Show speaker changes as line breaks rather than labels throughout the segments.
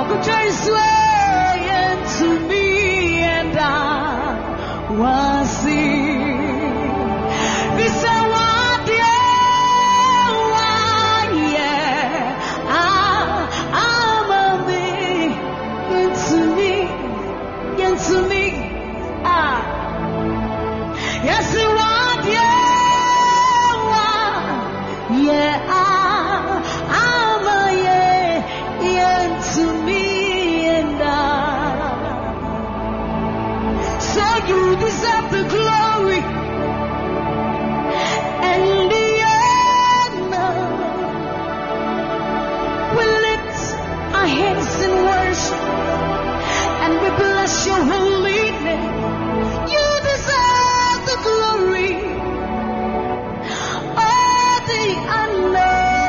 grace way into me, and I was seen. This is what I'm a me, into me, yes, you want, I'm a into me, and so you deserve the glory and the honor. We lift our hands in worship and we bless your holy name. You deserve the glory, all the honor.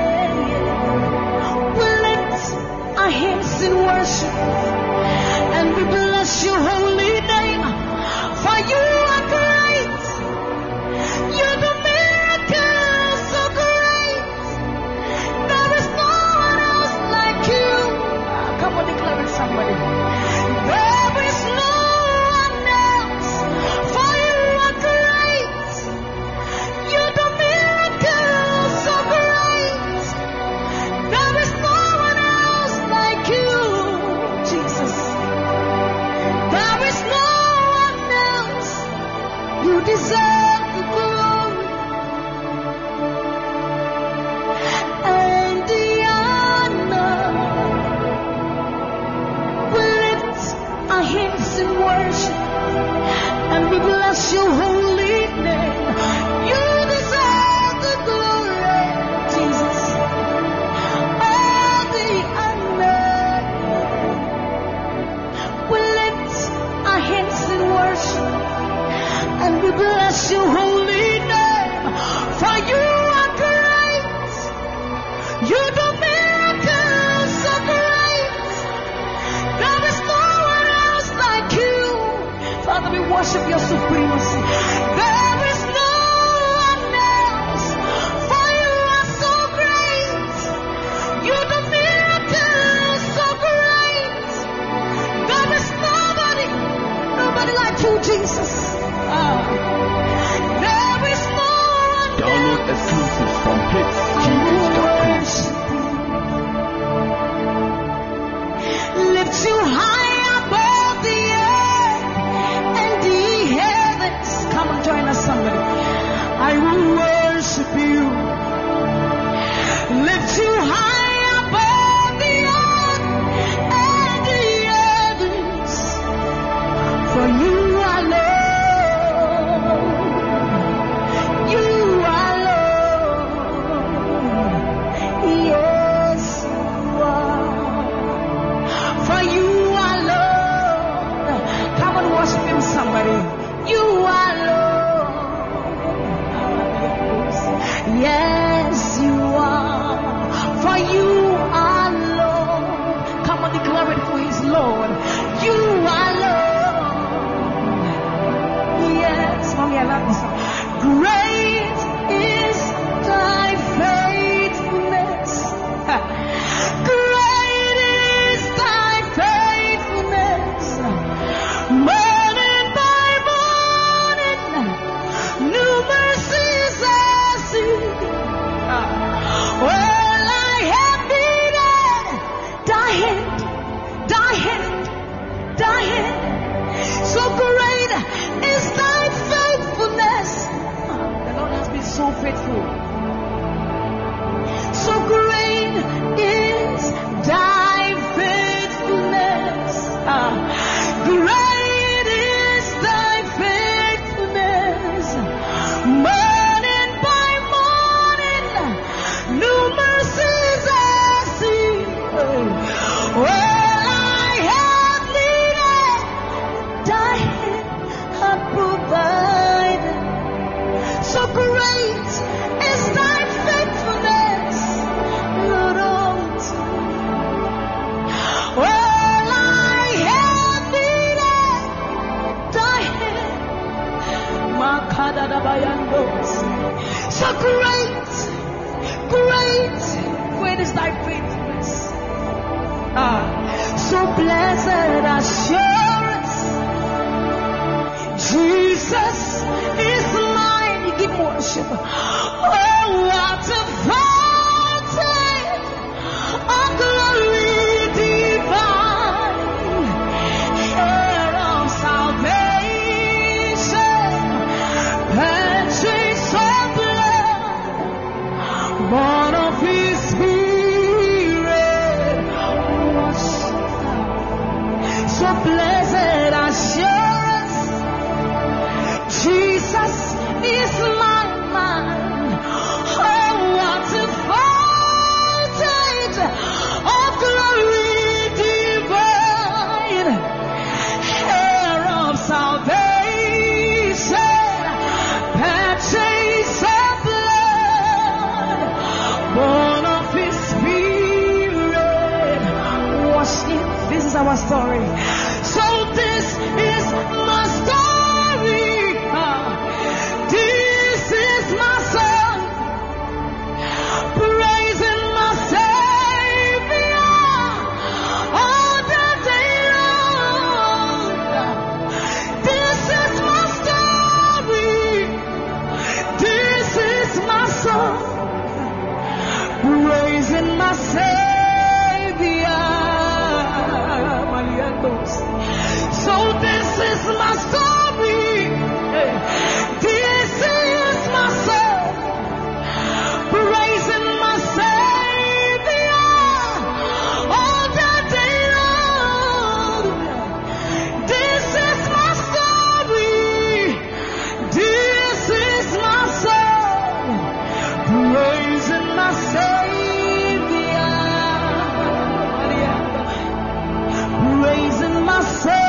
We lift our hands in worship and we bless your holy name. For you are great, you do miracles so great. There is no one else like you. Come on, declare it, somebody. There is no one else, for you are great. You do miracles so great. There is no one else like you, Jesus. There is no one else. You deserve the glory and the honor. We lift our hands in worship and we bless your holy name. You deserve the glory, Jesus. All the honor. We lift our hands in worship and we bless your holy name. For you are great. You do miracles so great. There is no one else like you. Father, we worship your supremacy. There is no one else, for you are so great. You do miracles so great. There is nobody like you, Jesus. There is no one
Download exclusives from hitsgh.com.
lift you high above the earth and the heavens. Come and join us, somebody. I will worship you. Lift you high above the earth and the heavens. For you are Lord. You are Lord. Yes, you are. For you are Lord. Come and worship him, somebody. You are Lord. Yes, you are. For you are Lord. Come and declare it for his Lord. You are Lord. Yes, mommy, I love this song. Great is thy faithfulness. Great is thy faithfulness. Morning by So blessed assurance, Jesus is mine. You give worship. Oh, what a fountain of glory divine, heir of salvation, purchase of blood, born of His Spirit, washed. So blessed assurance, Jesus is my man. Oh, what a fountain of glory divine, heir of salvation, purchase of blood, born of His Spirit, washed in. This is our story. So this is my story. This is my song, praising my Savior all the day long. This is my story. This is my song, praising my Savior. So this is my story. This is my song, praising my Savior all the day long. This is my story. This is my song, praising my Savior, praising my Savior.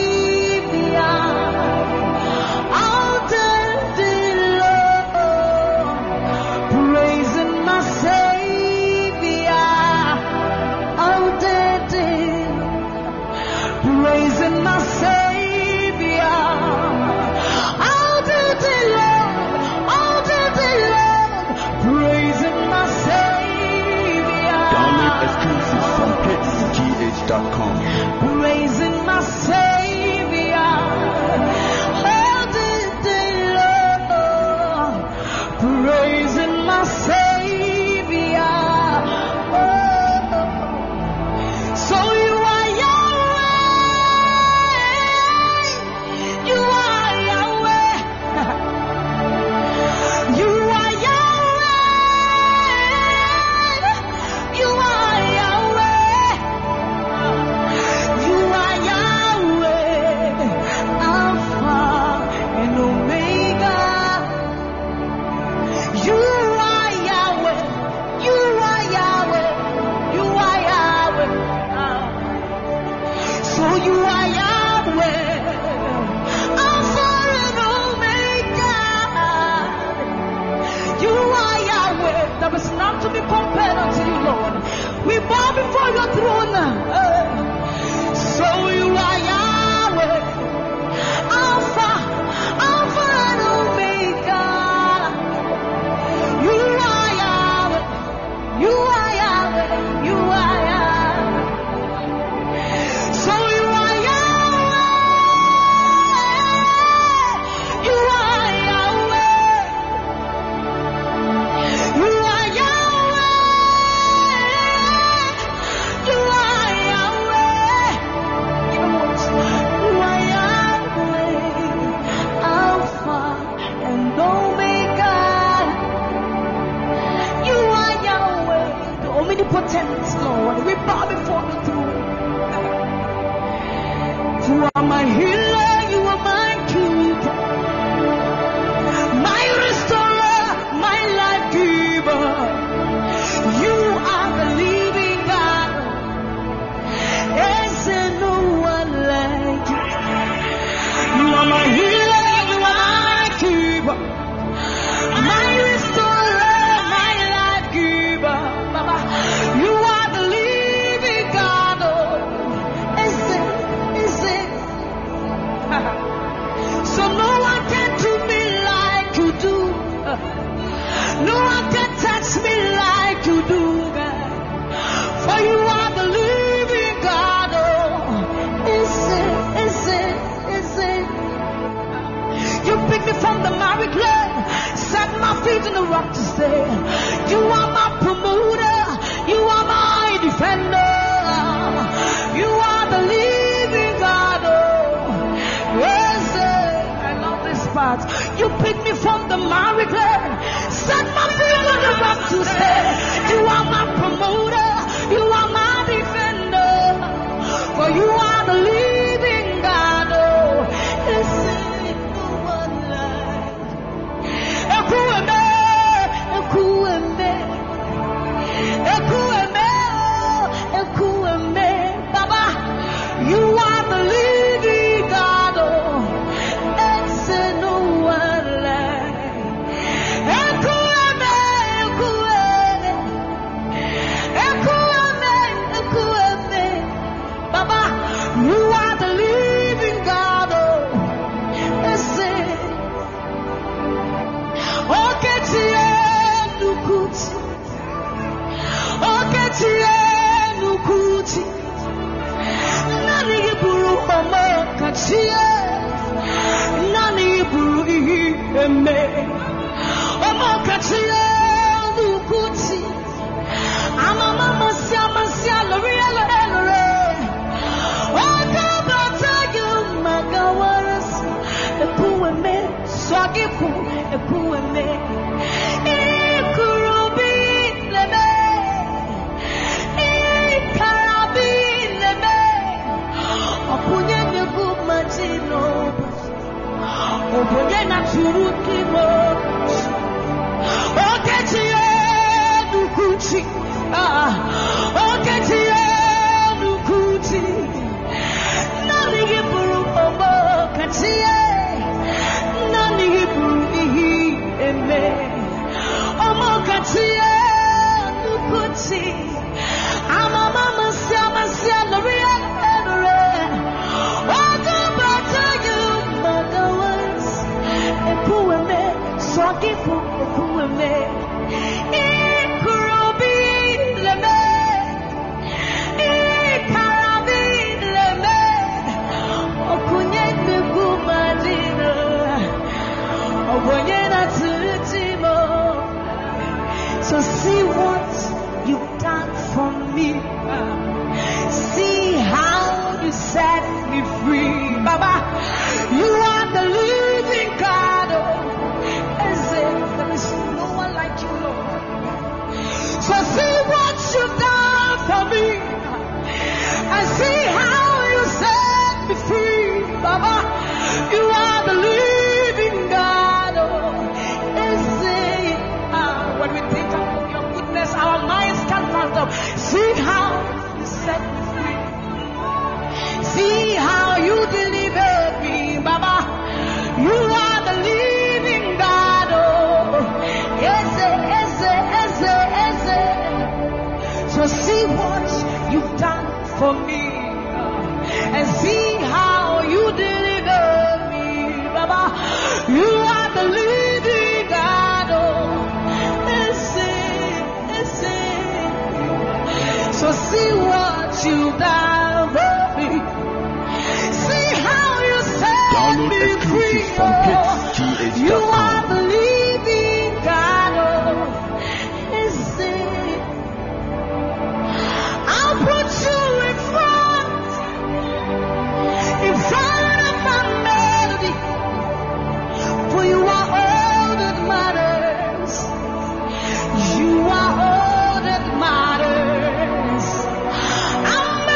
Praising my Savior all the day long, praising my Savior. Oh. So you are Yahweh, you are Yahweh, you are Yahweh, you are Yahweh. You are Yahweh, Alpha and Omega. You are Yahweh, you are Yahweh, you are Yahweh. So you are Yahweh, Alpha and Omega. You are Yahweh, there is none to be compared unto you, Lord. We bow before your throne. So you are Yahweh, Alpha and Omega. You are Yahweh, you are Yahweh, you are Yahweh. So you are Yahweh, you are Yahweh, you are Yahweh, you are Yahweh. You are Yahweh, Alpha and Omega. You are Yahweh, the omnipotent Lord. We bow before the throne. You are my healer, you are my keeper, my restorer, my life giver. You are the living God. Is there no one like you? You are my healer, you are my keeper, my restorer, my life giver. Baba, you are the living God. Oh, is it? rock to stay. You are my promoter. You are my defender. You are the living God. Oh, yes, I love this part. You picked me from the miry clay. Set my feet on the rock to stay. You are my promoter. You are my defender. For you are the living God. Oh, yes, no one like. Ekueme, ekueme, ekueme, ekueme, Baba. You are the living God. Oh, yes, no one like. Ekueme, ekueme, ekueme, ekueme, Baba. You are the living God. Oh, yes, Oketie nukuti, oketie nukuti. Nani iburu omo kachie, nani iburu iheme. Omo kachie nukuti. Amama masia lori elore. Okabata you magawaras. Ekueme swagipu ekueme. Ikurubi leme. Ikarabi leme. Opunye nebu majino. Opunye na turuki mo. Oketie nukuti. Oketie nukuti. Nani iburu omo katie. Nani iburu ihi eme. Omo katie nukuti. Amama masia lori elore. Okabata you magawas. Ekueme swagipu ekueme. Ikurubi leme. Ikarabi leme. Okunye nebu madina. Okunye na tutimo. So see what you've done for me. See how you set me free. Baba, you are the living God. There is no one like you, Lord. So see what you've done for me. And see how you set me free. Baba, you are the living God. When we think of your goodness, our minds can't fathom. See how you set me free. See how you delivered me, Baba. You are the living God. Oh, yes. So see what you've done for me, and see how you deliver me, Baba. You are the living God. Oh, so see what you've done for me. See how you set
Download
me
exclusives
free.
from
Oh,
PitsGH.com.
you are the living God. Oh, I'll put you in front of my melody. For you are all that matters. You are all that matters. I'll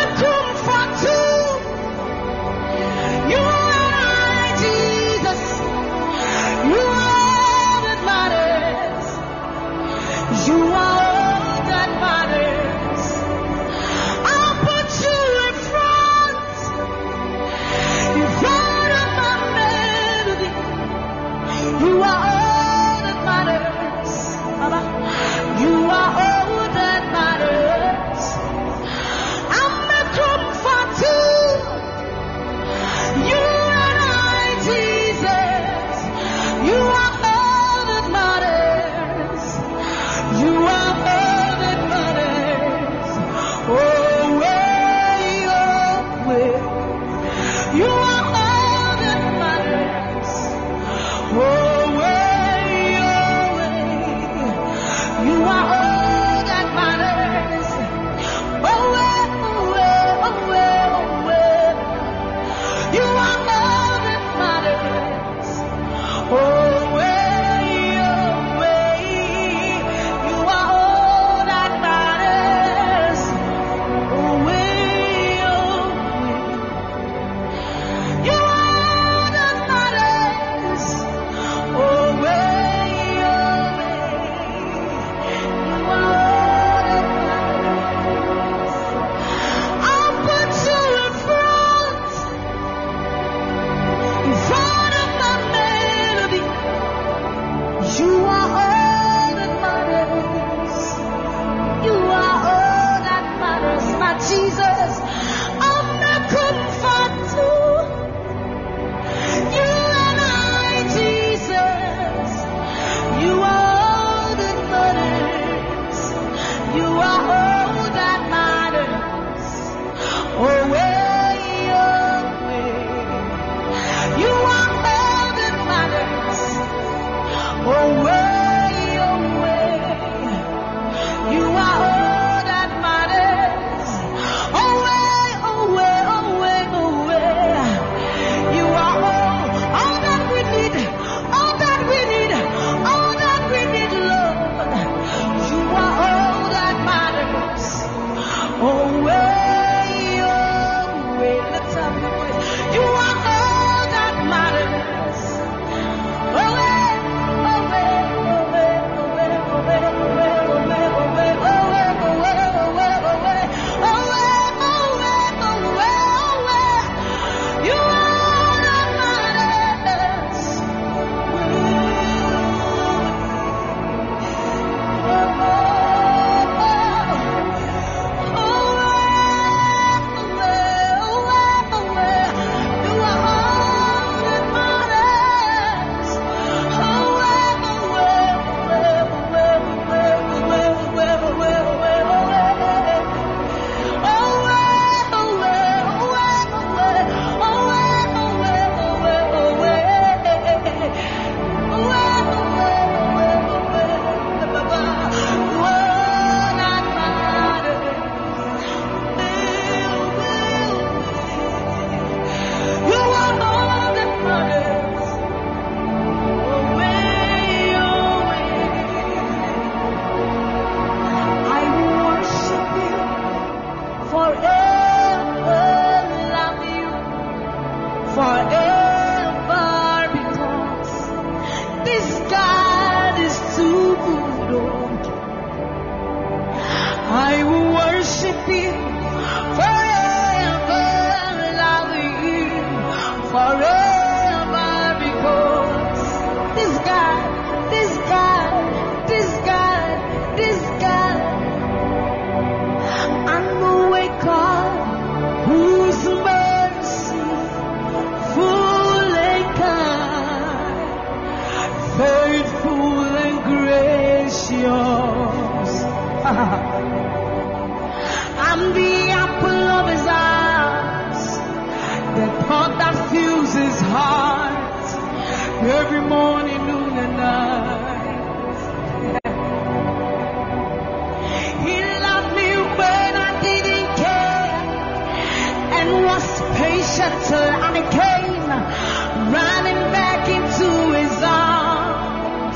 was patient till I came running back into his arms.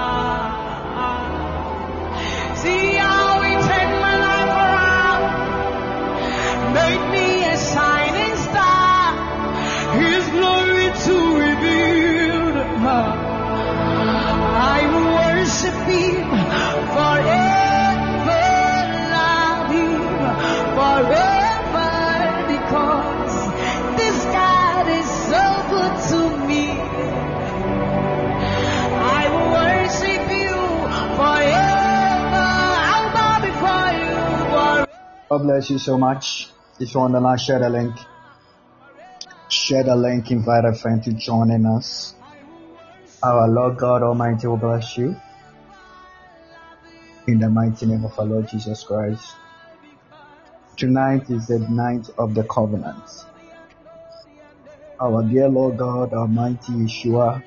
See how he turned my life around, made me a shining star, his glory to reveal. I will worship him forever, love him forever, because this God is so good to me. I will worship you forever. I'll bow before you forever.
God bless you so much. If you want to now share the link. Share the link, invite a friend to join in us. Our Lord God Almighty will bless you. In the mighty name of our Lord Jesus Christ. Tonight is the night of the covenant. Our dear Lord God Almighty Yeshua.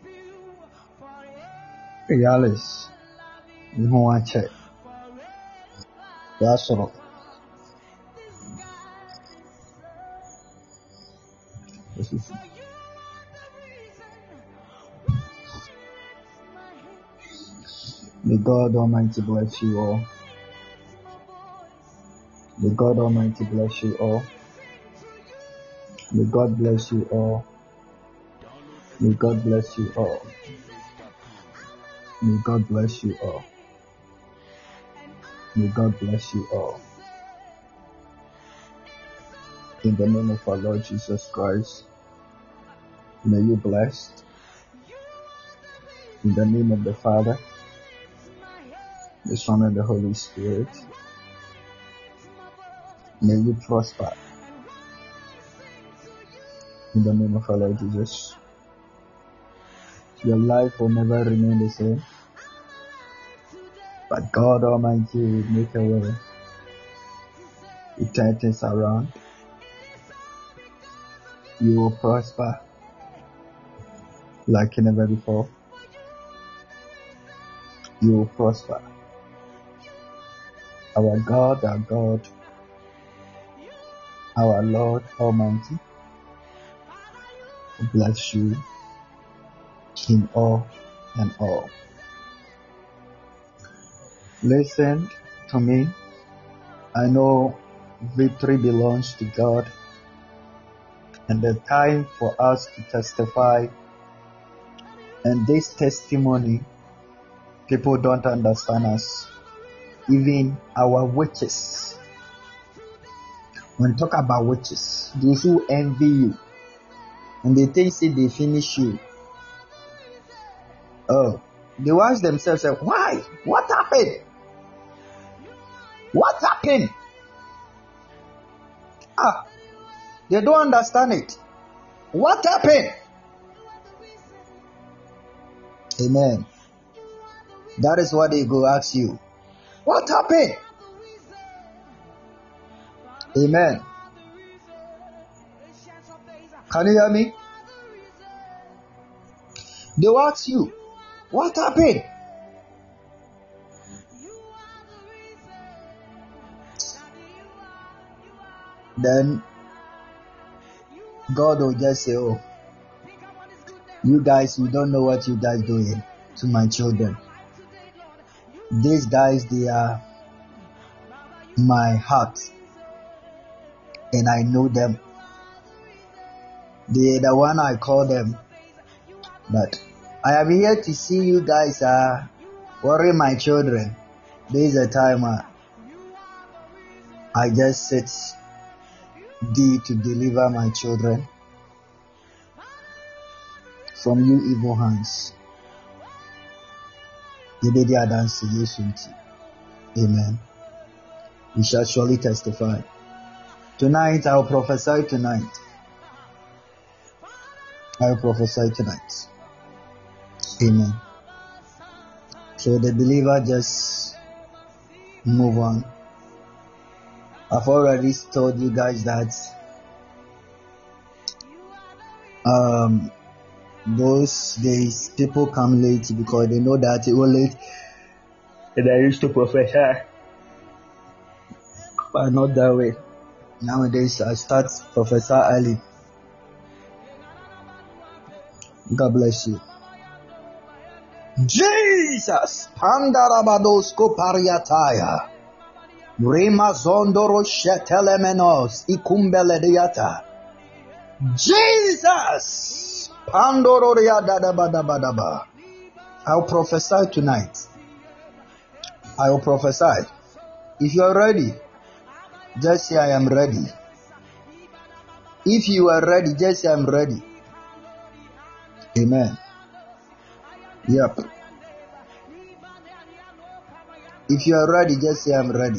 Realis. Yehowache. That's all. May God Almighty bless you all. May God Almighty bless you all. May God bless you all. May God bless you all. May God bless you all. May God bless you all. In the name of our Lord Jesus Christ, may you blessed. In the name of the Father, the Son, and the Holy Spirit, may you prosper. In the name of our Lord Jesus, your life will never remain the same, but God Almighty will make a way. He turn things around. You will prosper like never before. You will prosper. Our God, our Lord Almighty, bless you in all and all. Listen to me. I know victory belongs to God, and the time for us to testify. And this testimony, people don't understand us. Even our witches. When we talk about witches, those who envy you, and they think they finish you. Oh, they ask themselves, why? What happened? What happened? They don't understand it. What happened? Amen. That is what they go ask you. What happened? Amen. Can you hear me? They will ask you, what happened? Then God will just say, oh, you guys, you don't know what you guys doing to my children. These guys, they are my heart, and I know them. They are the one I call them. But I am here to see you guys worry my children. There is a time I just sit thee to deliver my children from you evil hands. Amen. We shall surely testify. Tonight, I will prophesy tonight. I will prophesy tonight. Amen. So the believer just move on. I've already told you guys that those days people come late because they know that it was late, and I used to prophesy, but not that way. Nowadays, I start Professor early. God bless you. Jesus! Pandarabadosko pariataya. Rima zondoro shetelemenos ikumbelediata. Jesus! Pandororia dadabadabadaba. I'll prophesy tonight. I will prophesy. If you are ready, just say I am ready. If you are ready, just say I'm ready. Amen. Yep. If you are ready, just say I'm ready.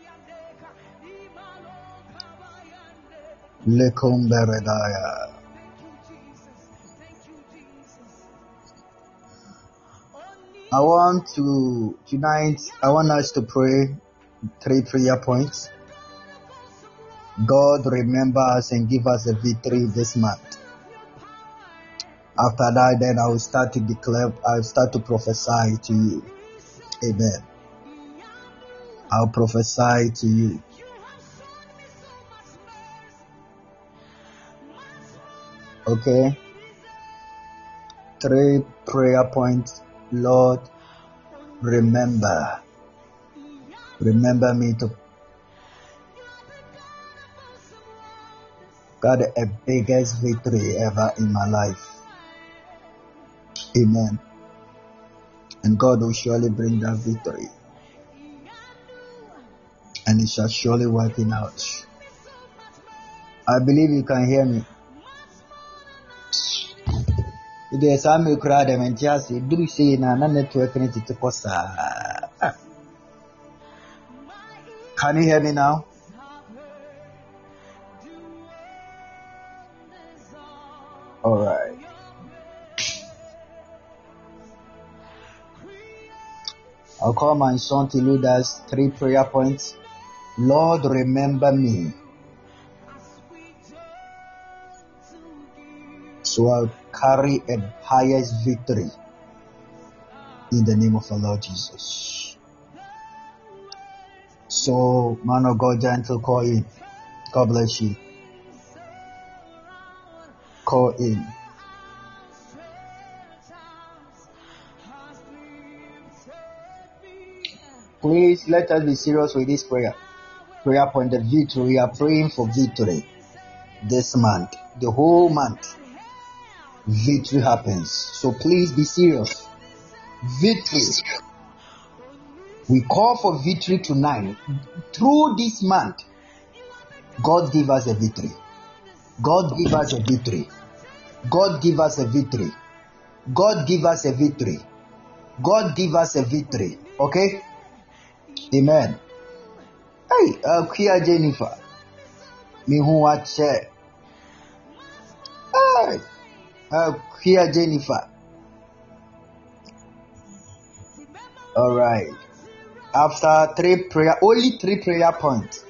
Lekomberedaya. I want us to pray 3 prayer points. God remember us and give us a victory this month. After that, then I will start to prophesy to you. Amen. I'll prophesy to you. Okay. 3 prayer points. Lord, remember me to got a biggest victory ever in my life. Amen. And God will surely bring that victory. And it shall surely work it out. I believe you can hear me. There's some crowd and just do say na network to Costa. Can you hear me now? All right. I'll call my son to lead us 3 prayer points. Lord, remember me. So I'll carry a highest victory in the name of the Lord Jesus. So, man of God, gentle, call in. God bless you. Call in. Please let us be serious with this prayer. Prayer point, the victory. We are praying for victory this month. The whole month, victory happens. So please be serious. Victory. We call for victory tonight. Through this month, God give us a victory. God give us a victory. God give us a victory. God give us a victory. God give us a victory. Okay? Amen. Hey, Kia Jennifer. Me who watch. Hey, Kia Jennifer. All right. After 3 prayer, only 3 prayer points.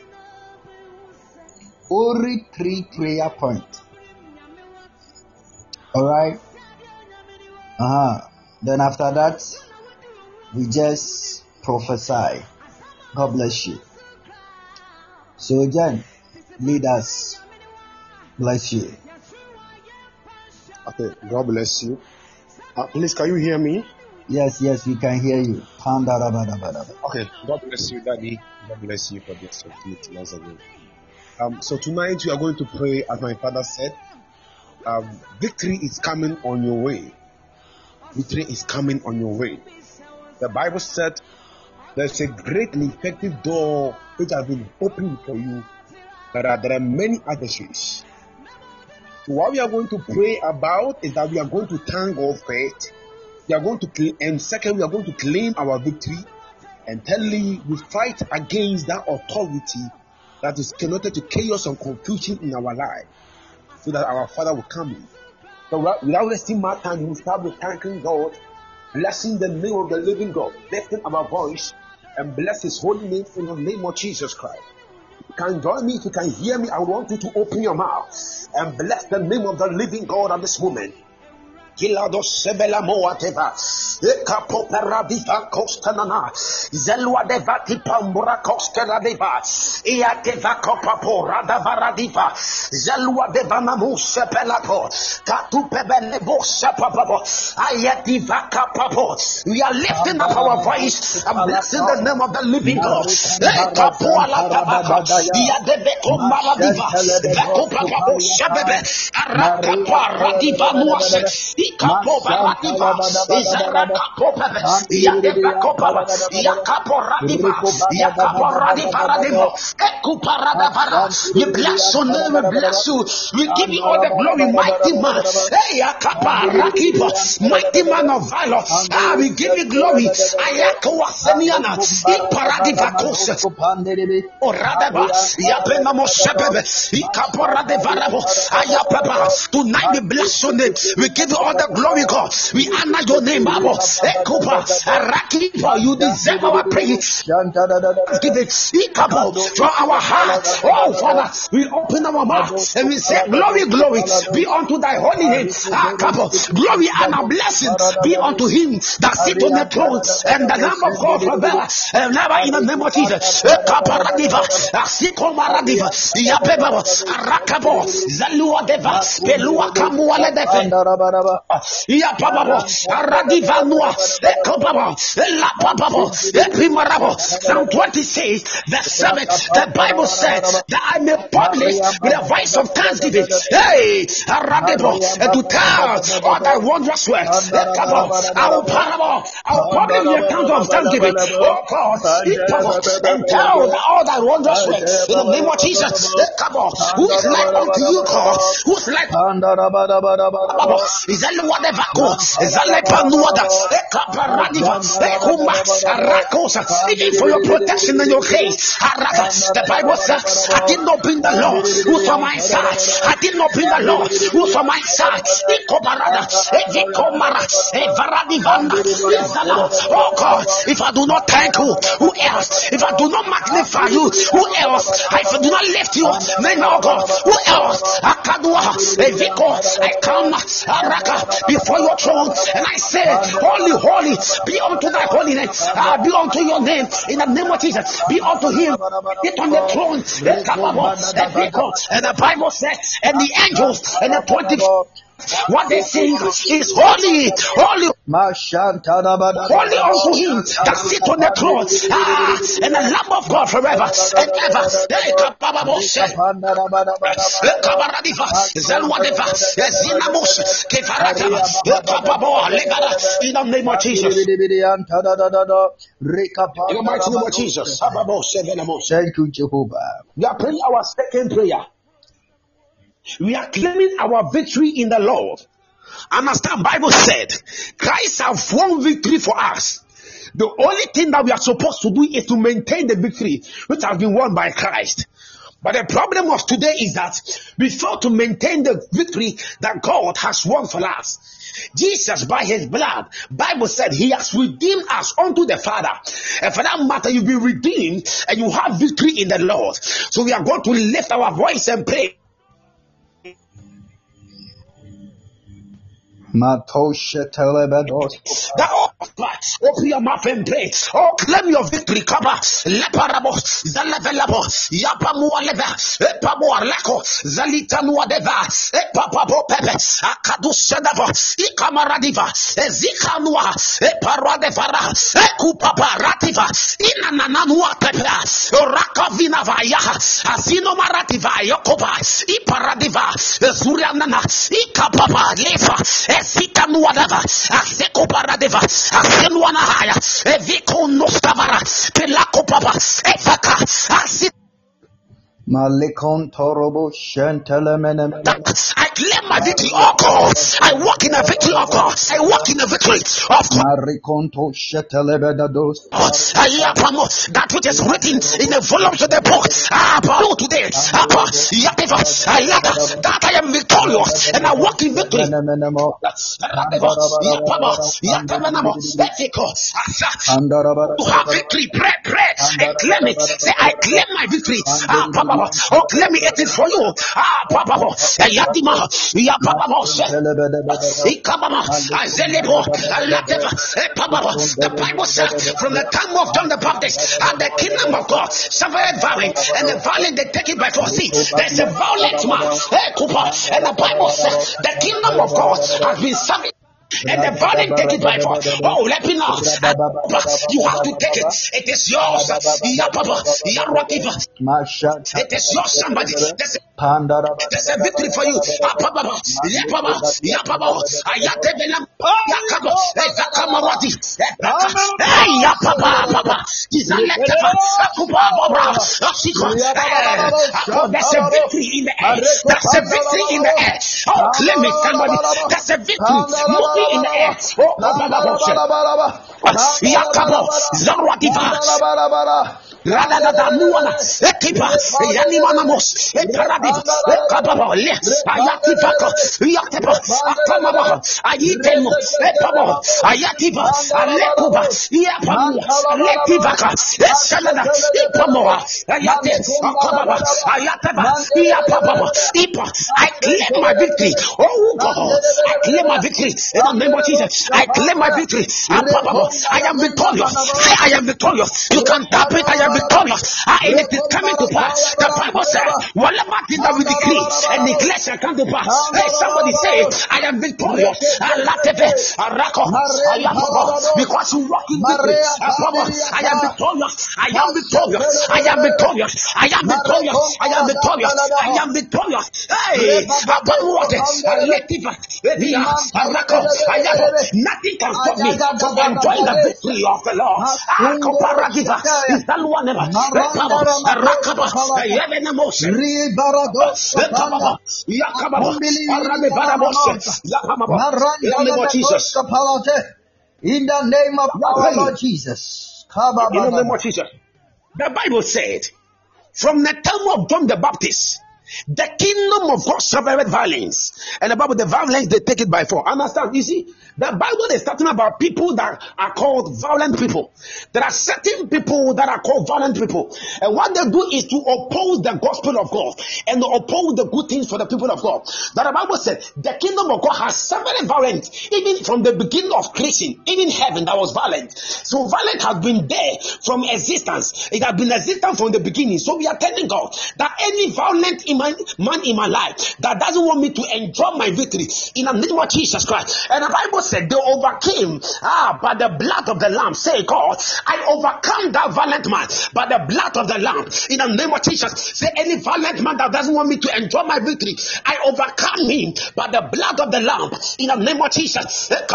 Only 3 prayer points. All right. Then after that, we just prophesy. God bless you. So again, lead us. Bless you.
Okay, God bless you. Please, can you hear me?
Yes, we can hear you.
Okay, God bless you, Daddy. God bless you for this opportunity once again. So tonight we are going to pray, as my father said. Victory is coming on your way. Victory is coming on your way. The Bible said there's a great and effective door which has been opened for you. There are many adversaries. So what we are going to pray about is that we are going to thank God first. We are going to, and second, we are going to claim our victory. And thirdly, we fight against that authority that is connected to chaos and confusion in our life, so that our Father will come in. So without wasting my time, we start with thanking God, blessing the name of the living God, lifting our voice, and bless His holy name in the name of Jesus Christ. You can join me if you can hear me. I want you to open your mouth and bless the name of the living God at this moment.
Kilado sebela moateva. Eka popera diva kostanana. Zelwa deva tipambura koskera deva. Ia deva kopapora davara diva. Zelwa deva namushe pelapo. Katu pebele bosha papabo. Ayativa kapapo. We are lifting up our voice and blessing the name of the living God. Eka poala tabaka. Ia deve komara diva. Veko papabo shabebe. Araka para diva nuase. Ikapo baradiva, Izaraka popeve, Yadeva kopava, Yakapo radiva, Yakapo radiva radivo, Ekuparadavara. We bless your name, we bless you. We give you all the glory, mighty man. Hey, Yakapa Rakipo, mighty man of valor. We give you glory. Ayako Waseniana, Iparadiva Kose, Oradeva, Yapena Moshebebe, Ikapo Radivaravo, Ayapapa. Tonight we bless your name. We give you all the glory, God. We honor your name, Babo. Ekopa, Arakipa, you deserve our praise. Give it from our heart. Oh, Father, we open our mouth and we say, glory, glory be unto thy holy name. Glory and a blessing be unto him that sit on the throne and the Lamb of God forever and never, in the name of Jesus. Ekaparadiva, Asikomaradiva, Yapeba, Arakabo, Zalua Deva, Pelua Kamuale Deva. Ya papa, Aradivanua, Ekopapa, La Papa, Epimarabo. Psalm 26, verse 7. The Bible said that I may publish with a voice of thanksgiving. Hey, Aradebo, and to tell all thy wondrous works. I'll publish the account of thanksgiving. Oh God, and tell all thy wondrous works in the name of Jesus. Who is like unto you, God? Who is like is that whatever is that like Panuada, Ekaparadiva, Ekuma, Arakosa, even for your protection and your case. The Bible says, I did not bring the law, who's on my side. I did not bring the law, who's on my side. Ekobarada, Evikomara, Evaradivanda, Izala. Oh God, if I do not thank you, who else? If I do not magnify you, who else? If I do not lift you, then oh God, who else? Akadua, Eviko, I come, Araka, before your throne, and I say, holy, holy, be unto thy holy name, be unto your name, in the name of Jesus, be unto him, get on the throne, and the Bible says, and the angels, and the 24, what they sing is holy, holy, holy unto him that sit on the throne, and the Lamb of God forever and ever. In the name of Jesus. In the mighty name of Jesus.
Thank you, Jehovah.
We are praying our second prayer. We are claiming our victory in the Lord. Understand, Bible said, Christ has won victory for us. The only thing that we are supposed to do is to maintain the victory which has been won by Christ. But the problem of today is that we fail to maintain the victory that God has won for us. Jesus, by his blood, Bible said he has redeemed us unto the Father. And for that matter, you've been redeemed and you have victory in the Lord. So we are going to lift our voice and pray.
Open
your mouth and pray. Oh, claim your victory. Kaba, leparabo, zalevelabo, yapamualeva, epamuarleko, zalitanuadeva, epapabo pepe, akadusedava, ikamaradiva, ezikanua, eparadevara, ekupaparativa, inanananua pepe, rakavinavaya, asinomaradiva, yokoba, iparadiva, zurianana, ikapapa, lefa, Esitanuadava, Asekoparadeva, Asenuanahaya, Eviko Nostavara, Pelakopapa, Efaka, Asit.
Malikon Torobo Shantelemenem.
I claim my victory, oh God. I walk in a victory, oh God. I walk in a victory of God.
Marikonto Shetelebedados.
That which is written in the volumes of the book. Today, that I am victorious and I walk in victory. To have victory, pray, and claim it. Say, I claim my victory. Oh, let me eat it for you. Ah, Papa, Yadima, Yapapa, Ikabama, Azelebo, Alateva, Papa. The Bible said from the time of John the Baptist and the kingdom of God suffered violence, and the violent they take it by force. See, there's a violent man, Cooper, and the Bible says the kingdom of God has been serving. And the violent take it by force. Oh, let me know. You have to take it. It is yours. It is yours, somebody. There's a victory for you. There's a victory in the air. There's a victory in the air. Oh, claim it, somebody. There's a victory in the air. Yakabo, Zarwatifa. Radada Muana, Ekipa, Yanimanamos, Ekaradiv, Ekababo, Ayatifako, Yatepa, Akamaba, Ayitemo, Epabo, Ayatiba, Alekuba, Yapamu, Letivaka, Esanada, Ipamoa, Ayate, Akababa, Ayataba, Yapaba, Ipa. I claim my victory. Oh God, I claim my victory. In the name of Jesus, I claim my victory. I am victorious. I am victorious. You can tap it. I am victorious. And it is coming to pass. The Bible says, whatever thing that we decree and declare shall come to pass. Hey, somebody say, I am victorious. Because you walk in victory. I am victorious. I am victorious. I am victorious. I am victorious. I am victorious. I am victorious. Hey, nothing can stop me from enjoying the victory of the Lord. Is that one ever?
In the name of our Lord Jesus.
In the name of Jesus. The Bible said, from the time of John the Baptist, the kingdom of God suffered violence. And the Bible, the violence, they take it by force. Understand? You see, the Bible is talking about people that are called violent people. There are certain people that are called violent people. And what they do is to oppose the gospel of God and oppose the good things for the people of God. That the Bible said, the kingdom of God has suffered violence. Even from the beginning of creation, even heaven, that was violent. So violence has been there from existence. It has been existent from the beginning. So we are telling God that any violent man in my life that doesn't want me to enjoy my victory, in the name of Jesus Christ. And the Bible said they overcame by the blood of the Lamb. Say, God, I overcome that violent man by the blood of the Lamb. In the name of Jesus, say, any violent man that doesn't want me to enjoy my victory, I overcome him by the blood of the Lamb. In the name of Jesus. Any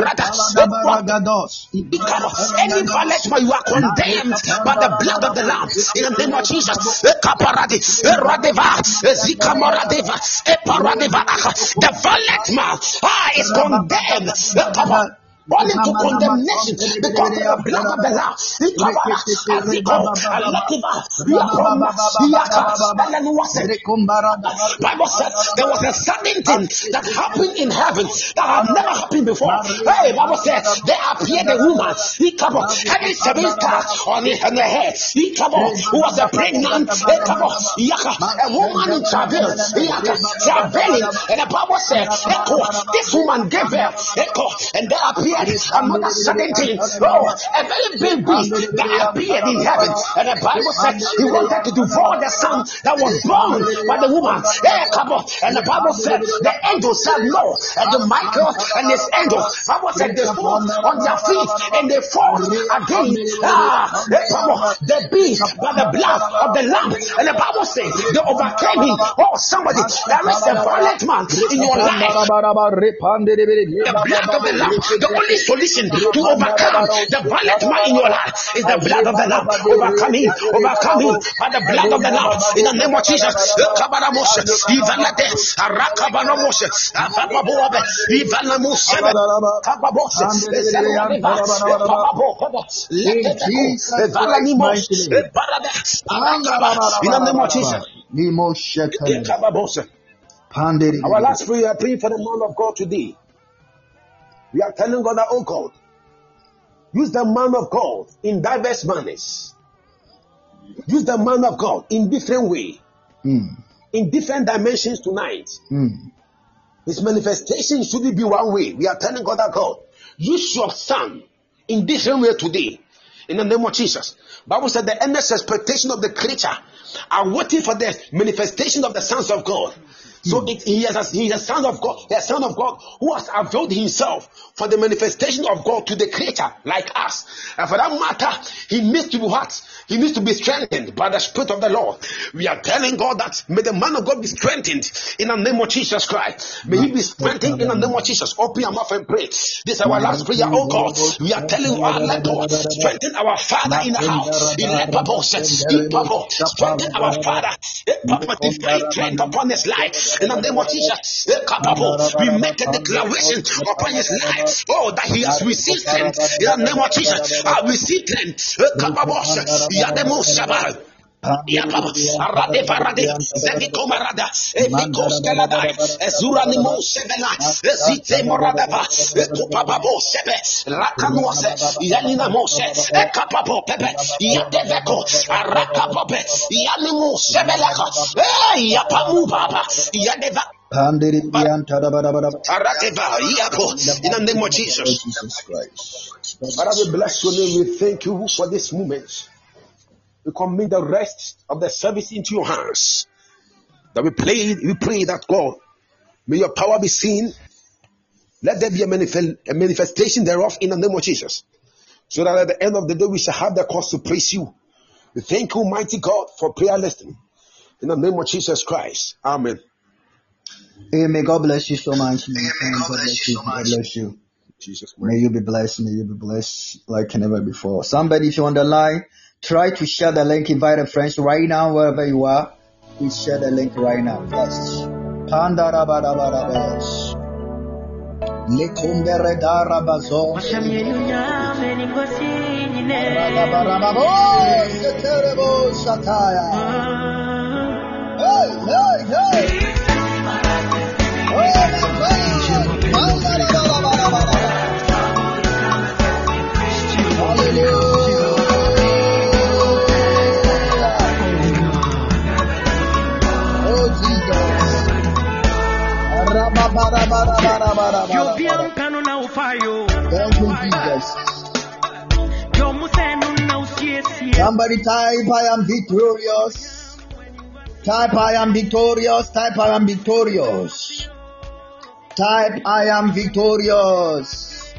violent man, you are condemned by the blood of the Lamb. In the name of Jesus. The violent man is condemned. Only to condemnation because of the blood of the Lamb. Bible said there was a sudden thing that happened in heaven that had never happened before. Hey, Bible said there appeared a woman. Having 7 stars on her head. Who was a pregnant a woman in travail. Travailing, and the Bible said, this woman gave birth, and there appeared another sudden thing. Oh, a very big beast that appeared in heaven. And the Bible said he wanted to devour the son that was born by the woman. And the Bible said the angel said no. And the Michael and his angel, Bible said they fall on their feet and they fought again. The beast by the blood of the Lamb. And the Bible says they overcame him. Oh, somebody, there is a violent man in your life. The blood of the Lamb. The only solution to overcome the violent man in your life is the blood of the Lamb. Overcome him by the blood of the Lamb. In the name of Jesus. In the name of Jesus. Our last prayer, pray for the man of God today. We are telling God that, oh God, use the man of God in diverse manners. Use the man of God in different ways. in different dimensions tonight. His manifestation shouldn't be one way. We are telling God that God, use your son in different way today. In the name of Jesus. Bible said the endless expectation of the creature are waiting for the manifestation of the sons of God. So he is a son of God, the son of God who has availed himself for the manifestation of God to the creature like us. And for that matter, he needs to be what? He needs to be strengthened by the Spirit of the Lord. We are telling God that may the man of God be strengthened in the name of Jesus Christ. May he be strengthened in the name of Jesus. Open your mouth and pray. This is our last prayer, oh God. We are telling our let God strengthen our Father in the house. Strengthen our Father. Divine strength upon his life. In the name of Jesus, we make a declaration upon his life. Oh, that he has received strength. In the name of Jesus, I receive strength.
In
In the name of Jesus.
Jesus Christ.
Father, we bless your name. We thank you for this moment. We commit the rest of the service into your hands. That we pray that God, may your power be seen. Let there be a manifestation thereof in the name of Jesus. So that at the end of the day we shall have the cause to praise you. We thank you, mighty God, for prayer listening. In the name of Jesus Christ. Amen.
Amen. God bless you so much. God bless you. God bless you.
Jesus.
May you be blessed. May you be blessed like never before. Somebody, if you're on the line, try to share the link. Invite a friend right now, wherever you are. Please share the link right now. Yes. Thank you, Jesus. Somebody type, I am victorious. Type, I am victorious. Type, I am victorious. Type, I am victorious.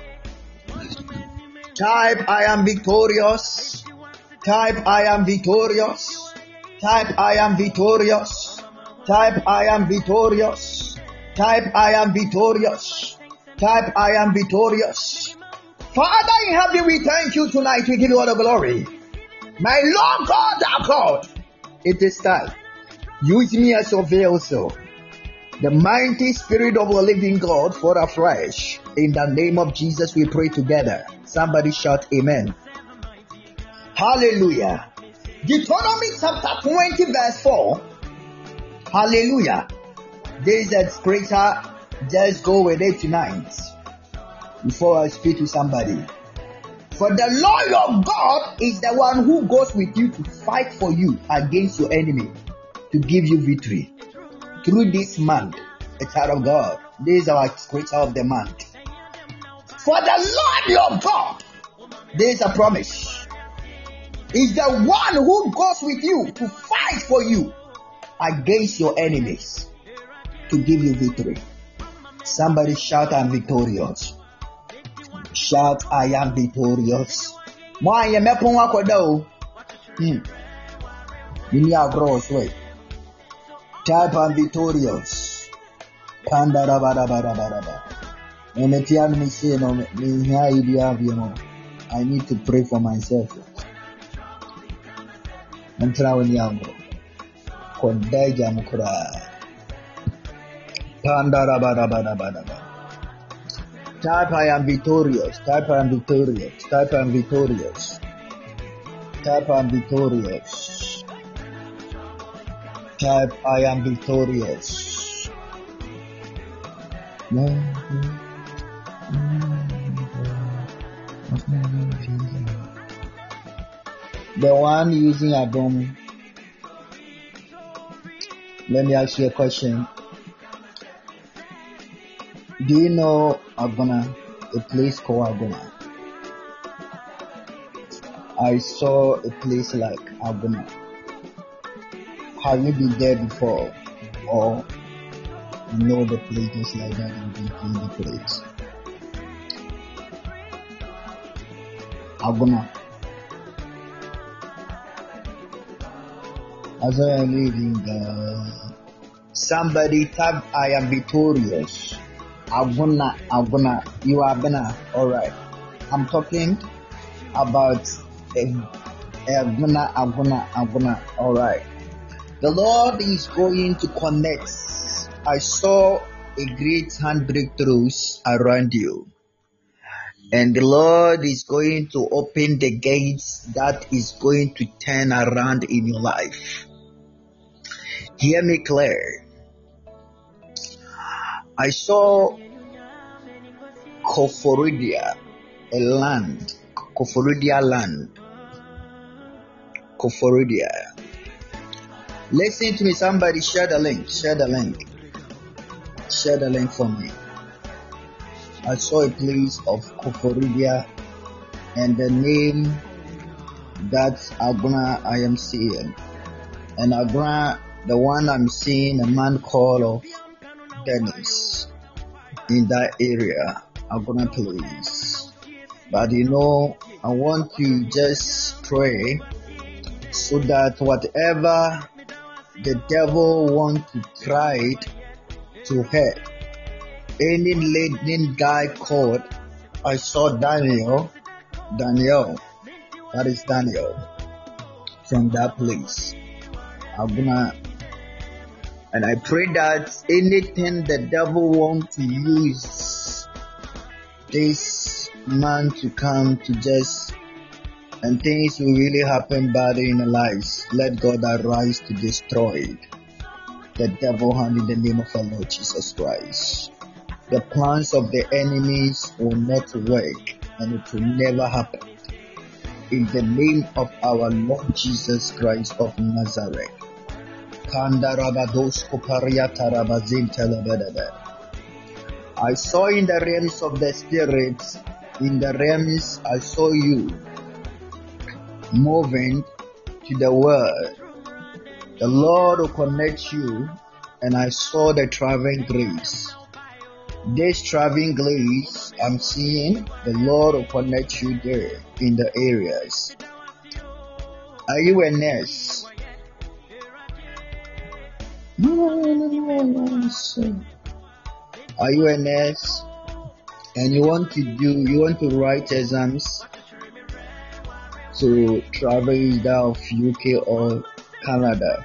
Type, I am victorious. Type, I am victorious. Type, I am victorious. Type, I am victorious. Type, I am victorious. Type, I am victorious. Father in heaven, we thank you tonight. We give you all the glory. My Lord God, our God, it is time. Use me as your vessel. The mighty Spirit of the living God for afresh. In the name of Jesus, we pray together. Somebody shout amen. Hallelujah. Deuteronomy chapter 20 verse 4. Hallelujah. There is a scripture. Just go with it tonight. Before I speak to somebody. For the Lord your God is the one who goes with you to fight for you against your enemy, to give you victory. Through this month, a child of God. This is our scripture of the month. For the Lord your God, there is a promise. Is the one who goes with you to fight for you against your enemies, to give you victory. Somebody shout, I am victorious. Shout, I am victorious. Why am I going to type, I'm victorious. I need to pray for myself. I'm trying to type, I am victorious. Type, I am victorious. Type, I am victorious. Type, I am victorious. Type, I am victorious. The one using Adam, Let me ask you a question. Do you know Agona, a place called Agona? I saw a place like Agona. Have you been there before? Or you know the place just like that and been in the place? Agona. As I am reading, somebody type, I am victorious. Agona, you are Agona. Alright. I'm talking about Agona. Alright. The Lord is going to connect. I saw a great hand breakthroughs around you. And the Lord is going to open the gates that is going to turn around in your life. Hear me clear. I saw Koforidia, a land. Koforidia land. Koforidia. Listen to me, somebody share the link. Share the link. Share the link for me. I saw a place of Koforidia and the name that's Agona I am seeing. And Agona, the one I'm seeing, a man called Dennis in that area. Agona place. But you know, I want to just pray so that whatever the devil wants to try to hurt any leading guy called, I saw Daniel, that is Daniel, from that place. And I pray that anything the devil wants to use this man to come to just, and things will really happen bad in our lives, let God arise to destroy the devil hand in the name of our Lord Jesus Christ. The plans of the enemies will not work and it will never happen. In the name of our Lord Jesus Christ of Nazareth. I saw in the realms of the spirit, in the realms I saw you moving to the word. The Lord will connect you, and I saw the traveling grace. This traveling grace I'm seeing, the Lord will connect you there in the areas. Are you a nurse? Are you a nurse? And you want to write exams to travel either of UK or Canada?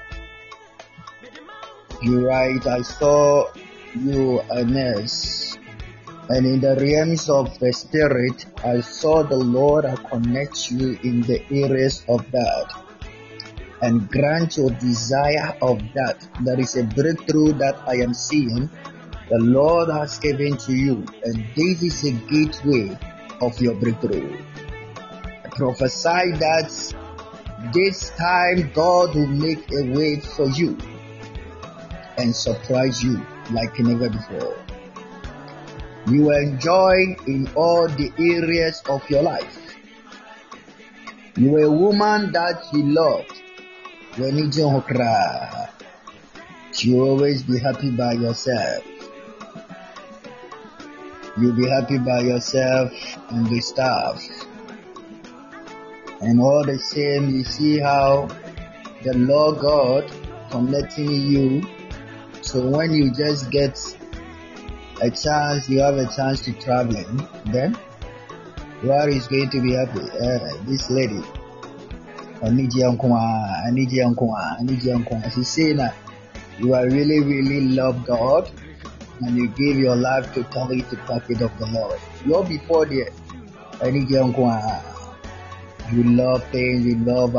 You're right, I saw you a nurse, and in the realms of the spirit, I saw the Lord connect you in the areas of that and grant your desire of that. There is a breakthrough that I am seeing the Lord has given to you, and this is a gateway of your breakthrough. I prophesy that this time God will make a way for you and surprise you like never before. You will enjoy in all the areas of your life. You are a woman that you love. You always be happy by yourself. You'll be happy by yourself and the staff. And all the same, you see how the Lord God connecting you. So when you just get a chance, you have a chance to traveling, then God is going to be happy. This lady, I need you. She's saying that you are really love God and you give your life totally to pocket of the Lord. You're before there. I need you. You love things, you love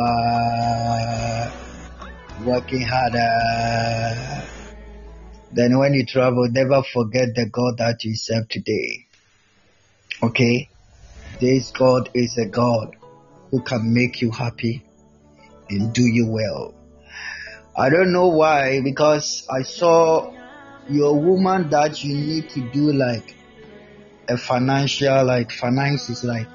working harder. Then when you travel, never forget the God that you serve today. Okay? This God is a God who can make you happy and do you well. I don't know why, because I saw you're a woman that you need to do like a financial, like finances, like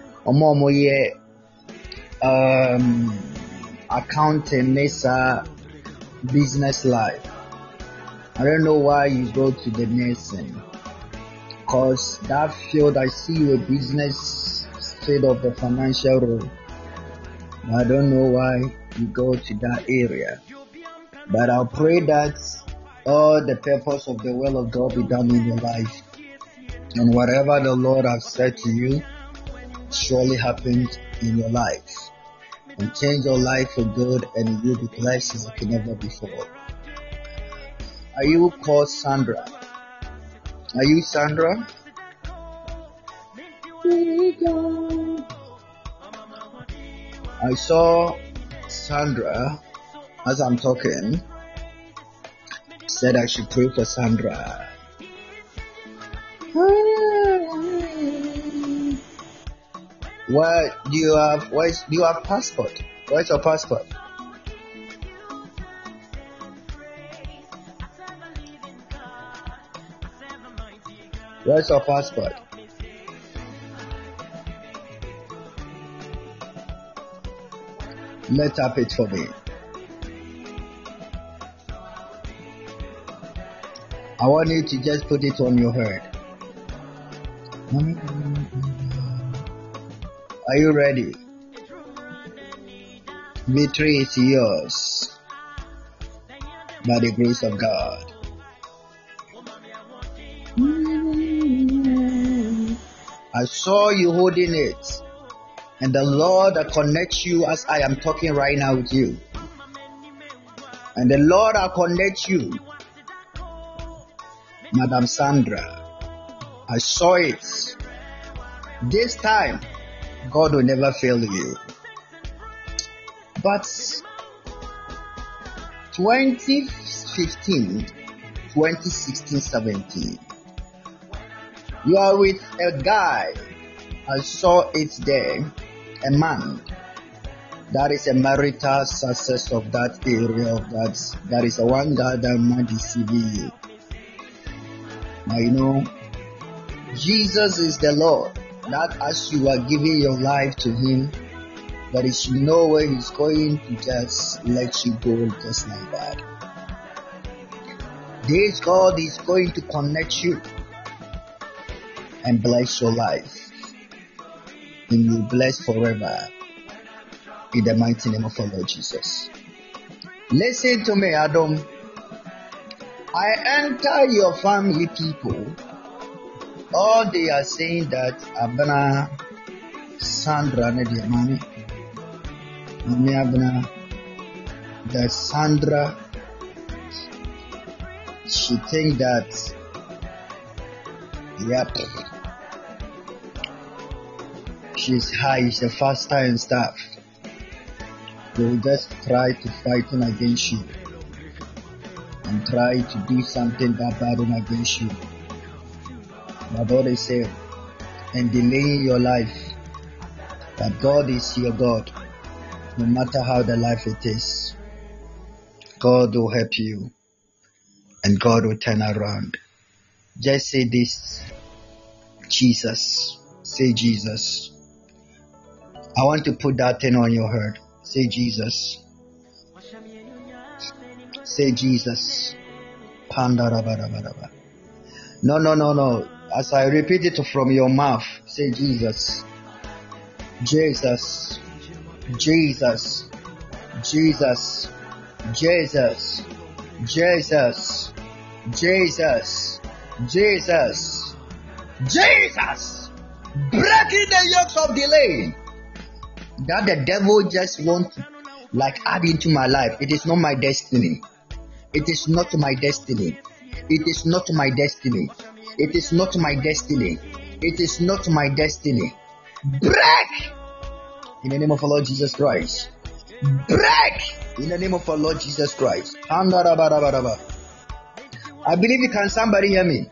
accounting, Nessa, business life. I don't know why you go to the nursing, cause that field I see you a business straight of the financial role. I don't know why you go to that area, but I'll pray that all the purpose of the will of God be done in your life, and whatever the Lord has said to you surely happens in your life, and change your life for good, and you'll be blessed like never before. Are you called Sandra? Are you Sandra? I saw Sandra as I'm talking. Said I should pray for Sandra. Where do you have? Do you have passport? Where's your passport? Where's your passport? Let up it for me. I want you to just put it on your head. Are you ready? Victory is yours by the grace of God. I saw you holding it, and the Lord that connects you as I am talking right now with you. And the Lord that connects you, Madam Sandra. I saw it. This time, God will never fail you. But 2015, 2016, 17, you are with a guy. I saw it there, a man. That is a marital success of that area. That is the one guy that might deceive you. Now you know, Jesus is the Lord. That as you are giving your life to Him, there is no way He's going to just let you go just like that. This God is going to connect you and bless your life, and you bless forever in the mighty name of our Lord Jesus. Listen to me, Adam. I enter your family people. All they are saying that Abana Sandra Nediamani, Abana, that Sandra, she think that, yep, she's high, she's a faster and stuff. They will just try to fight against you and try to do something that bad against you. But God is saying, and delaying your life, that God is your God, no matter how the life it is. God will help you, and God will turn around. Just say this, Jesus. Say Jesus. I want to put that thing on your head. Say Jesus. Say Jesus. No. As I repeat it from your mouth, say Jesus. Jesus. Jesus. Jesus. Jesus. Jesus. Jesus. Jesus. Jesus. Breaking the yokes of delay that the devil just wants to add into my life. It is not my destiny. It is not my destiny. It is not my destiny. It is not my destiny. It is not my destiny. Break in the name of our Lord Jesus Christ. Break in the name of our Lord Jesus Christ. I believe you can. Somebody hear me?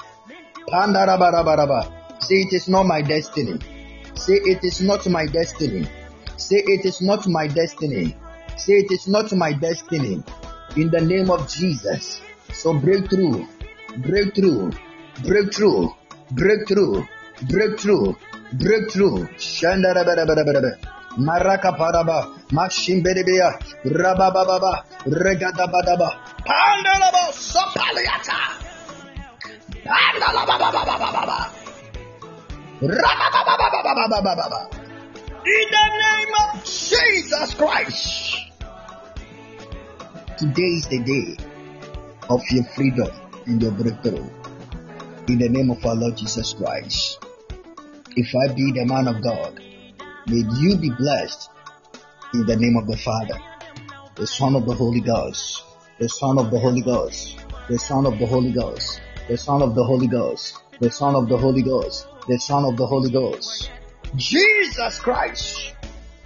Say it is not my destiny. Say it is not my destiny. Say it is not my destiny. Say it is not my destiny. in the name of Jesus. So breakthrough, breakthrough, breakthrough, breakthrough, breakthrough, breakthrough. Shandarabarabarabara. Maraka paraba, Mashimberebea, Rabababa, Regadabadaba, Pandalabo, Sopaliata, Pandalabababababa, Rababababababa. In the name of Jesus Christ. Today is the day of your freedom and your breakthrough. In the name of our Lord Jesus Christ. If I be the man of God, may you be blessed in the name of the Father, the Son of the Holy Ghost, the Son of the Holy Ghost, the Son of the Holy Ghost, the Son of the Holy Ghost, the Son of the Holy Ghost, the Son of the Holy Ghost. Jesus Christ.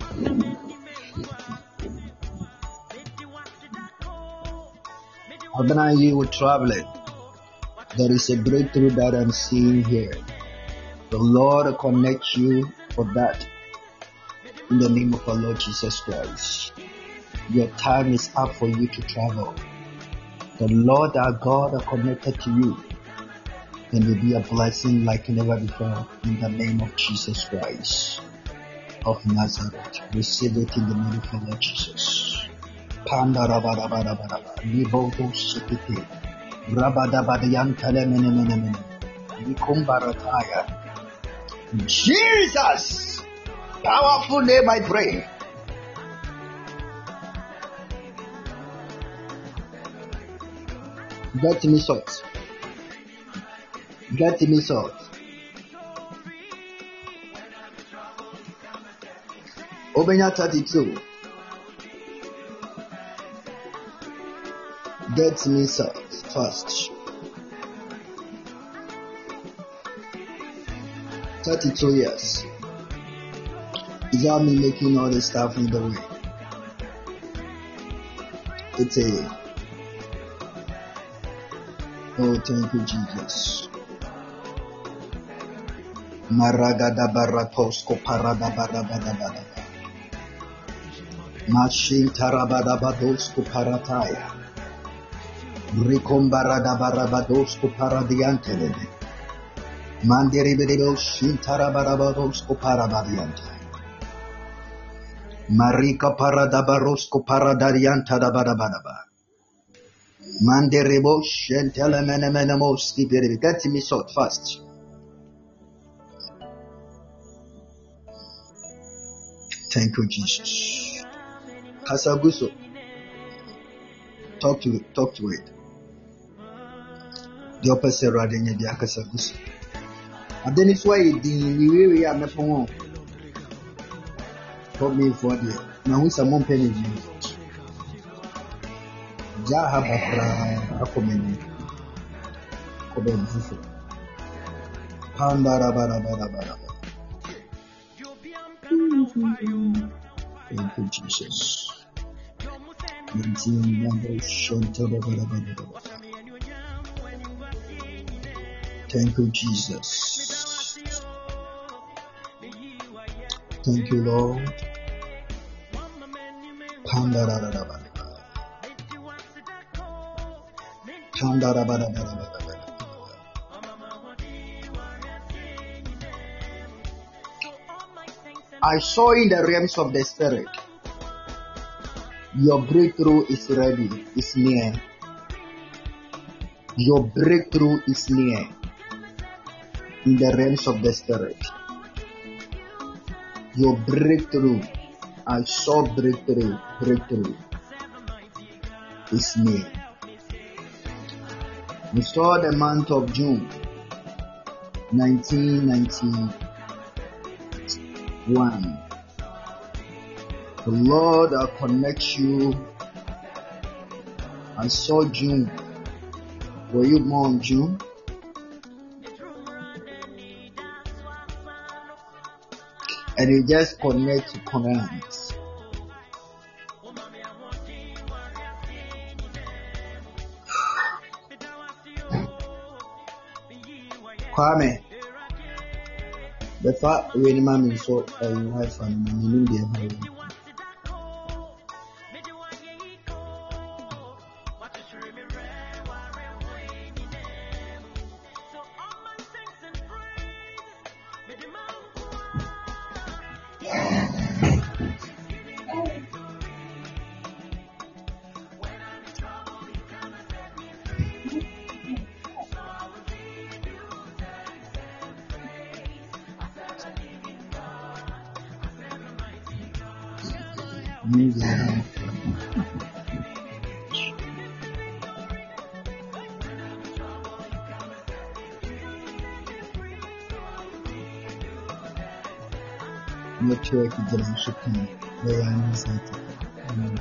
Abana, you were traveling. There is a breakthrough that I'm seeing here. The Lord will connect you for that. In the name of our Lord Jesus Christ. Your time is up for you to travel. The Lord our God are connected to you. And will be a blessing like never before. In the name of Jesus Christ of Nazareth. Receive it in the name of our Lord Jesus. Pandarabarabarabara. Libodo Shipiti. Rabadabadian Telemenemenemene. Likumbarataya. Jesus! Powerful name I pray. Get me salt. Get me salt. Obenya 32. Get me salt first. 32 years. Is that me making all the stuff in the way? It's a. Oh, thank you, Jesus. Maragada baratosko parada barabada. Mashin tarabada badosko parataya. Rikombarada barabadosko paradiante. Mandiribido shin tarabarabadosko parabadiante. Marika parada barosko paradarianta da barabadaba. Manderebo shentele menemenemos kibiri. Get me salt fast. Thank you, Jesus. Kasaguso. Talk to it. The opposite riding the Kasaguso. And then it's why the way are not for me for the now who's a mom penny. Jahabra Akomeni Kobenzifu Pandara. Thank you, Jesus. Thank you, Jesus. Thank you, Lord. Pandara. I saw in the realms of the spirit. Your breakthrough is ready, is near. Your breakthrough is near. In the realms of the spirit. Your breakthrough. I saw breakthrough is near. We saw the month of June 1991. The Lord will connect you. I saw June. Were you born June? And you just connect to Corinthians. Kwame, the fact when man is so a wife and meaning the Use your hand. Network is shipping. Where I am excited.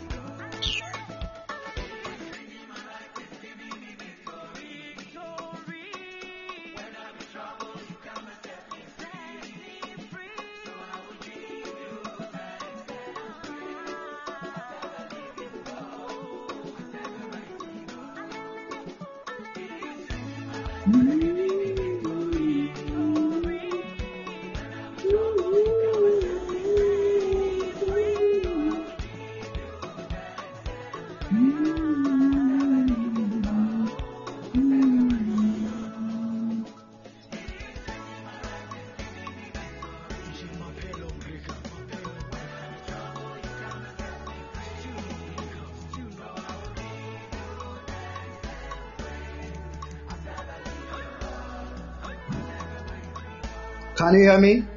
Can you hear me?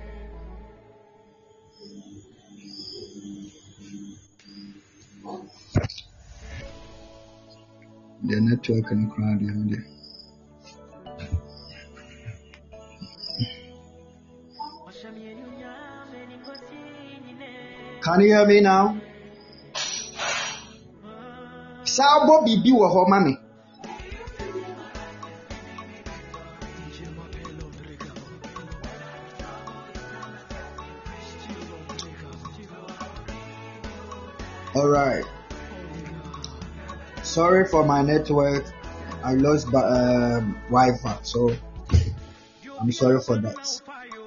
The network in the crowd behind there. Can you hear me now? Sabo bibi wo ho mami. All right. Sorry for my network. I lost Wi-Fi, so I'm sorry for that.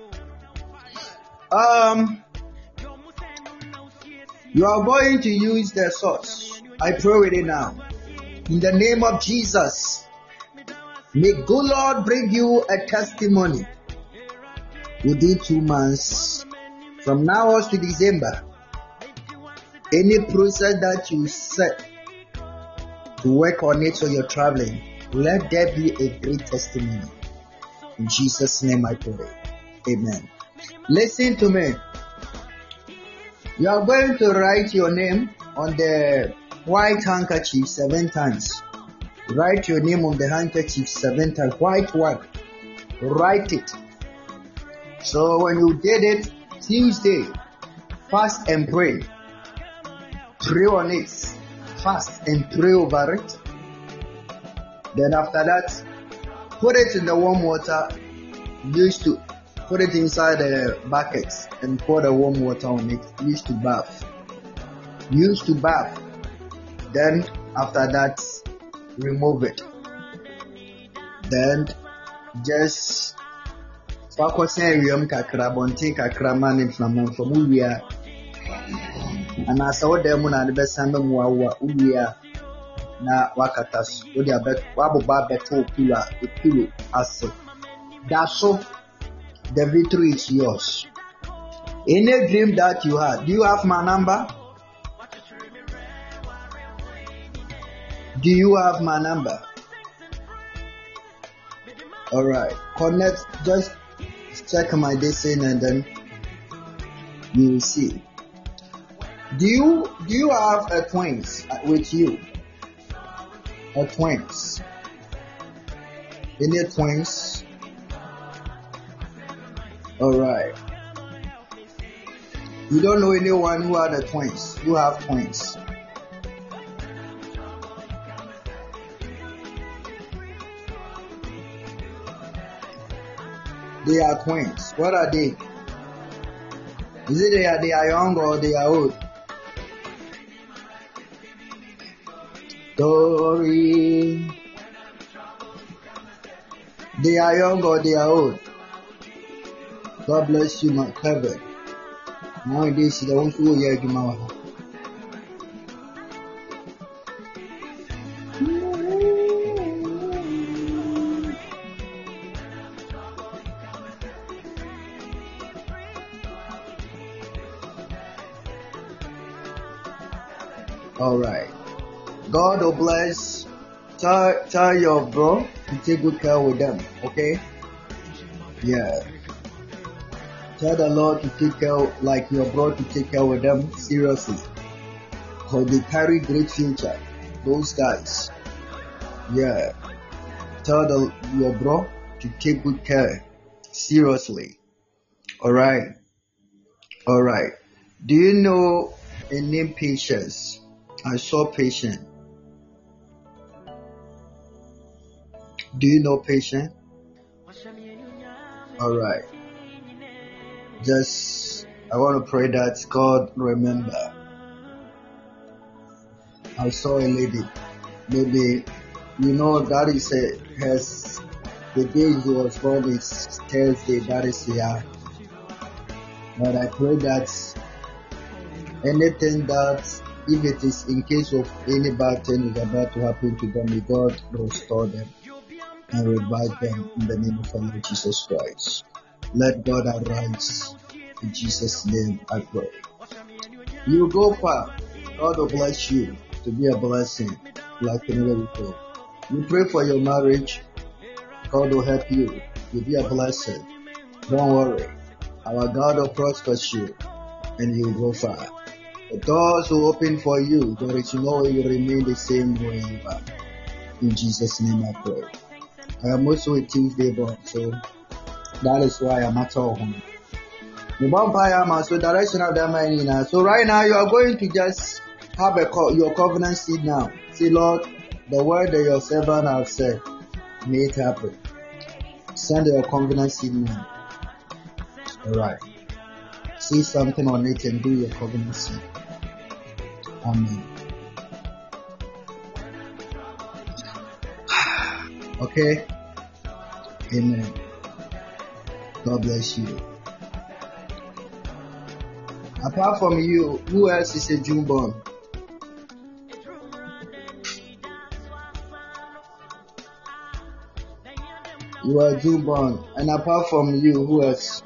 You are going to use the source. I pray with it now. In the name of Jesus, may good Lord bring you a testimony within 2 months. From now on to December, any process that you set to work on it when you're traveling, let there be a great testimony. In Jesus' name I pray. Amen. Listen to me. You are going to write your name on the white handkerchief 7 times. Write your name on the handkerchief 7 times. White one. Write it. So when you did it, Tuesday, fast and pray. Pray on it. Fast and pray over it. Then after that, put it in the warm water. Used to put it inside the bucket and pour the warm water on it. Used to bath. Then after that, remove it. Then just focus on your kakra, bontin kakra man from ulia. And I saw them on the best time ulia na wakatas. Udia bet wabuba beto pillow as that's so the victory is yours. Any dream that you had, do you have my number? Do you have my number? Alright, connect, just check my destiny and then you will see. Do you have a twins with you? A twins? Any twins? Alright. You don't know anyone who had a twins, who have twins? They are twins. What are they? Is it they are young or they are old? Story. They are young or they are old? God bless you, my clever. Nowadays, they want to hear you. All right. God will bless. Tell your bro to take good care with them. Okay? Yeah. Tell the Lord to take care, like your bro to take care with them seriously. Because they carry great future. Those guys. Yeah. Tell your bro to take good care. Seriously. Alright. Alright. Do you know a name Patience? I saw Patience. Do you know Patience? Alright. I want to pray that God remember. I saw a lady. Maybe, that is the day he was born is Thursday, that is here. But I pray that anything that, if it is in case of any bad thing is about to happen to them, may God restore them and revive them in the name of our Lord Jesus Christ. Let God arise. In Jesus' name I pray. You go far. God will bless you to be a blessing like never before. You pray for your marriage. God will help you. You'll be a blessing. Don't worry. Our God will prosper you and you will go far. The doors will open for you. There is no way you remain the same way you are. In Jesus' name I pray. I am also a Tuesday born, so that is why I'm at home. So direction of the man. So right now you are going to just have your covenant seed now. Say, Lord, the word that your servant has said, may it happen. Send your covenant seed now. Alright. See something on it and do your covenant seed. Amen. Okay? Amen. God bless you. Apart from you, who else is a June born? You are June born. And apart from you, who else?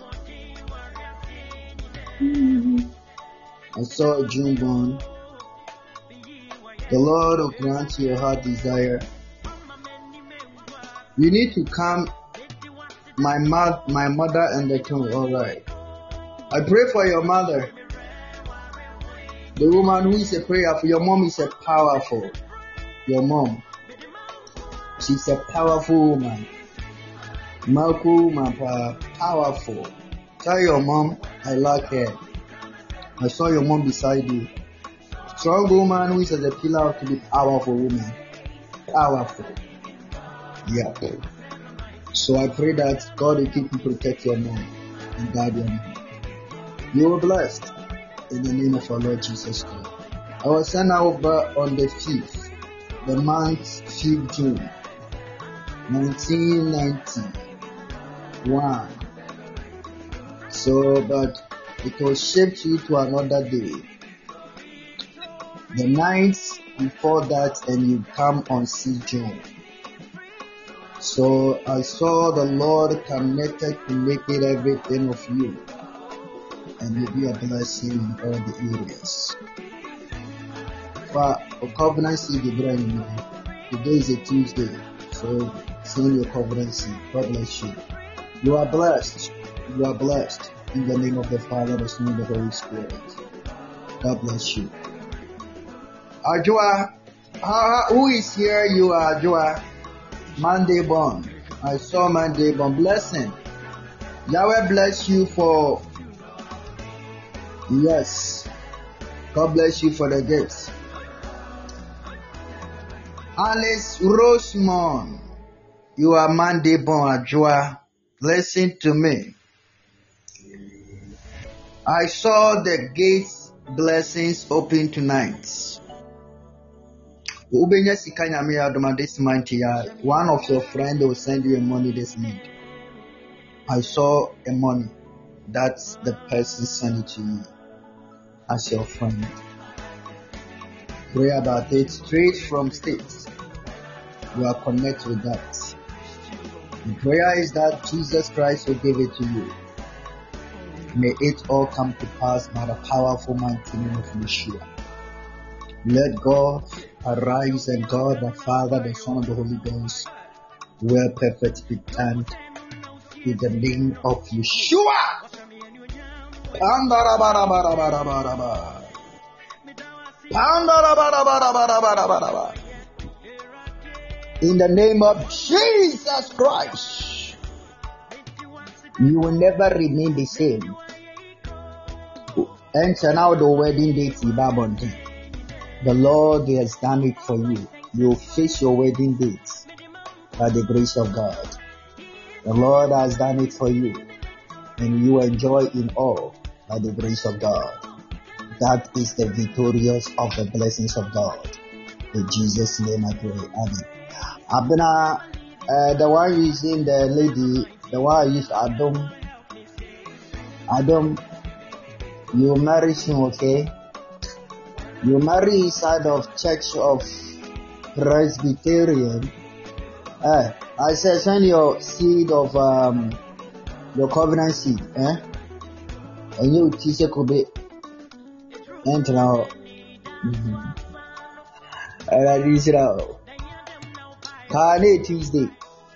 I saw a June born. The Lord will grant your heart desire. You need to come, my mother and the king. Alright. I pray for your mother. The woman who is a prayer for your mom is a powerful. Your mom. She's a powerful woman. Powerful. Tell your mom I like her. I saw your mom beside you. Strong woman who is as a pillar to be powerful woman. Powerful. Yeah. So I pray that God will keep you protect your mom and guide your mom. You are blessed in the name of our Lord Jesus Christ. I was sent over on the 5th, the month 5th June, 1991. So, but it was shaped you to another day. The nights before that, and you come on 6th June. So I saw the Lord connected to make it everything of you. And you'll be a blessing in all the areas. For covenant seed, today is a Tuesday, so send your covenant seed. God bless you. You are blessed. You are blessed in the name of the Father, the Son, and the Holy Spirit. God bless you. Ajua, who is here? You are Ajua. Monday born. I saw Monday born. Blessing. Yahweh bless you for. Yes. God bless you for the gifts. Alice Rosemond. You are Monday born, Ajua. Listen to me. I saw the gates blessings open tonight. This month, one of your friends will send you a money this month. I saw a money. That's the person sent it to you as your friend. Pray about it straight from states. You are connected with that. The prayer is that Jesus Christ will give it to you. May it all come to pass by the powerful mighty name of Yeshua. Let God arise and God the Father, the Son, and the Holy Ghost will perfect be done in the name of Yeshua. In the name of Jesus Christ, you will never remain the same. Enter now the wedding date, Ibabonte. The Lord has done it for you. You will face your wedding date by the grace of God. The Lord has done it for you, and you enjoy in all by the grace of God. That is the victorious of the blessings of God. In Jesus' name I pray. Amen. Abena, the one using the lady, the one I used Adam, you marry him, okay? You marry inside of Church of Presbyterian. I said send your seed of your covenant seed, and you teach a could be enter now. And I reach it out. Tuesday,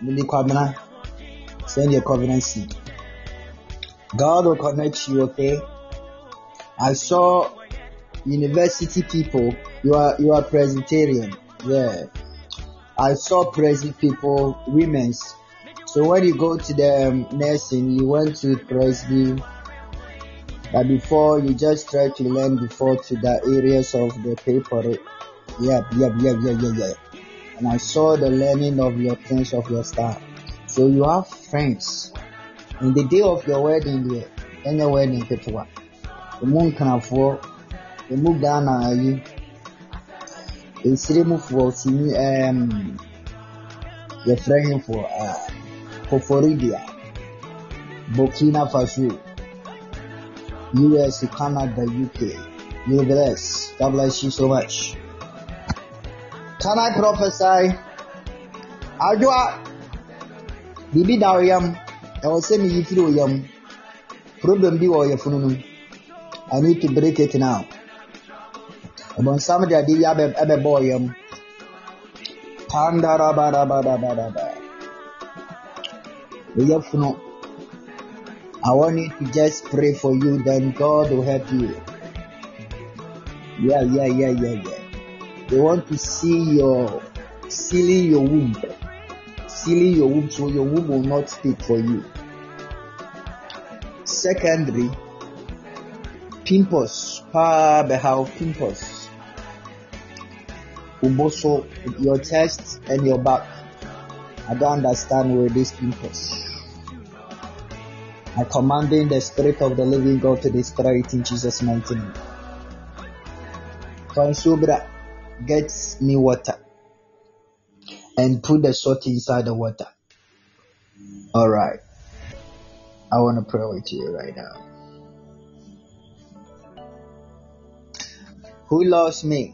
send your covenant seed. God will connect you, okay? I saw university people. You are Presbyterian, yeah. I saw Presby people, women's. So when you go to the nursing, you went to Presby, but before you just try to learn before to the areas of the paper. Yeah. And I saw the learning of your things of your staff. So you have friends. In the day of your wedding, any wedding, the moon can afford the move down. It's removed for your friend for Florida, Burkina Faso, US, Canada, UK. You bless. God bless you so much. Can I prophesy? Adwa Bibi Dariam, I was saying if you yam problem be or your phone. I need to break it now. About somebody I did have a boy. I want you to just pray for you, then God will help you. Yeah. They want to see your sealing your womb so your womb will not speak for you. Secondary, pimples, pimples. Uboso, your chest and your back. I don't understand where these pimples. I commanding the Spirit of the Living God to destroy it in Jesus' mighty name. Consubra, get me water and put the salt inside the water. Alright. I want to pray with you right now. Who loves me?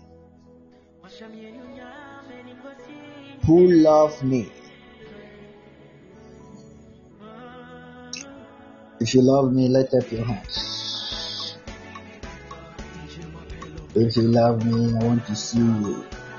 Who loves me? If you love me, lift up your hands. If you love me, I want to see you.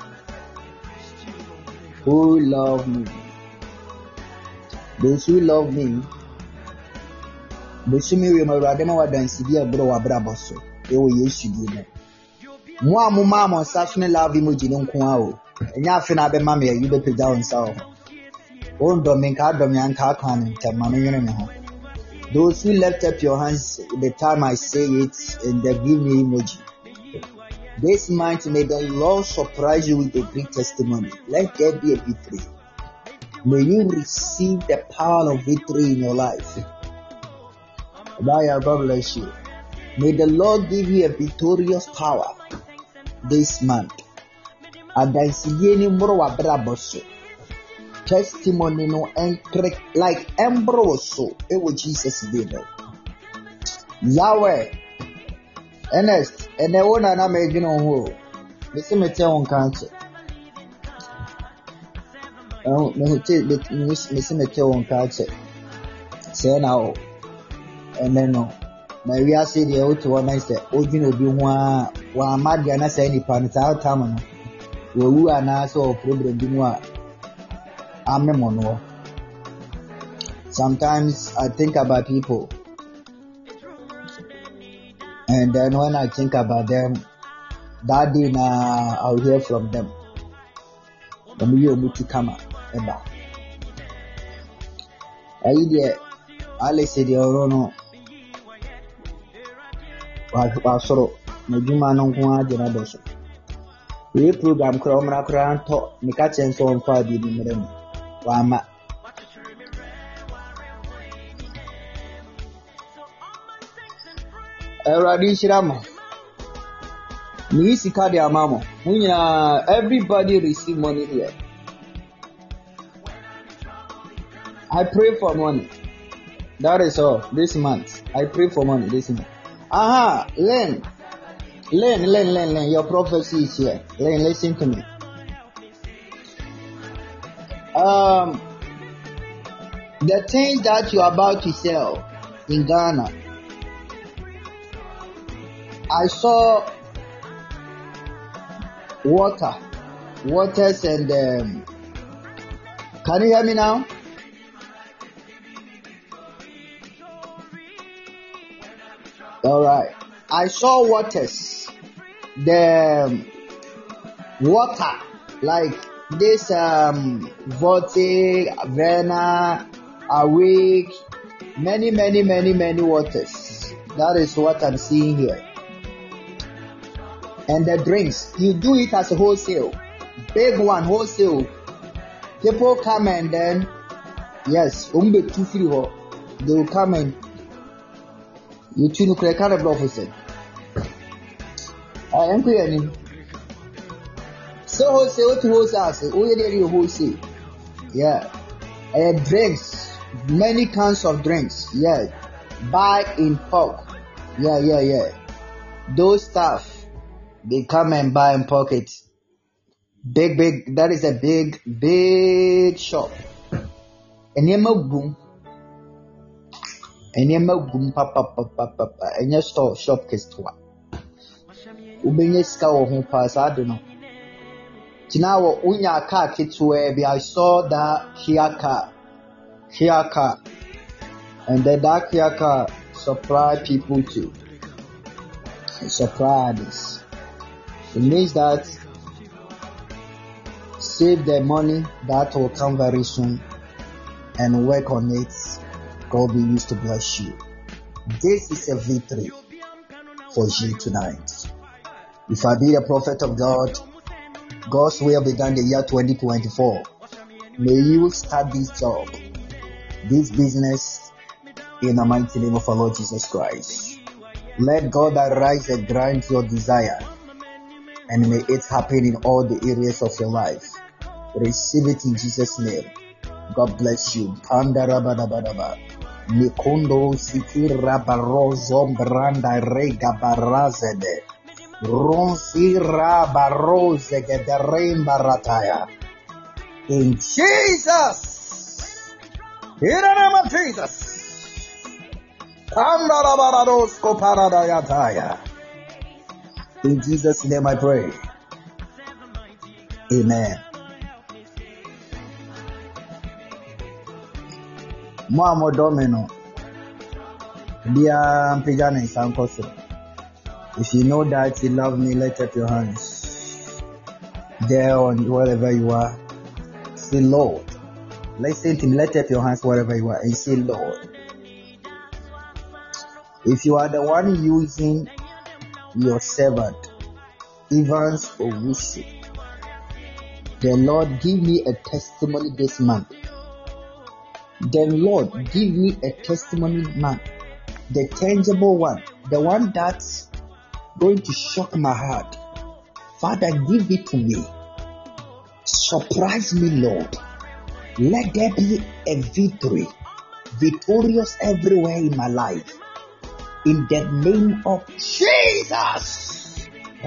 Who love me? Those who love me, those who me radema wa dansibi abro wa braboso. Ewo Yesu di no. Mo amuma mo safne love emoji no nko a o. Enya afi na be mama you be peda on sa o. O ndo me nka dom ya nka kan ntama no yene me ho. Those who lift up your hands the time I say it and they give me emoji. This month, may the Lord surprise you with a great testimony. Let there be a victory. May you receive the power of victory in your life. God bless you. May the Lord give you a victorious power this month. Testimony no like Ambroso. It was Jesus did it. Yahweh. Ernest, and the one I made you know who. Listen, me tell on cancer. Oh, no, listen, me tell on cancer. Say now, and then no. My we are saying the old one is the original be one mad and I say any planet out time. You are now so problem be more. I'm a mono. Sometimes I think about people. And then when I think about them, That day now I'll hear from them. The million to come ever. I idea Alice said no I saw no Juma no one generation. We program Kramra talk Mikachi and so on 5 million. Wama Radishirama. Everybody receive money here. I pray for money. That is all. This month, I pray for money. This month. Learn. Your prophecy is here. Learn. Listen to me. The things that you are about to sell in Ghana, I saw waters and can you hear me now? All right. I saw waters, the water like this Vote, Vena, Awake, many waters. That is what I'm seeing here. And the drinks, you do it as a wholesale, big one wholesale. People come and then, yes, they will come and you tune to kind of officer. I am clear. So wholesale to wholesale, wholesale. Yeah, and drinks, many kinds of drinks. Yeah, buy in bulk. Yeah. Those stuff. They come and buy in pocket. Big. That is a big shop. And you boom. Papa. And your store shop kistwa. Ubenye ska wo pass. I don't know. Tinawo unya car kitwe. I saw that Kia car. And then that Kia car supply people to supply this. It means that save the money that will come very soon and work on it. God will use to bless you. This is a victory for you tonight. If I be a prophet of God, God's will began the year 2024. May you start this job, this business, in the mighty name of our Lord Jesus Christ. Let God arise and grant your desire. And may it happen in all the areas of your life. Receive it in Jesus' name. God bless you. Pandarabadabadaba. Nikundo sikira barozo branda rega barazede. Ronsira baroze gederein barataya. In Jesus. In the name of Jesus. Pandarabaradosko paradayataya. In Jesus' name I pray. Amen. Moamo Domino. Dear Pijana is Uncle. If you know that you love me, lift up your hands. There on wherever you are. Say Lord. Listen to me, lift up your hands wherever you are and say Lord. If you are the one using your servant, Evans Owusu, the Lord give me a testimony this month. The Lord give me a testimony month, the tangible one, the one that's going to shock my heart. Father, give it to me. Surprise me, Lord. Let there be a victory, victorious everywhere in my life. In the name of Jesus.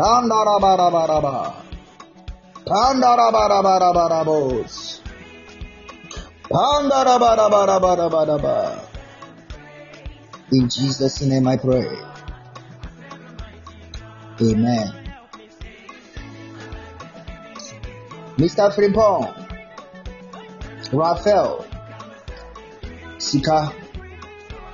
In Jesus' name I pray. Amen. Mr. Frimpong, Raphael, Sika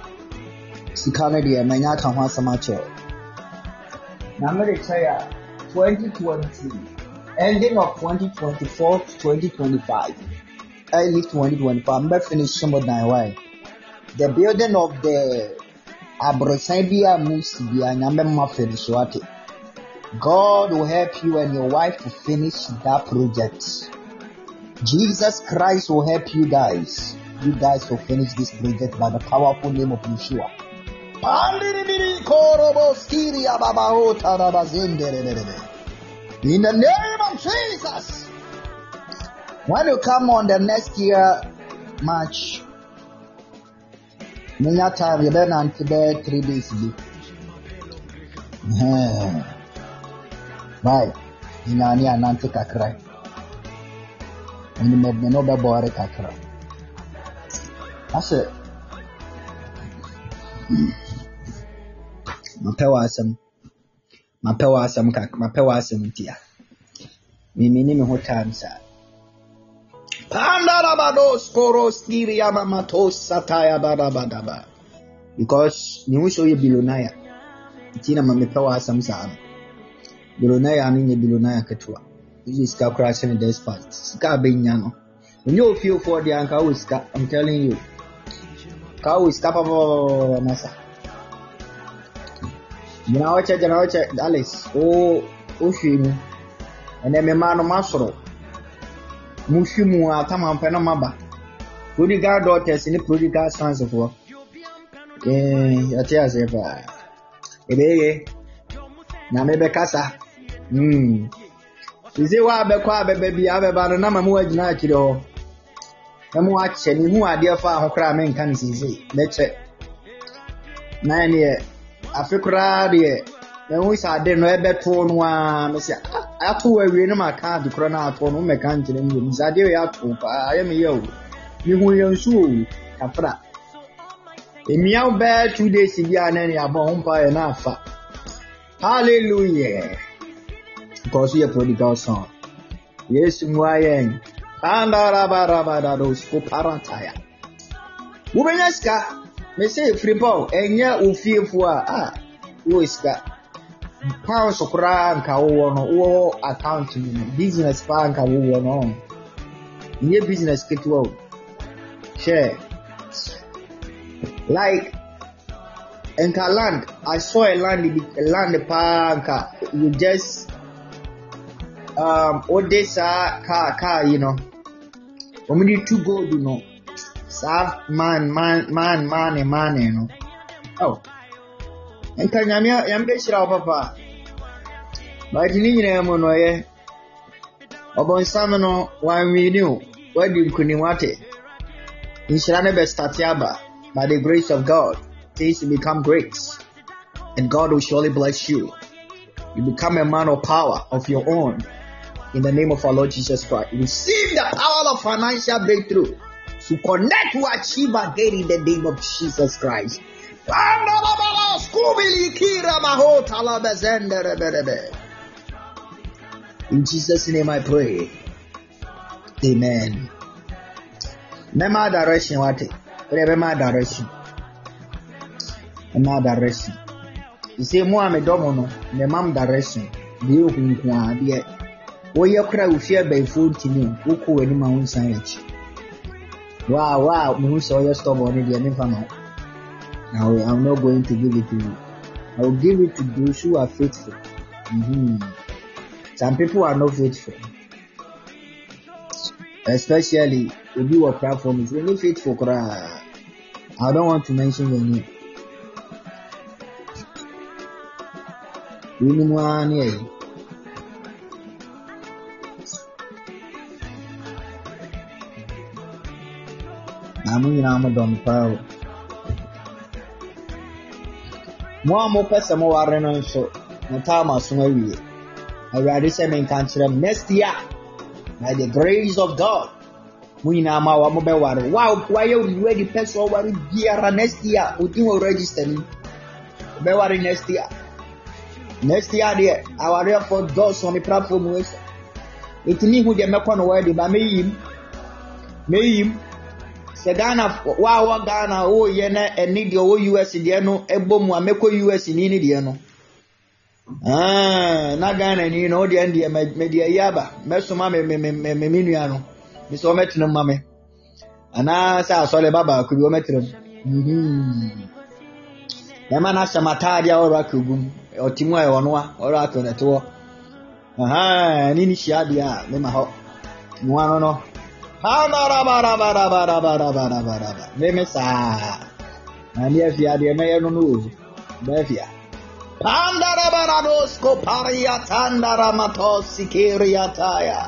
na deɛ manya ka ho asɛm akyerɛ na mmere kyerɛ 2020, ending of 2024 to 2025, early 2025. I'm going to finish some of my way. The building of the Abrosabia Musibia Namema finish what? God will help you and your wife to finish that project. Jesus Christ will help you guys. You guys will finish this project by the powerful name of Yeshua. In the name of Jesus. When you come on the next year March, many time you better not today 3 days. Right. In any anante kakra. And you may no be bore kakra. That's it. Mapewa asem tia. Mimi ho time sa. Pandarabados koros kiria mamatos sataya badabadaba. Because ni wo show you bilonaya. Tina mapewa asem sa. Bilonaya ani bilonaya ketwa. This is ska crash in this part. Ska benya no. When you feel for the anka uska, I'm telling you. Ka uska pa masa. Jana wacha Alice. Oh shinu. Ene me ma no masoro. Mushimu atama mpena maba. Prodigal daughters ni prodigal sons of war. Ati asepa. Ebeye. Na mebe kasa. Ize wa be kwa be bi abeba no na mamu agina akire ho. Emu ache ni hu ade fa ahokra me nka ni sise. Meche. Na ne afekura de emu sa de no ebe to no a me se ato awie no maka de kro na ato no me kan kire ni sa de ya to pa aye me ye o. Ni hu ye nsu o kafra. Emia be 2 days bi anani abon pa ye na afa. Hallelujah. Because you're prodigal son. Yes, Mwayen. Andarabarabadados Coparantaya. Ubeneska, me say free ball, and ya ufifua. Uiska. Pounds of rank, or account business bank, or your business get well. Share. Like, in land, I saw a land park. You just Odessa car, you know. We need to go, you know. Serve man, you know. Oh. And can you be sure, Papa? But you need to know, eh? About Samano, why we knew, where do you couldn't want it? In Shanaba Statiaba, by the grace of God, things will become great. And God will surely bless you. You become a man of power of your own. In the name of our Lord Jesus Christ. Receive the power of financial breakthrough to connect to achieve again in the name of Jesus Christ. In Jesus' name I pray. Amen. Remember direction, what? Remember direction. Remember direction. You say, Mohammed Domono, the mom direction. You can Oya kura ufia by food to me, uku any my own sandwich. Wow, me so you stop on it, never know. Now I'm not going to give it to you. I will give it to those who are faithful. Some people are not faithful. Especially if you are platform is really faithful. I don't want to mention your name. I'm done power. More person more reno so no time as soon as I already said in country next year by the grace of God. We now ma mobile water. Wow, why you ready person over here next year? We think we'll register me. Be worry next year. Next year there, our real for those on the platform was it me who they make on word by me him. Ghana, wow, Ghana, oh, yena, and need your US, Diano, Ebom, Ameco US in Indiano. Na Ghana ni no de ande media yaba mesoma me nua no mi so metena mame ana sa asole baba ku bi o metena na mana samata dia ora kugum otimu e wono a ora to neto ni ni shia dia me ma ho no no ha bara me sa ani afia dia me no no ba afia Pandara baradosko paria tandara matosi kiriataya.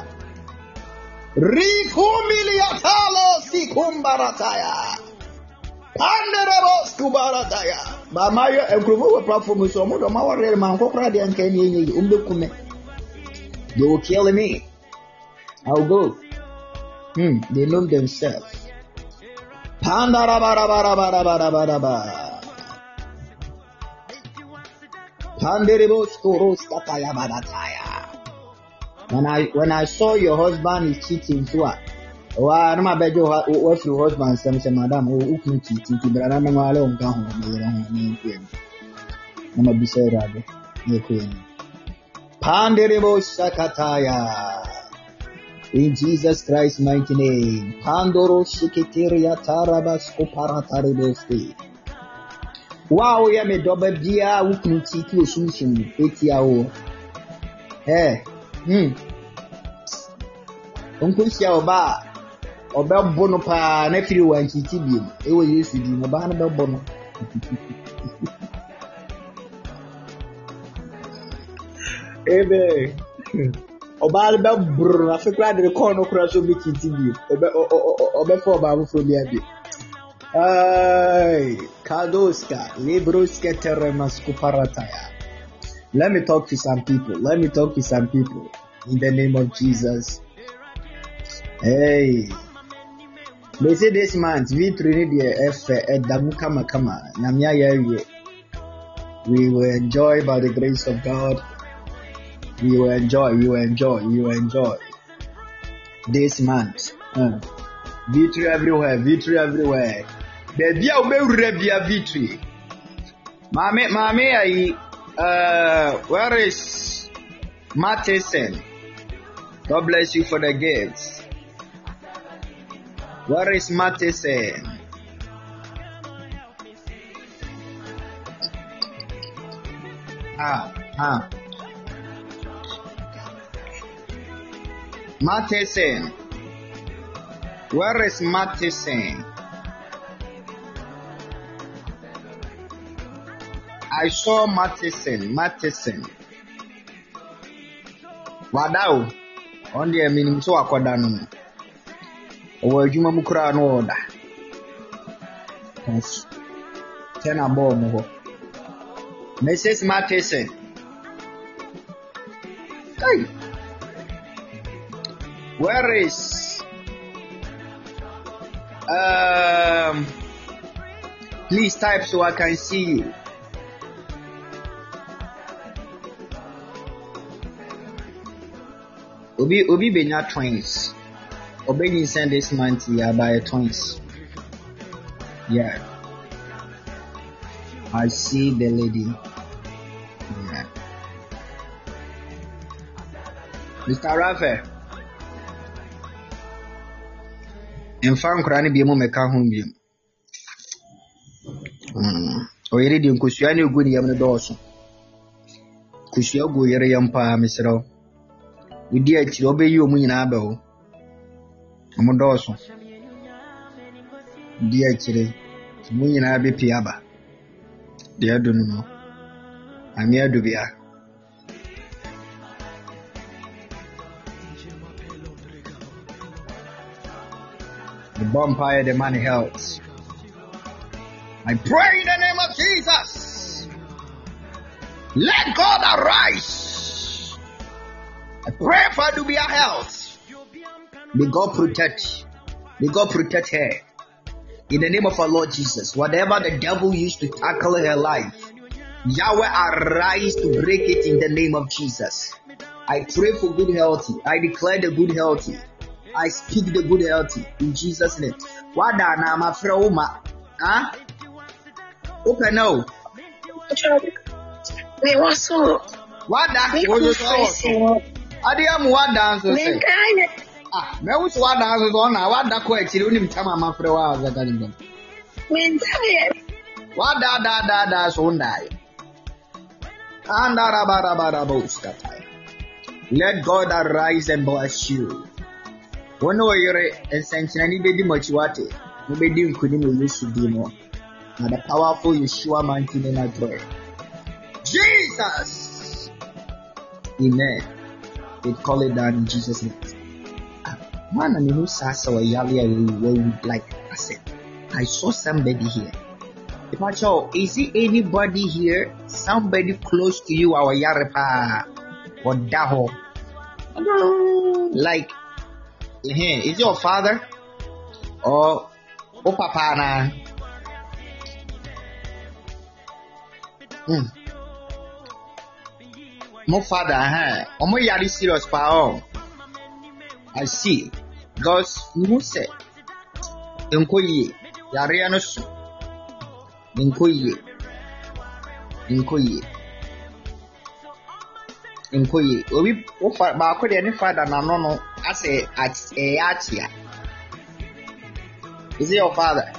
Rikumiliatalo sikumbarataya. Pandara bosku barataya. Bamayo engrumo platform so mo do ma warre man kokra de anka ni umbe they will kill me. I'll go. They know themselves. Pandara bara. When I saw your husband is cheating, so I no my bed what your husband say madam who can cheating to brother no wale on kan ho me no be say rado me queen Panderebo sakataya in Jesus Christ's mighty name Pandoro shiketeria tarabas koparatarebosti. Wow, ya me dobe bia wukunu titi osunsun etia o. Onkunsia oba bono pa na firi wan titi bi e wo Yesu di no ba na be bono. Ebe oba be brr afekra de ko no kura so bi titi bi obe fo ba bu fo bi abi. Kadoska, Libruska Teremasku Parataya. Let me talk to some people. In the name of Jesus. Hey. They say this month, we will enjoy by the grace of God. You will enjoy. This month. Victory everywhere. Baby, I will be a victory. Mame, where is Matheson? God bless you for the gifts. Where is Matheson? Matheson. Where is Matheson? I saw Matheson. Wadao. On the minimum so akwadano. Owa juma mukura no order. Yes. Tena bo mo. Mrs. Matheson. Hey. Where is please type so I can see you. Obi benya twins. Obi send this month here by twins. Yeah. I see the lady. Yeah. Mr. Rafael. In fact, Kurani be mo meka ho bi. Oyere di nkusua ne ogu ne yam ne dɔɔso. Kusua ogu yere yam pa mesrɛ. Widi akiri obeyi omu nyina aba ho. Omu dɔɔso. Widi akiri omu nyina be pi aba. De adu no. Ami adu bia. The vampire, the man health. I pray in the name of Jesus. Let God arise. I pray for Dubia health. May God protect. May God protect her. In the name of our Lord Jesus. Whatever the devil used to tackle her life, Yahweh arise to break it in the name of Jesus. I pray for good health. I declare the good health. I speak the good health in Jesus' name. Wada na mafra uma. Open now.
Me waso. What that?
Me
What
cool
you
face.
saw? Adiam what dance was say?
Menkaya.
Ah, me was what dance was on. What that question? You need to tell my friend what was that?
Menkaya.
What that's on that? And let God arise and bless you. One way you're essentially anybody much what it. Nobody couldn't use to be more. Now the powerful Yeshua mighty name I pray. Jesus! Amen. We call it down in Jesus' name. Man, I mean, who says so? Like I said, I saw somebody here. Is it anybody here? Somebody close to you? Our Yarepa or Daho? Like, is your father or Papa na? My father, I'm very serious, pa. I see. Because you say, Nkoye, Yariano su, Nkoye. Obi, ba ko de ne father na no. I say at Achia. Is it your father?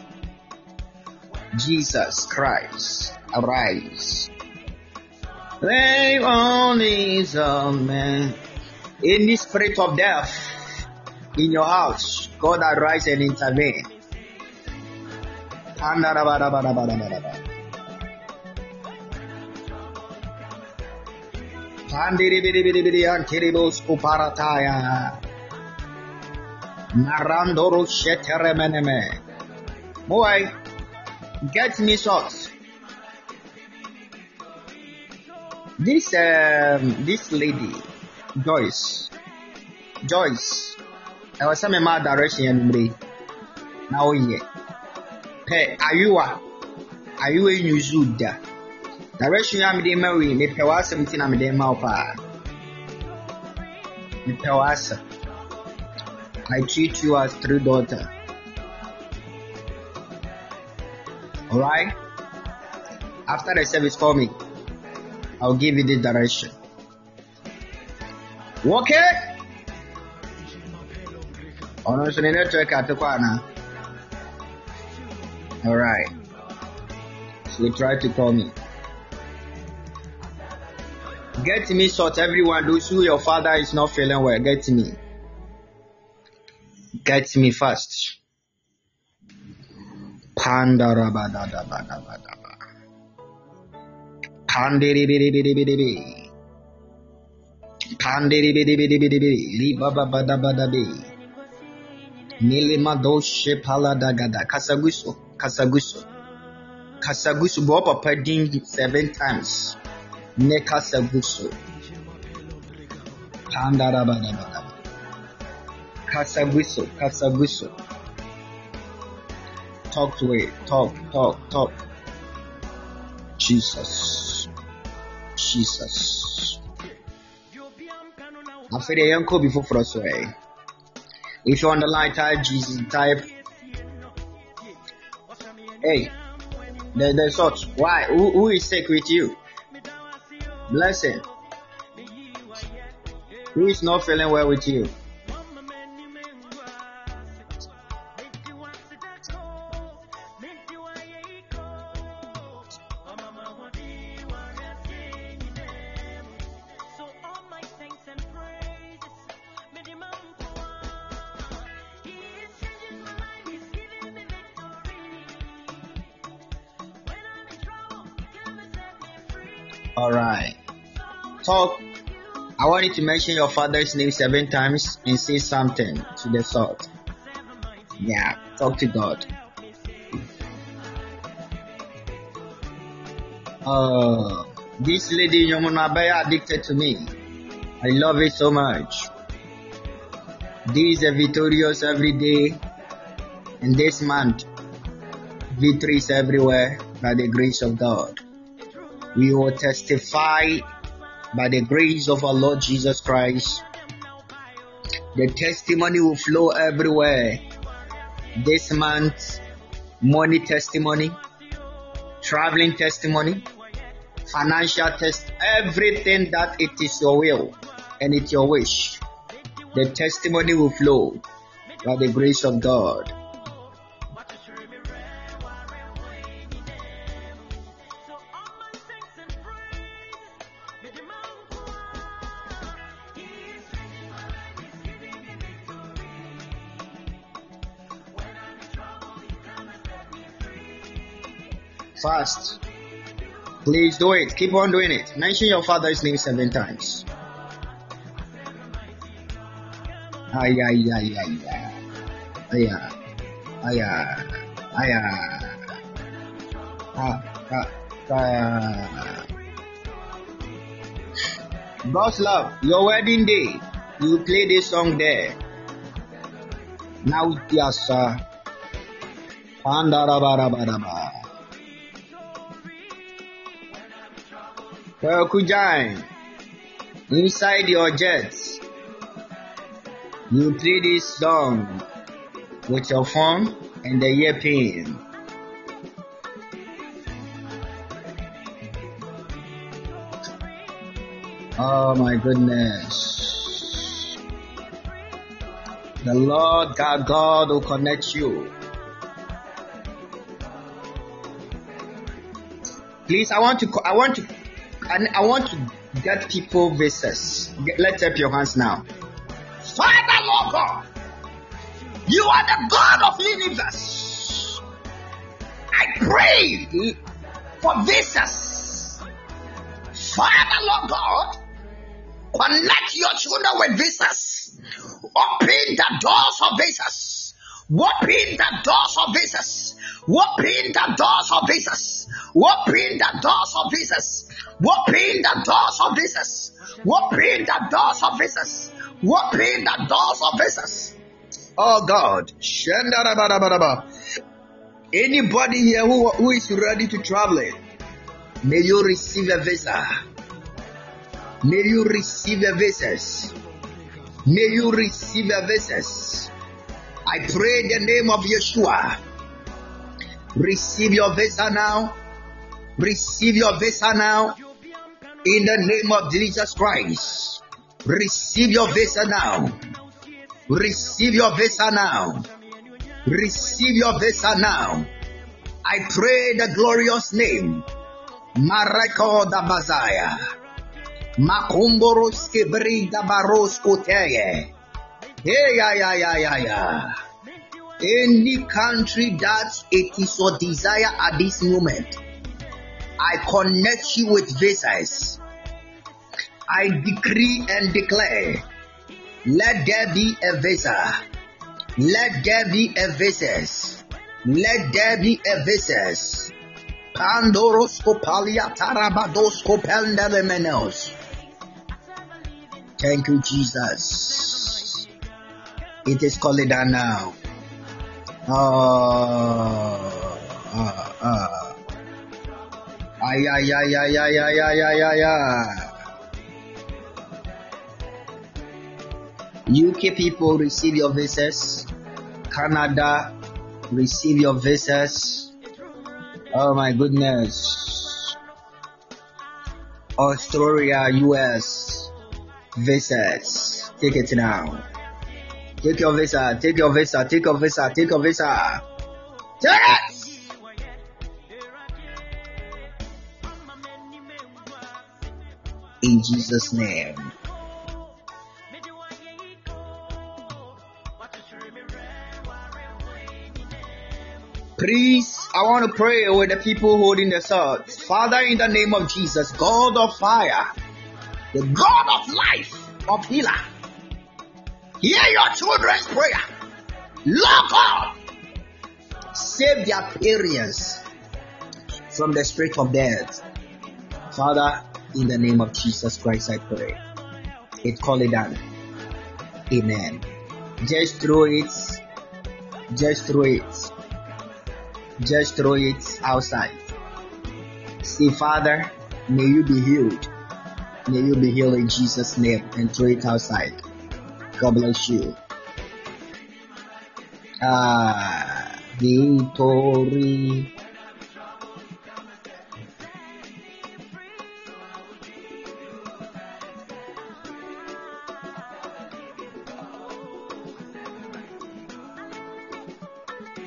Jesus Christ, arise. They only some man in the spirit of death in your house. God arise and intervene. Narandoro sheteremeneme. Boy, get me socks. This lady, Joyce. I was some my direction and now yeah. Hey, are you a Yuzuda? Direction I'm the Mary, me pewa 17 I'm the Maupa. Me pewasa. I treat you as 3 daughters. Alright? After the service, call me. I'll give you the direction. Okay? Alright. So you try to call me. Get me sort everyone. Those who your father is not feeling well, get me. Get me fast. Pandarabadabadabadaba. Pandiribidibidibidi. Pandiribidibidibidi. Libababadabadabi. Nilimadoshe paladagada. Kasaguso. Kasaguso. Go up a 7 times. Nekasaguso. Pandarabadabadaba. Kasaguso. Talk to it. Talk. Jesus. I feel the uncle before for us way. If you're on the line, type Jesus, type. Hey, the socks. Why? Who is sick with you? Blessing. Who is not feeling well with you? Alright. Talk. I want you to mention your father's name 7 times and say something to the sort. Yeah, talk to God. This lady Yomunabaya addicted to me. I love it so much. This is victorious every day. And this month, victories everywhere by the grace of God. We will testify by the grace of our Lord Jesus Christ. The testimony will flow everywhere. This month, money testimony, traveling testimony, financial test, everything that it is your will and it's your wish, the testimony will flow by the grace of God. Fast. Please do it. Keep on doing it. Mention your father's name 7 times. Ay, ay, ay, ay, ay. Ay, ay, ay, ay. God's love, your wedding day, you play this song there. Now, yes, Kujai, inside your jets, you play this song with your phone and the earpiece. Oh my goodness. The Lord God will connect you. Please, I want to get people visas. Let's up your hands now. Father, Lord God, you are the God of the universe. I pray for visas. Father, Lord God, connect your children with visas. Open the doors of visas. Open the doors of visas. Open the doors of visas. Open the doors of visas. Open the doors of visas. Open the doors of visas. Open the doors of visas. Oh God. Anybody here who is ready to travel, may you receive a visa. May you receive a visas. May you receive a visas. I pray in the name of Yeshua. Receive your visa now. Receive your visa now. In the name of Jesus Christ. Receive your visa now. Receive your visa now. Receive your visa now. I pray the glorious name. Mareko da Bazaya. Makumboros Kebrida Baros Koteye. Yeah. Any country that it is your desire at this moment, I connect you with visas. I decree and declare, let there be a visa. Let there be a visas. Let there be a visas. Pandoroskopalia Tarabadoskopendelemenos. Thank you, Jesus. It is called down now. Ay. UK people, receive your visas. Canada, receive your visas. Oh my goodness. Australia, US, visas. Take it now. Take your visa. Take your visa. Take your visa. Take your visa. Take it. In Jesus' name. Please, I want to pray with the people holding the sword. Father, in the name of Jesus, God of fire, the God of life, of healer, hear your children's prayer. Lord God, save their parents from the spirit of death. Father, in the name of Jesus Christ, I pray. It call it down. Amen. Just throw it. Just throw it. Just throw it outside. Say, Father, may you be healed. May you be healed in Jesus' name, and throw it outside. God bless you. Victory.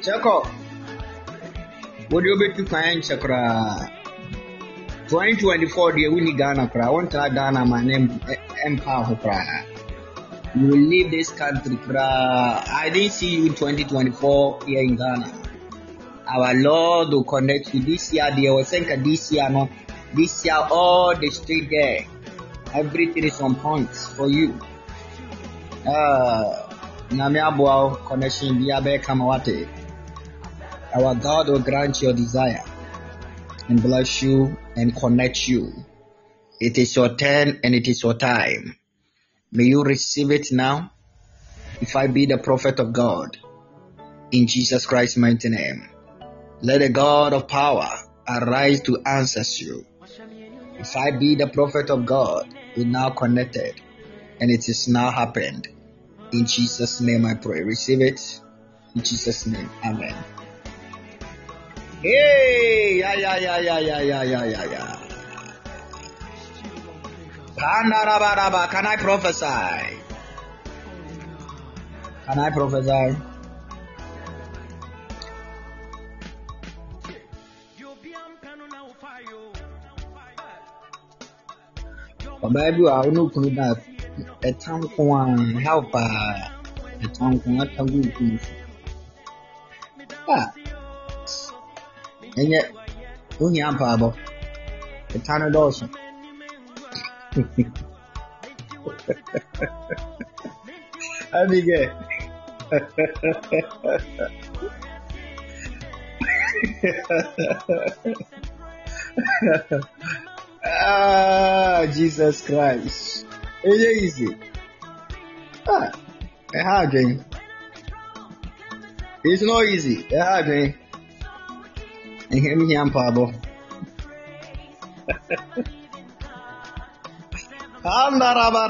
Chako, what do you bet to find Chakra? 2024, the winning Ghana cry. I want to Ghana, my name Empire cry. You will leave this country cry. I didn't see you in 2024 here in Ghana. Our Lord will connect you this year. They will think this year, no. This year, all the street there. Everything is on point for you. Namiabuao connection Biabe Kamawate. Our God will grant your desire and bless you and connect you. It is your turn and it is your time. May you receive it now. If I be the prophet of God, in Jesus Christ's mighty name, let the God of power arise to answer you. If I be the prophet of God, we now connected and it is now happened. In Jesus' name I pray. Receive it. In Jesus' name. Amen. Hey, yeah. Can I prophesy? Can I prophesy? Baby, I don't know that a town can help a town can not have good. And yet, who you are, a town of Dawson. Abigail. Jesus Christ. It's easy. A hard game. It's not easy. A hard game. And him here, Pablo. And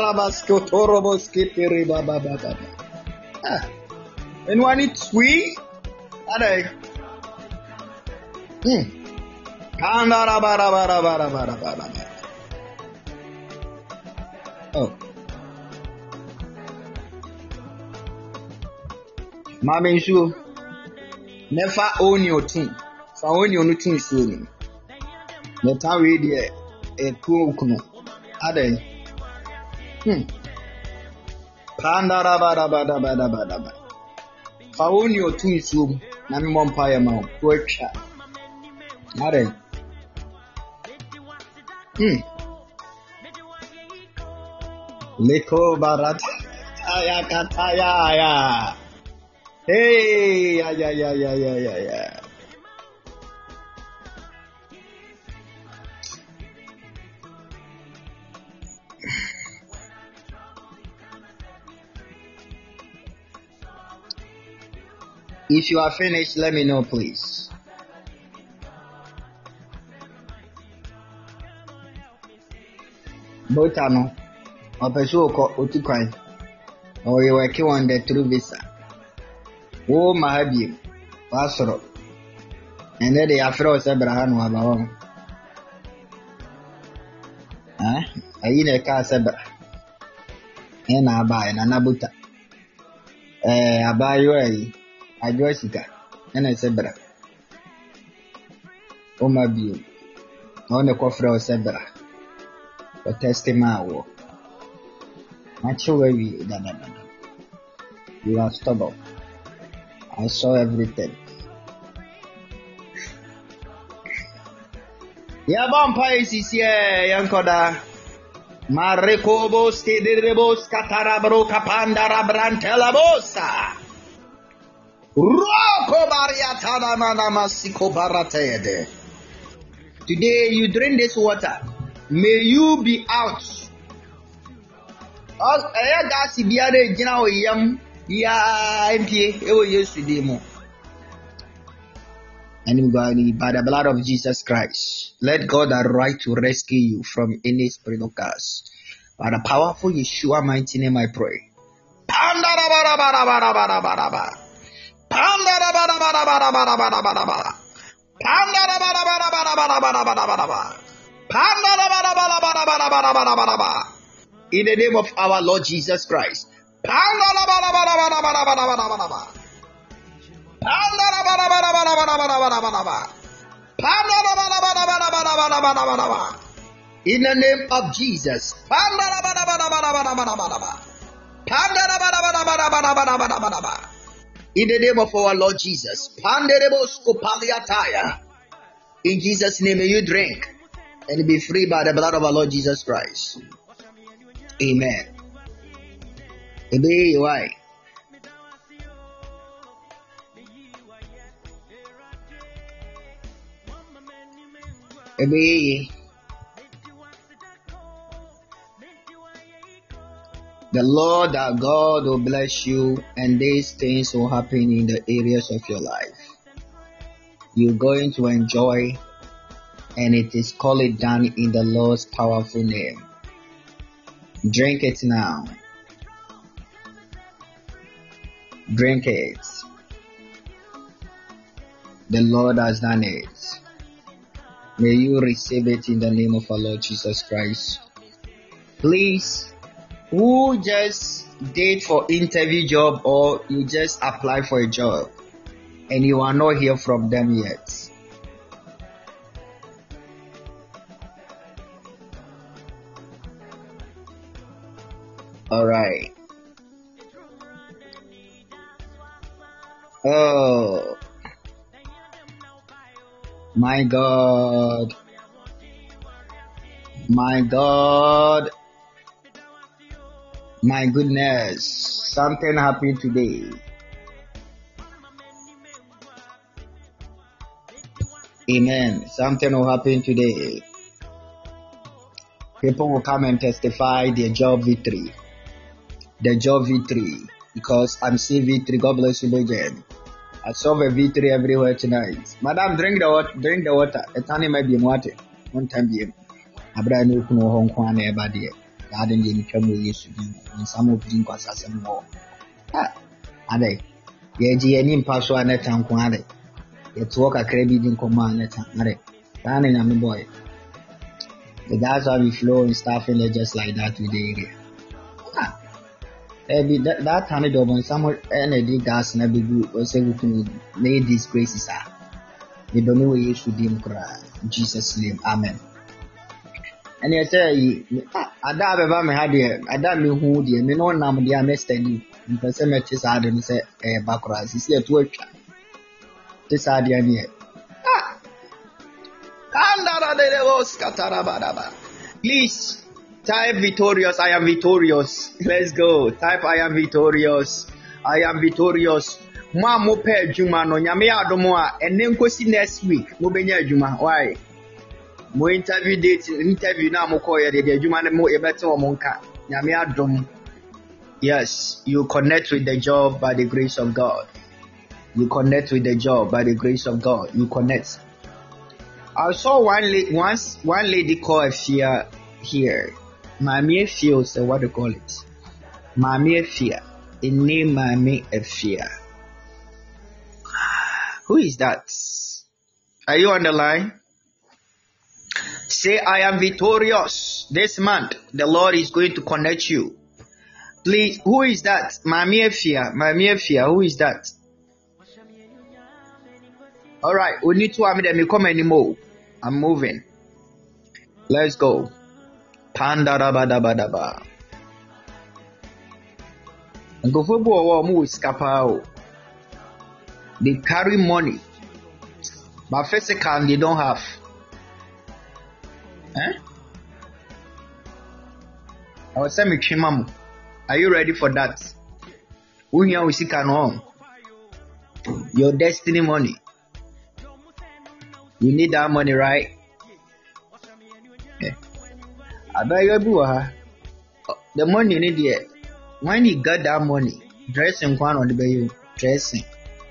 when it's we, oh, Mammy, you never own your team. So own your team soon. The time we did a cool kuno. Are they? Pandarabadabadabadabadaba. Fauni your two soon, Nami Mompire Mount, workshop. Are they? Leko Barat Ayakataya. Hey, yeah. If you are finished, let me know, please. Botano, Opesoko, Otukai, or you were killed on the true visa. Oh, Mahabi, Pastor. And then they are froze Abraham Wabao. I eat a car Sabra. And I buy an Anabuta. I buy you a Jessica and I said, "Bra, oh my beauty, on the coffee of Sebra, but testimony, much away than you are stubborn. I saw everything. Yeah, vampires is here, Yankoda. Marekobos, Tidiribos, Catarabro, Capandara, Brantelabosa. Today you drink this water. May you be out. And by the blood of Jesus Christ, let God arise to rescue you from any spirit of curse. By the powerful Yeshua mighty name I pray. In the name of our Lord Jesus Christ. In the name of Jesus. In the name of our Lord Jesus. In Jesus' name, may you drink and be free by the blood of our Lord Jesus Christ. Amen. Why? The Lord our God will bless you, and these things will happen in the areas of your life. You're going to enjoy, and it is called done in the Lord's powerful name. Drink it now. Drink it. The Lord has done it. May you receive it in the name of our Lord Jesus Christ. Please, who just did for interview job or you just apply for a job and you are not hear from them yet? All right. Oh, my God. My God. My goodness. Something happened today. Amen. Something will happen today. People will come and testify their job victory. The job victory. Because I'm seeing victory. God bless you again. I saw a victory everywhere tonight. Madam, drink the water. Drink the water. It's only maybe water. One time here. I brought no Hong Kong everybody. I didn't get trouble yesterday. And some of them was as a more. Ah, and they. Yeah, any pass one at Hong Kong. It's work a credit in command at Hong Kong. I'm a boy. That's how we flow and stuff in there just like that with the area. Ah. That time it when someone energy gas and every group was able to make these graces are. They don't know where you should in Jesus' name. Amen. And I say, I doubt ever me had here. I doubt me who dear me no name dear Mr. D. In person matches I didn't say backwards. It's here to work. This idea here. Please. Type victorious, I am victorious. Let's go. Type I am victorious. I am victorious. Mo mo pe juma no nyame adomo a ene nkosi next week mo benya juma. Why? Mo interview na mo call ye de juma mo e bete o mo nka. Nyame adom. Yes, you connect with the job by the grace of God. You connect with the job by the grace of God. You connect. I saw one lady call Afia here. Mami Efia, so what do you call it? Mami Efia. A name Mami Efia. Who is that? Are you on the line? Say, I am victorious. This month, the Lord is going to connect you. Please, who is that? Mami Efia. Mami Efia, who is that? Alright, we need to have them come anymore. I'm moving. Let's go. Pandarabadabadaba. They carry money, but physical they don't have. I was saying, are you ready for that? Who here we see can home? Your destiny money. You need that money, right? I bet you the money you need here. When you got that money, dressing one on the bay, dressing.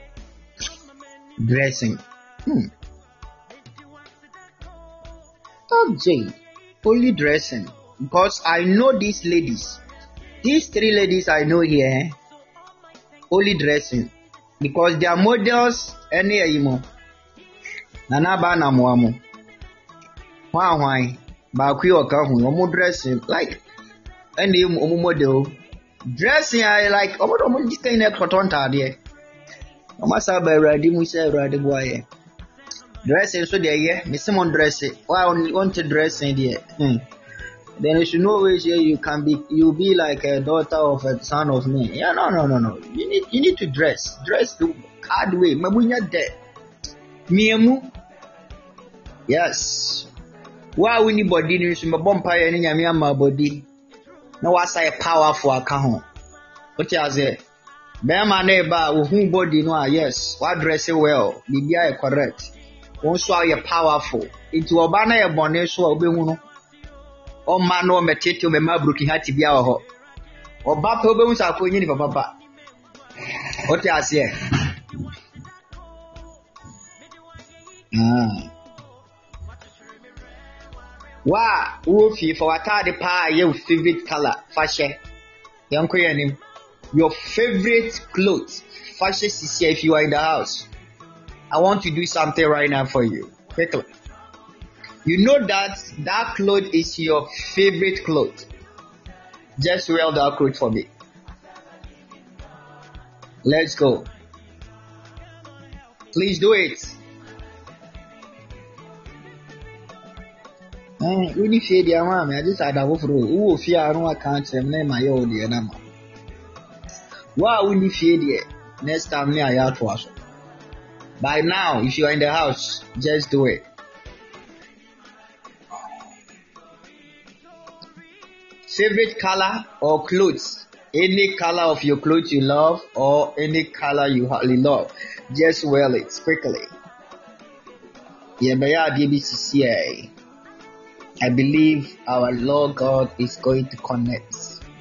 Okay, only dressing. Because I know these ladies. These three ladies I know here, only dressing. Because they are models any imo. Nana bana muamu. Why? Bakwi okahu omo dressing like any omo model dressing I like omo just kind of cotton tade Omasa ba Awurade mu say Awurade boaye. Dressing so there, yeah. Miss Simon dressing. Why want to dress in there? Then you should know which you can be. You be like a daughter of a son of me. Yeah, no. You need to dress. Dress the hard way. Mabunya de. Miemu. Yes. Why we need body? You should be bumpire ni nyami ama body. No, I say powerful account. What you say? Be man eba who body no. Yes. What dress well? Bibia correct. Also are powerful. Into obana ye bone so obehu no. O man no metete o mema broken heart bia wo ho. Oba pa obehu sa ko nyi ni papa. What you say? Wa wo fi for atade pa your favorite color fashion. Yanko yanim. Your favorite clothes fashion is if you are in the house. I want to do something right now for you. Quickly. You know that cloth is your favorite cloth. Just wear that cloth for me. Let's go. Please do it. Really fear the arm. I just had a woof rule. Who fear no account name my own the number. Why will you fear the next time me I out to us? By now, if you are in the house, just do it. Favorite color or clothes? Any color of your clothes you love or any color you hardly love. Just wear it quickly. I believe our Lord God is going to connect.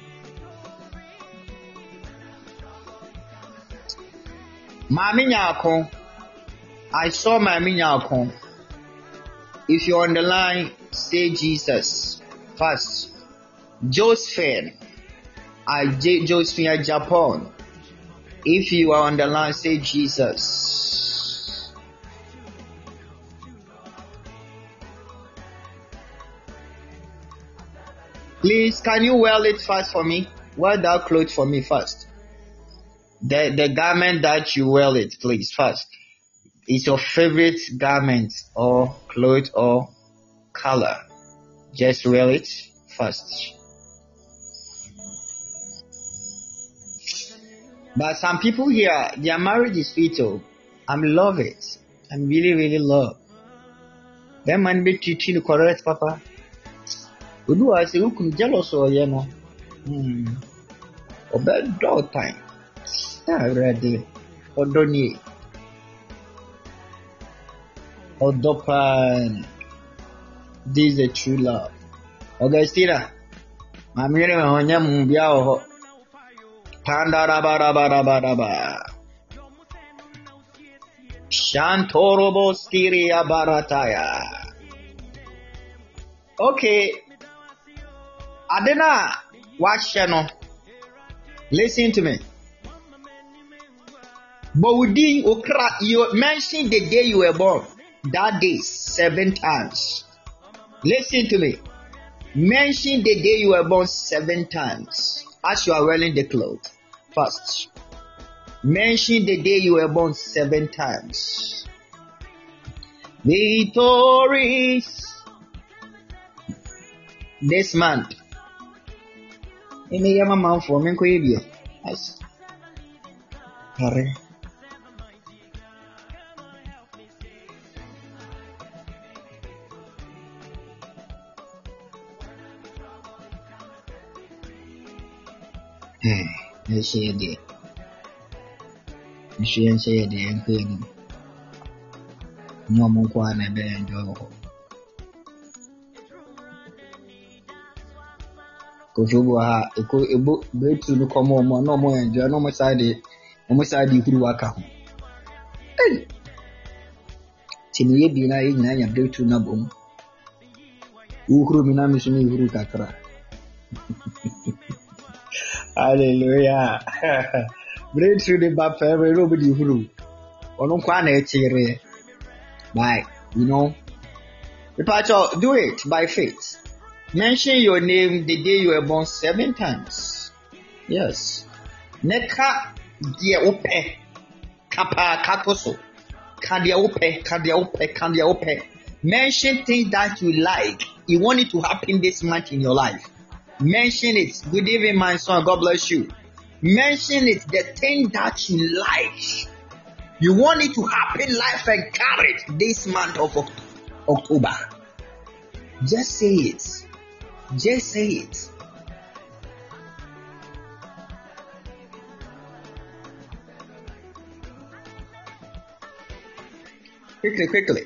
Mami Nyako. I saw my minyako. If you're on the line, say Jesus first. Josephine, Josephine, Japan. If you are on the line, say Jesus. Please, can you wear it first for me? Wear that clothes for me first. The garment that you wear it, please, first. It's your favorite garment or cloth or color. Just wear it first. But some people here, their marriage is fatal. I love it. I really love. That man be teaching the correct, Papa. We do I say who could jealous or you know? Or bad dog time. Ready. Or don't you? Odopan. This is a true love. Augustina. Mamire honya mbia ho. Tandarabarabaraba. Shantorobo skiria barataya. Okay. Adena watch channel. Listen to me. Bowdi okra, you mentioned the day you were born. That day 7 times. Listen to me. Mention the day you were born 7 times. As you are wearing the clothes. First. Mention the day you were born 7 times. Victories. This month. Ini ya mama for me ko yebie. Yes. Hare. They say it. She say it and clean. No more quan and enjoy. Kofubwa eko betu no komo mo no mo enjoy no mo side huru waka ho. Eh. Tiniye bi na yi nyanya betu na bom. Uhuru mi na mi so ni huru kakra. Hallelujah. Breakthrough the bapper, nobody who on quana chere. By you know, the part of do it by faith. Mention your name the day you were born 7 times. Yes. Neka die ope kapa katoso. Kandia ope. Mention things that you like. You want it to happen this month in your life. Mention it. Good evening, my son. God bless you. Mention it. The thing that you like. You want it to happen life and carry it this month of October. Just say it. Just say it. Quickly.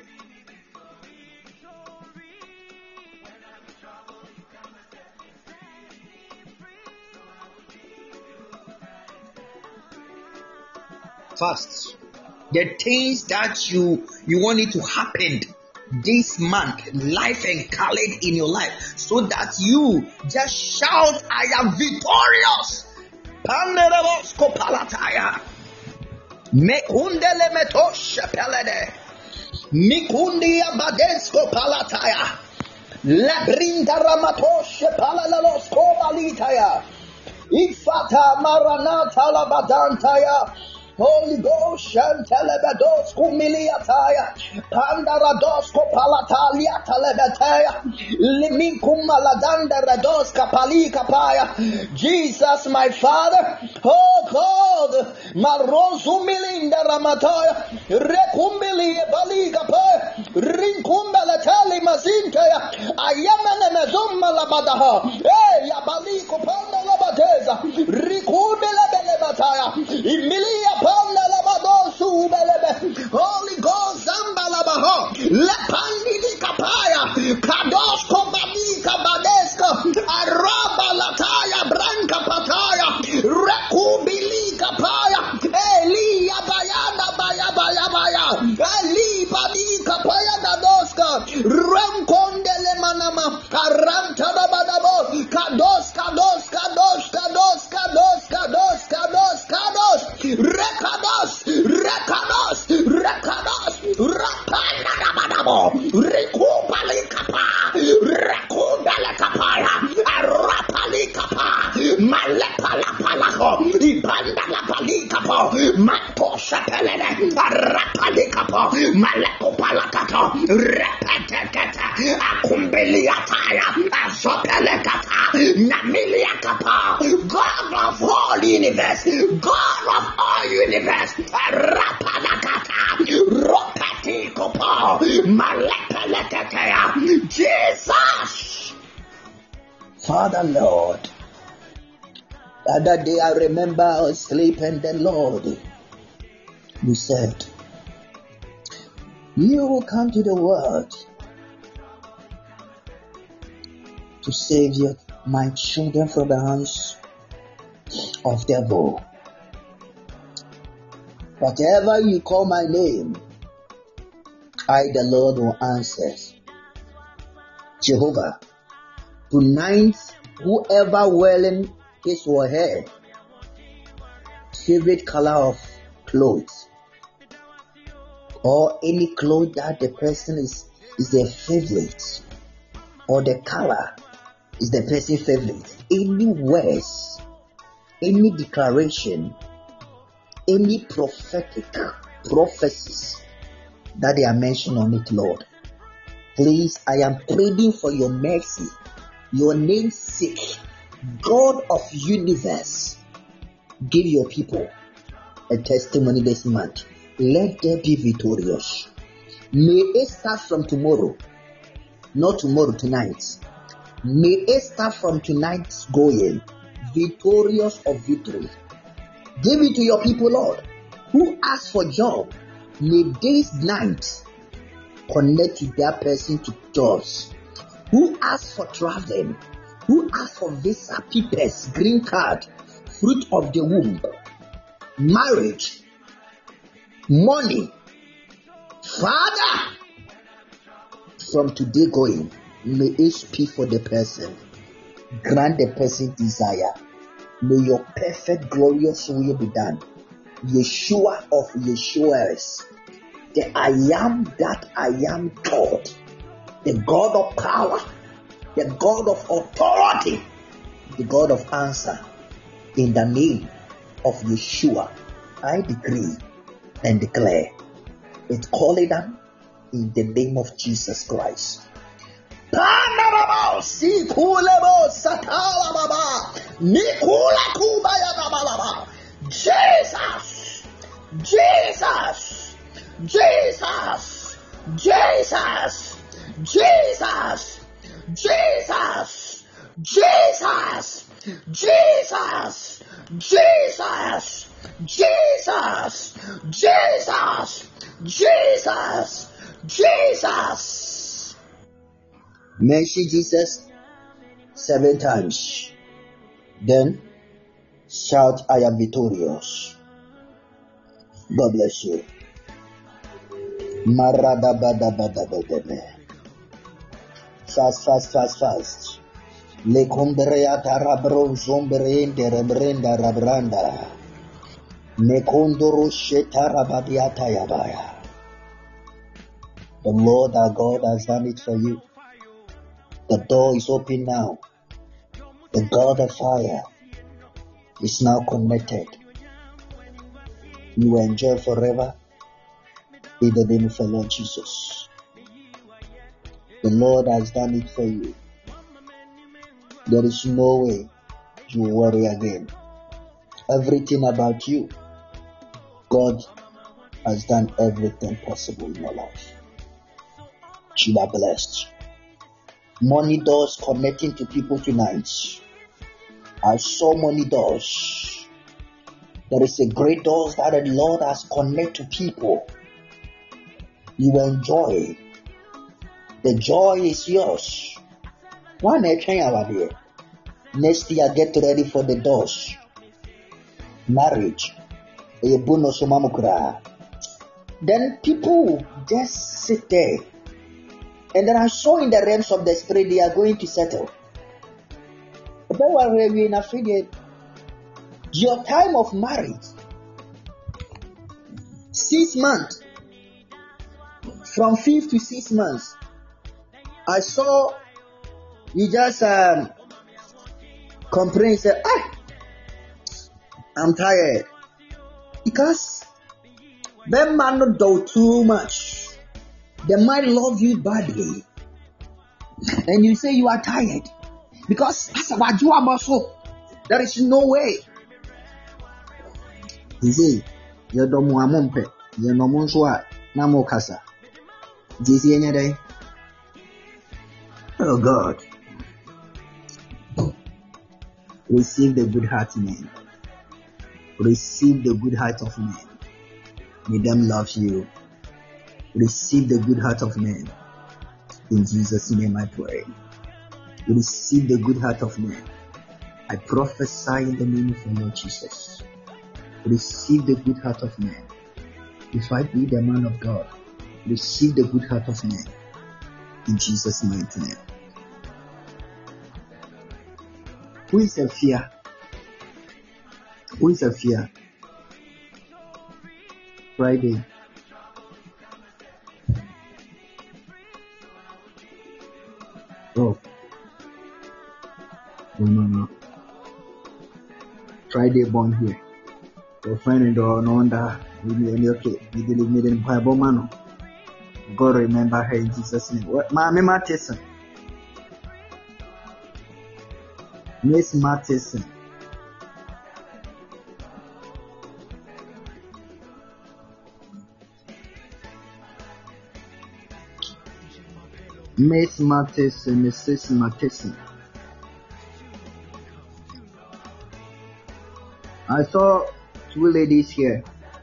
Fast. The things that you want it to happen this month, life and color in your life, so that you just shout, I am victorious. Panderos kopalataya. Mekundele metosh pelede. Mikundi abadensko palataya. Labrinda ramatosh palalalos kobalitaya. Ifata maranata labadantaya. Holy Ghost, Shantelebedos, Kumiliataya, Pandarados, Kopalatalia, Telebetea, Limikum Maladanda Rados, Kapali Kapaya, Jesus, my Father, oh God, Marosumilinda Ramataya, Rekumbili Baligapa, Rinkumbalatali Mazintaya, Ayamana Mazumma Labadaha, Yabali Kopanda Labadeza, Rikumbele Belebataya, Emilia. Holy Ghost, Zambalabaho, Lepandi Kapaya, Kados Kobali Kabadeska, Araba Lataya, Branca Pataya, Rekubili Kapaya, Eli Bayana Baya, Eli Badi Kapaya Dadoska, Remkondele Manama, Aranta Badabo, Kados. Rekados, Rapanadabadabo, Rekubalekapaya, Arapalikapa, Malepalapalaho, Ibandalapalikapa, Matosapelene, Arapalikapo, Malekopalakato, Repetekata, Akumbeliataya, Azopelekata, Namiliakapa, God of all universe, God of all universe, Rapanakata, Ropati Kopo, Malepeletea, Jesus. Father Lord, the other day I remember I was sleeping, the Lord, you said, you will come to the world to save my children from the hands of the devil. Whatever you call my name, I, the Lord, will answer. Jehovah, tonight, whoever wearing his or her favorite color of clothes, or any clothes that the person is their favorite, or the color is the person's favorite, any words, any declaration, any prophetic prophecies that they are mentioned on it, Lord, please, I am pleading for your mercy, your name's sake, God of universe, give your people a testimony this month. Let them be victorious. May it start from tomorrow, not tomorrow, tonight. May it start from tonight's going, victorious of victory. Give it to your people, Lord, who ask for job. May this night connect to that person to jobs. Who ask for traveling, who ask for visa, papers, green card, fruit of the womb, marriage, money. Father, from today going, may it speak for the person. Grant the person desire. May your perfect, glorious will be done. Yeshua of Yeshuas, the I am that I am God, the God of power, the God of authority, the God of answer. In the name of Yeshua, I decree
and declare it, call it down in the name of Jesus Christ. Jesus, Jesus, Jesus, Jesus, Jesus, Jesus, Jesus, Jesus, Jesus, Jesus, Jesus, Jesus, Jesus. Mention Jesus 7 times. Then shout, I am victorious. God bless you. Fast, fast, fast, fast. Lekombreata rabron zombrende rebrenda rabranda. Mekondoro shetarabadiata yabaya. The Lord our God has done it for you. The door is open now. The God of fire is now connected. You will enjoy forever in the name of the Lord Jesus. The Lord has done it for you. There is no way you will worry again. Everything about you, God has done everything possible in your life. You are blessed. Money doors connecting to people tonight. I saw money doors. There is a great doors that the Lord has connected to people. You will enjoy. The joy is yours. Next year, get ready for the doors. Marriage. Then people just sit there. And then I saw in the realms of the spirit, they are going to settle. Your time of marriage, 6 months, from 5 to 6 months, I saw you just complain, say, I'm tired. Because them man not do too much. They might love you badly. And you say you are tired. Because that's about you also. There is no way. You see, you don't want mumpe. You no monswa. Namo kasa. Do you see any day? Oh God. Receive the good heart man. Receive the good heart of man. May them love you. Receive the good heart of man. In Jesus' name I pray. Receive the good heart of man. I prophesy in the name of the Lord Jesus. Receive the good heart of man. If I be the man of God, receive the good heart of man. In Jesus' mighty name. Who is a fear? Who is a fear? Friday. Oh. No. Friday born here. Your friend and no wonder okay. You didn't meet in Bible man. God remember her in Jesus' name. What Miss Matheson. Miss Matheson. Miss Matheson, Mrs. Matheson. I saw 2 ladies here.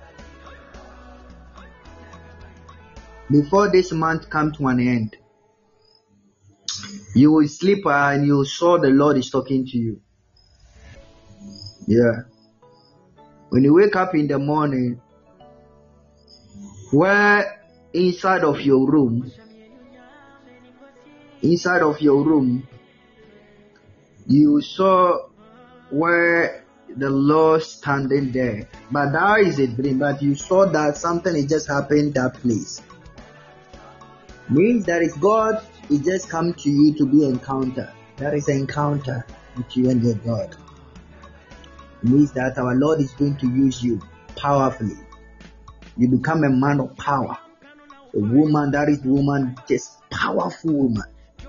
Before this month come to an end, you will sleep and you saw the Lord is talking to you. Yeah. When you wake up in the morning, where inside of your room, you saw where the Lord standing there. But that is a dream. But you saw that something is just happened that place. Means that is God is just come to you to be encounter. That is an encounter with you and your God. It means that our Lord is going to use you powerfully.
You become a man of power. A woman that is woman, just powerful woman.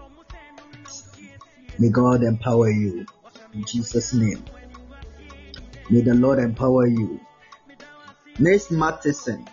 May God empower you. In Jesus' name. May the Lord empower you. Miss Matheson.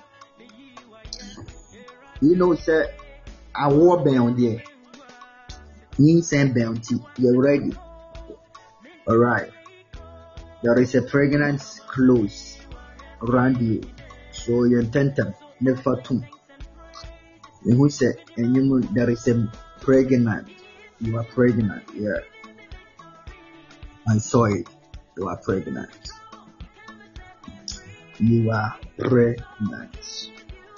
You know, sir, I war bound there. You send bounty. You're ready. Alright. There is a fragrance close around you. So you intend to never to. And who said, and you there is a pregnant. You are pregnant. Yeah. I saw it. You are pregnant. You are pregnant.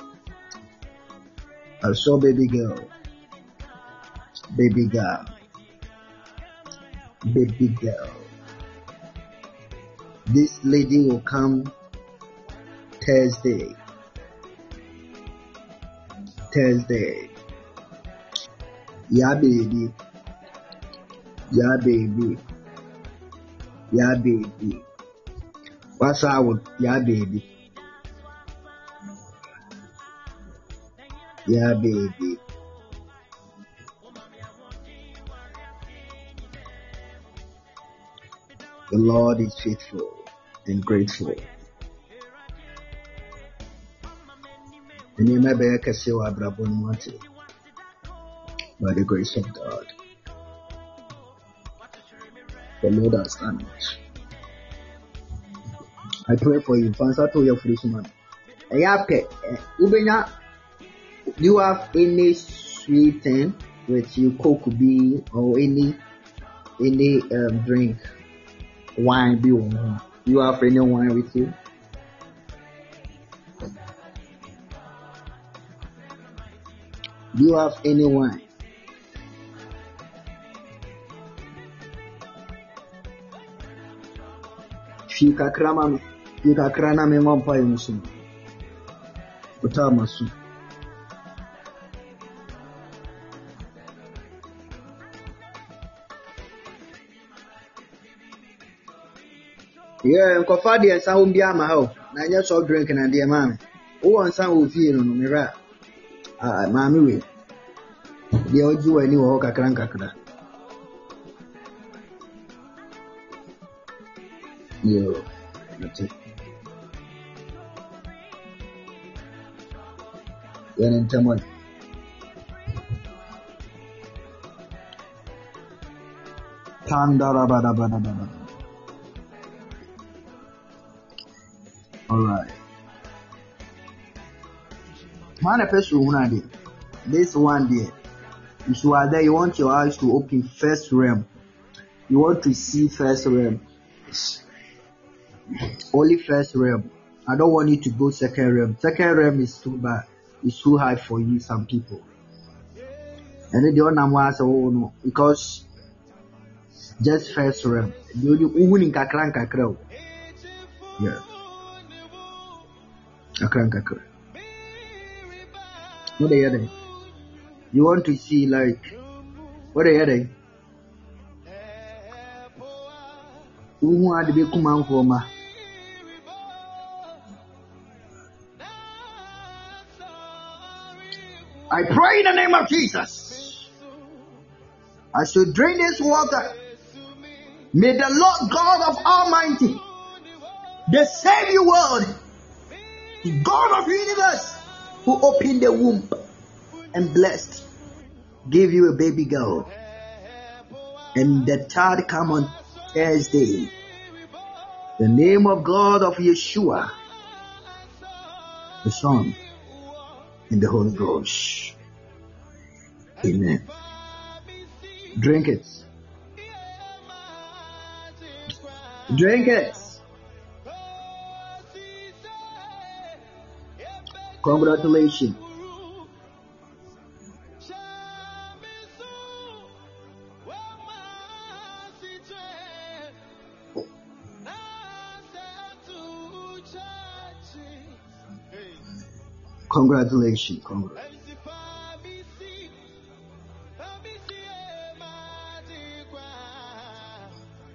I saw baby girl. Baby girl. Baby girl. This lady will come Thursday. Yeah, baby. Yeah, baby. Yeah, baby. What's up? Yeah, baby. Yeah, baby. The Lord is faithful and grateful. And you may be a Kasiwa Brabon by the grace of God. The Lord has done it. I pray for you. Fansa to your foolish man. Ubenya, do you have any sweet thing with you, Coke be or any drink, wine be on? You have any wine with you? Do you have any wine? Fika krana me mampa yumusu. Utamasu. Yeah, nkofa de nsa ho bia ma ho. Na nya soft drink na de ma me. Wo nsa ho fie no me ra. Ma me we. De oji wani wo kakra. Yo, that's it. Yan in Tamil. Tandarabadabadabada. Alright. This one there. If you are there, you want your eyes to open first realm. You want to see first realm. Only first realm. I don't want you to go second realm. Second realm is too bad. It's too high for you, some people. And then the other one say, oh no, because just first realm. The only kakra. Yeah. Kakra. What are you doing? You want to see like what are you doing? Who had to be come for ma? I pray in the name of Jesus. I should drink this water. May the Lord God of Almighty, the Savior world, the God of the universe, who opened the womb and blessed, give you a baby girl. And the child come on Thursday. The name of God of Yeshua, the Son, and the Holy Ghost. Amen. Drink it. Drink it. Congratulations. Congratulations.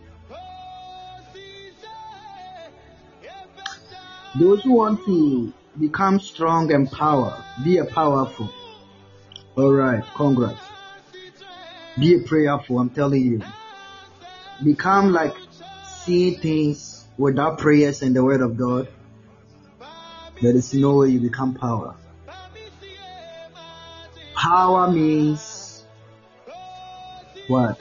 Those who want to become strong and power. Be a powerful. Alright, congrats. Be a prayerful, I'm telling you. Become like seeing things without prayers and the word of God. There is no way you become power. Power means what?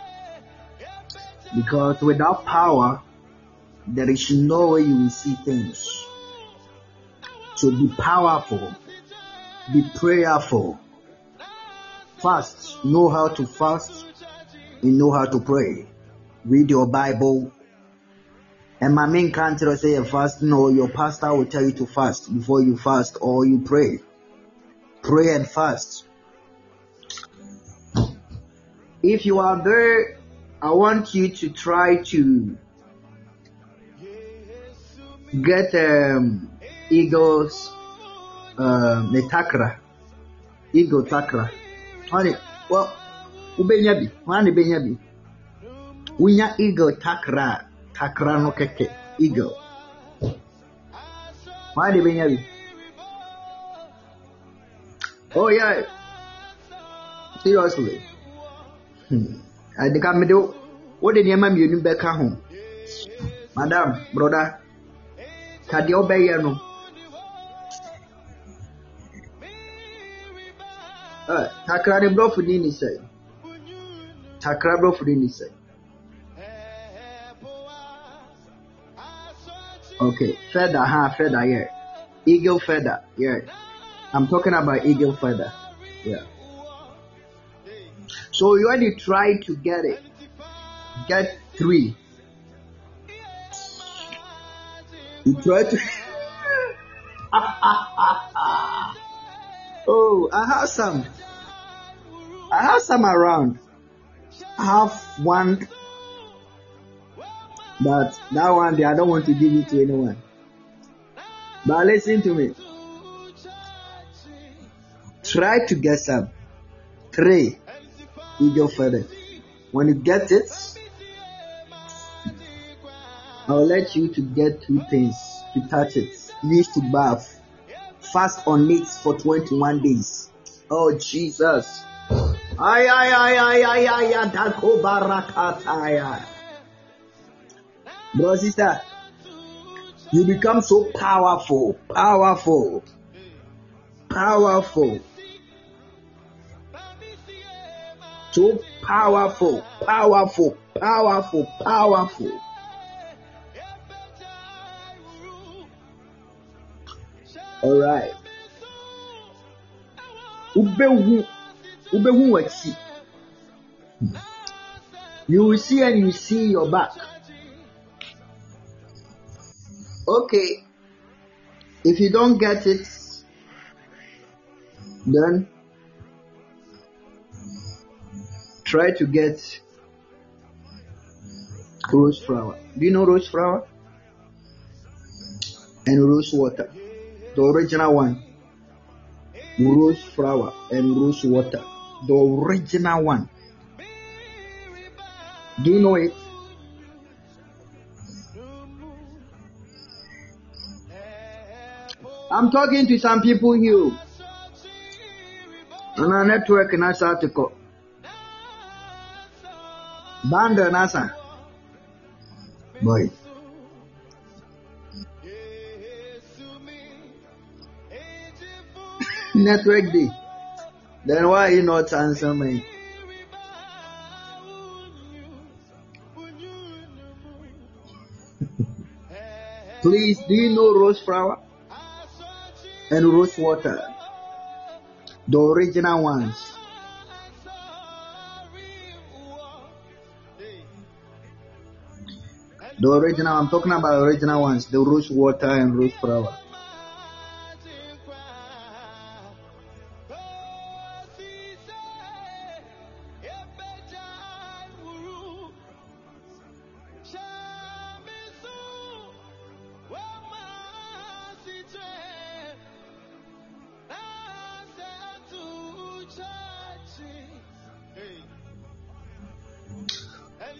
Because without power, there is no way you will see things. So be powerful. Be prayerful. Fast. Know how to fast. You know how to pray. Read your Bible. And my main country say you fast. No, your pastor will tell you to fast before you fast or you pray. Pray and fast. If you are there, I want you to try to get Eagles the takra. Eagle takra. Honey, well, ubenyabi. Honey benyabi. Winya eagle takra. Takra no keke. Eagle. Honey benyabi. Oh yeah. Seriously. I think I'm do. What did your mom you back home? Madam, brother. Kadi obey no. Takra de bro fudi ni say. Takra bro fudi ni say. Okay, feather, feather, yeah. Eagle feather, yeah. I'm talking about eagle feather, yeah. So you already try to get it. Get 3. You try to. Oh, I have some. I have some around. I have one, but that one I don't want to give it to anyone. But listen to me. Try to get some. 3 eagle feather. When you get it, I'll let you to get 2 things to touch it. Use to bath. Fast on it for 21 days. Oh Jesus. Bro, sister, you become so powerful. So powerful. All right. Ubehu wachi. You will see and you see your back. Okay. If you don't get it, then try to get rose flower. Do you know rose flower? And rose water. The original one. Rose flower and rose water. The original one. Do you know it? I'm talking to some people here. On our network in our article. Banda Nasa. Boy. Network D. Then why you not answer me? Please, do you know rose flower and rose water? The original ones. The original, I'm talking about original ones, the rose water and rose flower.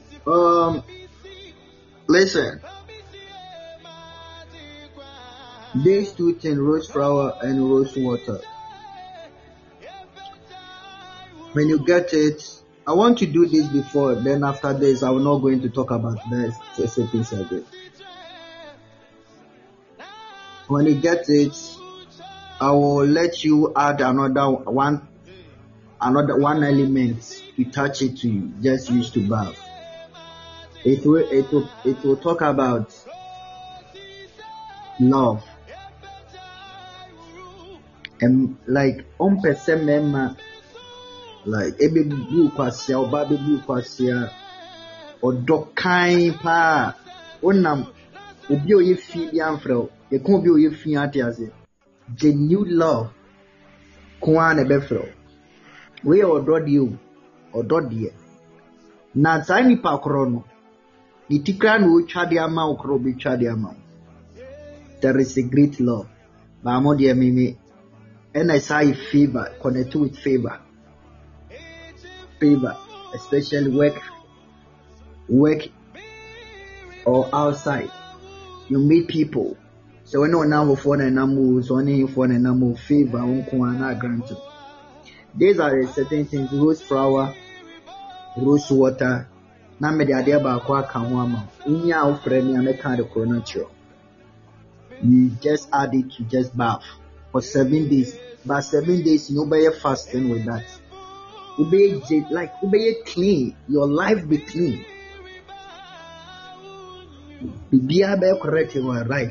Listen, These two things, rose flower and rose water. When you get it, I want to do this before, then after this, I'm not going to talk about the recipes again. When you get it, I will let you add another one element to touch it to you. Just use to bath. It will talk about love. And like like ebe bu kwasia oba be bu kwasia odokan pa onam obi oye fi bi amfrɛ e kon obi oye fi ate ase genuine love kwa na be frɛ we odode na saa nipa koro no itikra na o twade ama okoro be twade ama. There is a great love ba mo de meme and I say favor connect with favor, especially work or outside. You meet people. So when on now for na namu, so only for na namu favor unko na grant. These are the certain things: rose flower, rose water. Na me de ade ba kwa ka ho ama. Unya ofre me ameka de coronatio. You just add it to just bath for 7 days. But 7 days, you be fasting with that. You be clean. Your life be clean. Be correct in your life.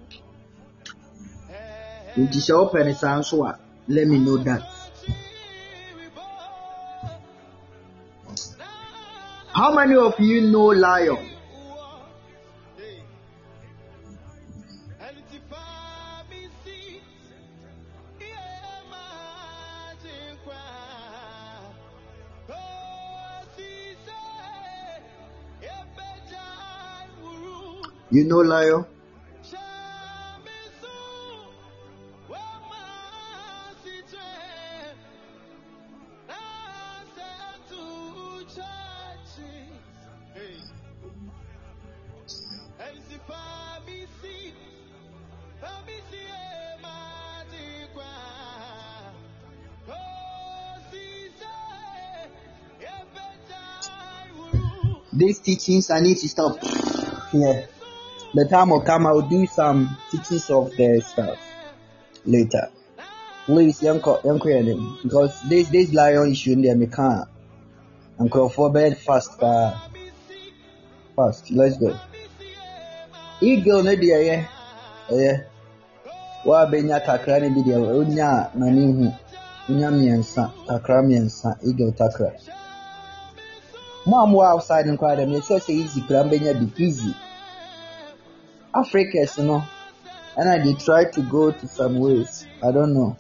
If you shall open his answer, let me know that. How many of you know lion? You know lion? These teachings I need to stop here. The time will come, I will do some teachings of the stuff later. Please, young because this lion issue in there, me can't. And call for bed fast. Let's go. Eagle, no dear, yeah. Wa benya takra ne bi dear, onya nani hu. Onya miensa, takra miensa, eagle takra. Mom outside and cry them, so say easy, benya be easy. Africans, you know, and I did try to go to some ways. I don't know.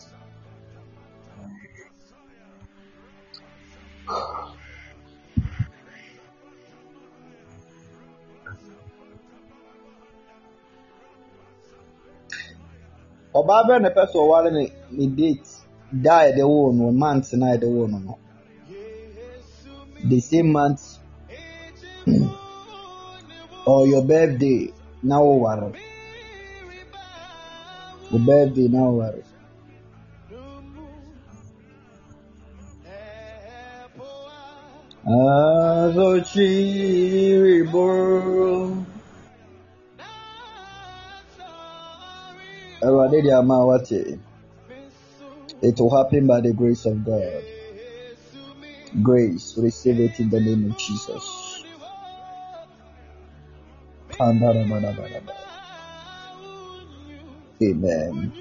Obaba and the person while me date die the one months and I the one no. The same month or your birthday. Now worry. The birthday now worry. It will happen by the grace of God. Grace, receive it in the name of Jesus. Amen.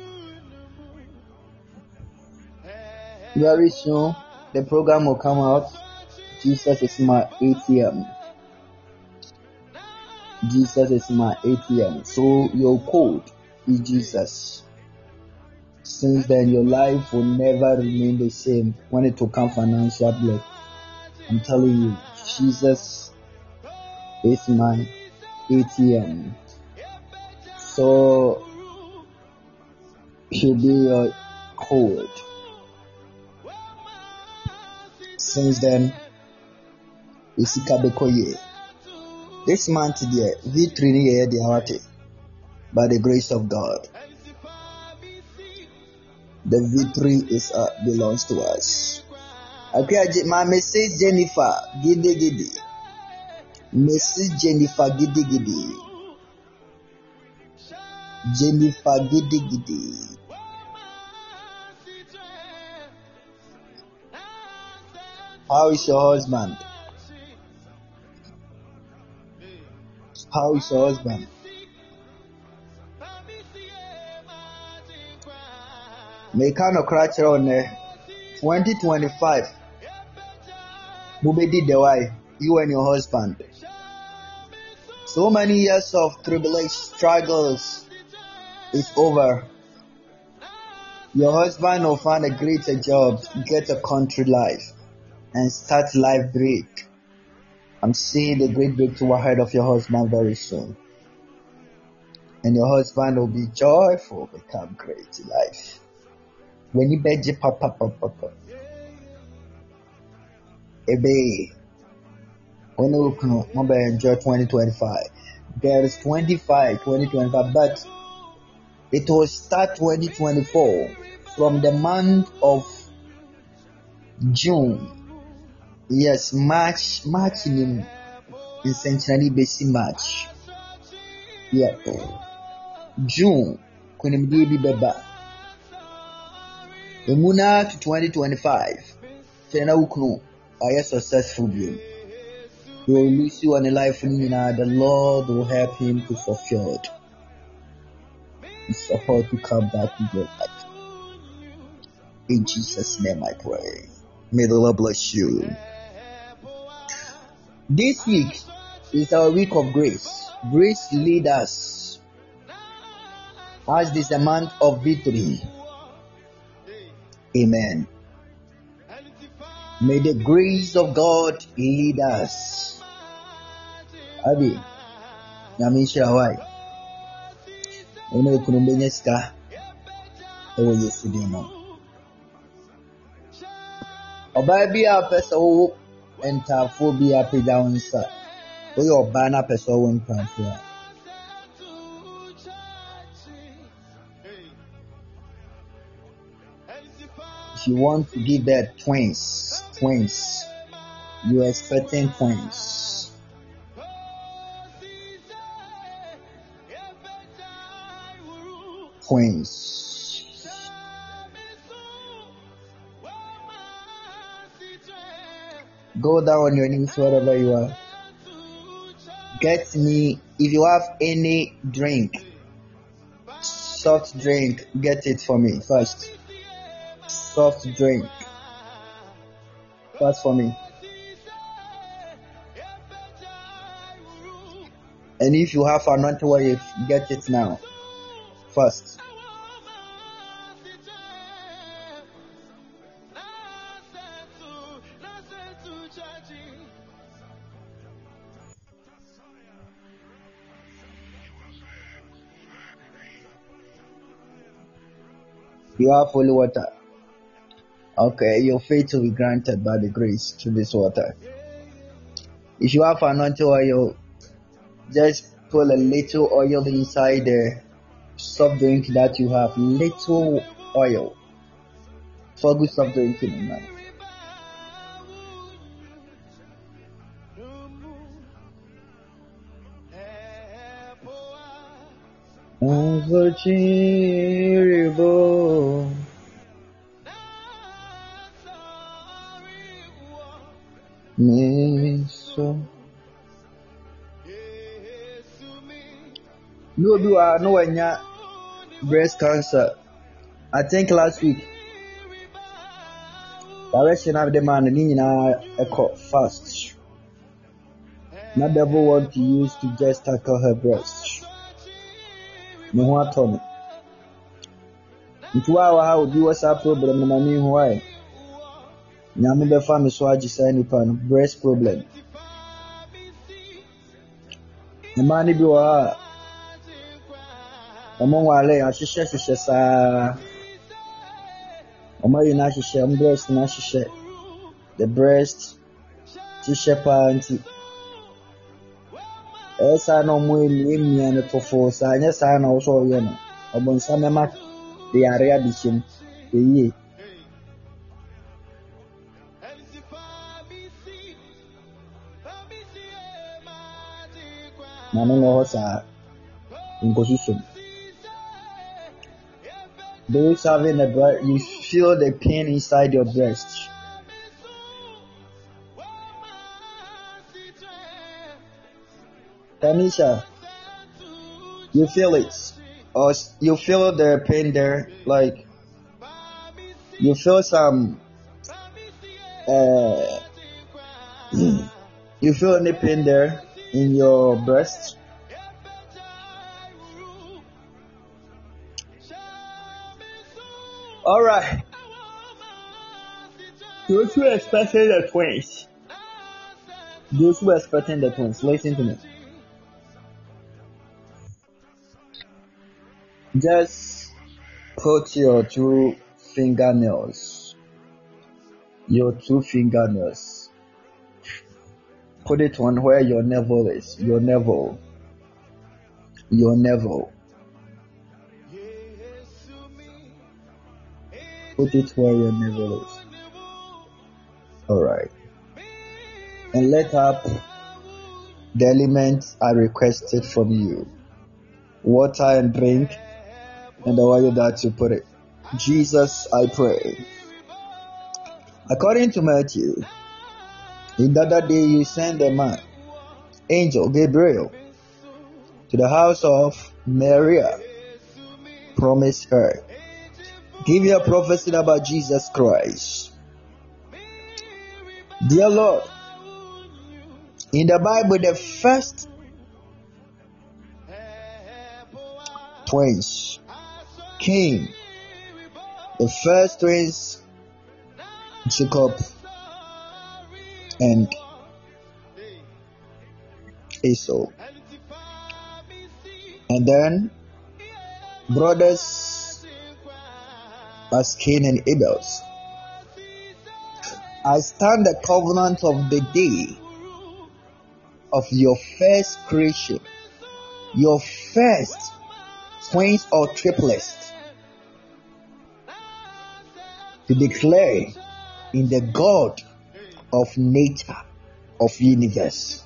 Very soon, the program will come out. Jesus is my ATM. Jesus is my ATM. So your code is Jesus. Since then, your life will never remain the same when it will come financial blood. I'm telling you, Jesus is my ATM. So he'll be your code. Since then, this month, the victory by the grace of God. The victory is belongs to us. Okay, my Mrs. Jennifer Gidi Gidi. Mrs. Jennifer Gidi Gidi. Jennifer Gidi Gidi. How is your husband? How is your husband? May kind of crash on 2025. Mubedi Dewai, you and your husband. So many years of tribulation, struggles is over. Your husband will find a greater job, get a country life, and start life great. I'm seeing the great breakthrough ahead of your husband very soon. And your husband will be joyful, become great in life. When you beg papa, Ebe, when you enjoy 2025, there is 2025, but it will start 2024 from the month of June. Yes, March in essentially basic March. Yeah, June. Kunimdi beba. Emuna to 2025. Tena uknu. Are you successful? He will lose you on a life. The Lord will help him to fulfill it. Support to come back to your life. In Jesus' name I pray. May the Lord bless you. This week is our week of grace. Grace lead us. As this is a month of victory. Amen. May the grace of God lead us. Abi, Namisha Hawaii. Ono kunumbenya sika. Ewo Yesu dimo. Oba bi a pesa wo entafo bi a peda wonsa. Oyo oba na pesa wo ntafo. If you want to give birth twins, you are expecting twins. Go down on your knees wherever you are. Get me, if you have any drink, soft drink, get it for me first. Soft drink. First for me. And if you have anointing oil, get it now. First. You have holy water. Okay, your faith will be granted by the grace through this water. If you have anointing oil, just put a little oil inside the soft drink that you have. Little oil for good soft drink in man. No, you are nowhere near breast cancer. I think last week, direction of the man in a fast. Not the devil want to use to just tackle her breast. No one told me. Into our how do what's our problem? No, I mean why. Nyame be family so agisa nipa no breast problem. The man bi wa omo wale ahihye saa omo yi na ahihye breast na ahihye the breast ahihye panty esa no mo emi no tofo saa anya saa na wo so ye no obonsa mema de area bishim
Eye. Mano no hosa inkosusum. Those having a breast, you feel the pain inside your breast. Tanisha, you feel it, or you feel the pain there, like you feel some, you feel any pain there in your breast? All right. Those who are expecting the twins, listen to me. Just put your two fingernails, put it on where your navel is, your navel. Put it where your navel is. Alright. And let up the elements I requested from you. Water and drink, and the oil that you put it. Jesus, I pray. According to Matthew, in the other day you sent a man, angel Gabriel, to the house of Maria. Promise her. Give your prophecy about Jesus Christ. Dear Lord, in the Bible, the first twins came. The first twins, Jacob and Esau. And then brothers as Cain and Abel. I stand the covenant of the day of your first creation, your first twins or triplets, to declare in the God of nature, of universe.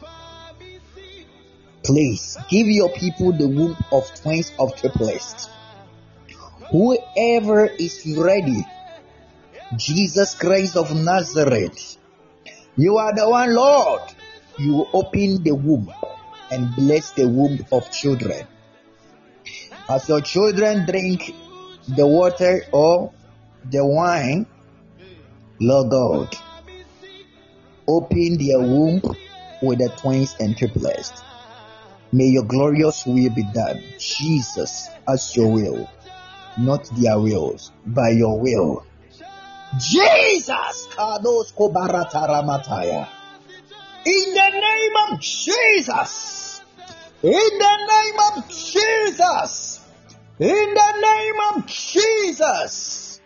Please give your people the womb of twins of triplets. Whoever is ready, Jesus Christ of Nazareth, you are the one, Lord. You open the womb and bless the womb of children. As your children drink the water or the wine, Lord God, open their womb with the twins and triplets. May your glorious will be done, Jesus, as your will, not their wills, by your will. Jesus, Kados Kobarataramataya. In the name of Jesus, in the name of Jesus, in the name of Jesus.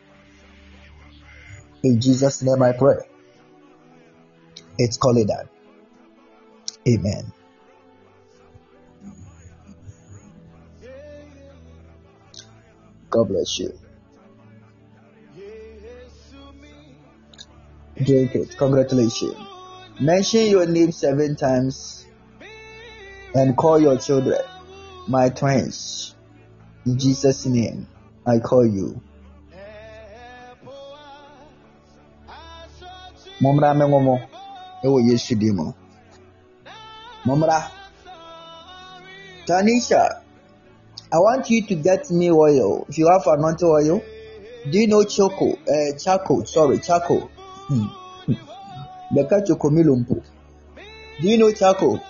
In Jesus' name I pray. It's called that. Amen. God bless you. Drink it. Congratulations. Mention your name 7 times and call your children my twins. In Jesus' name, I call you. Momra mengomo. Ewo Yesu dimo. Momra. Tanisha, I want you to get me oil. If you have anointing oil, do you know charcoal? Charcoal. Beka chokomilumpu. Do you know charcoal?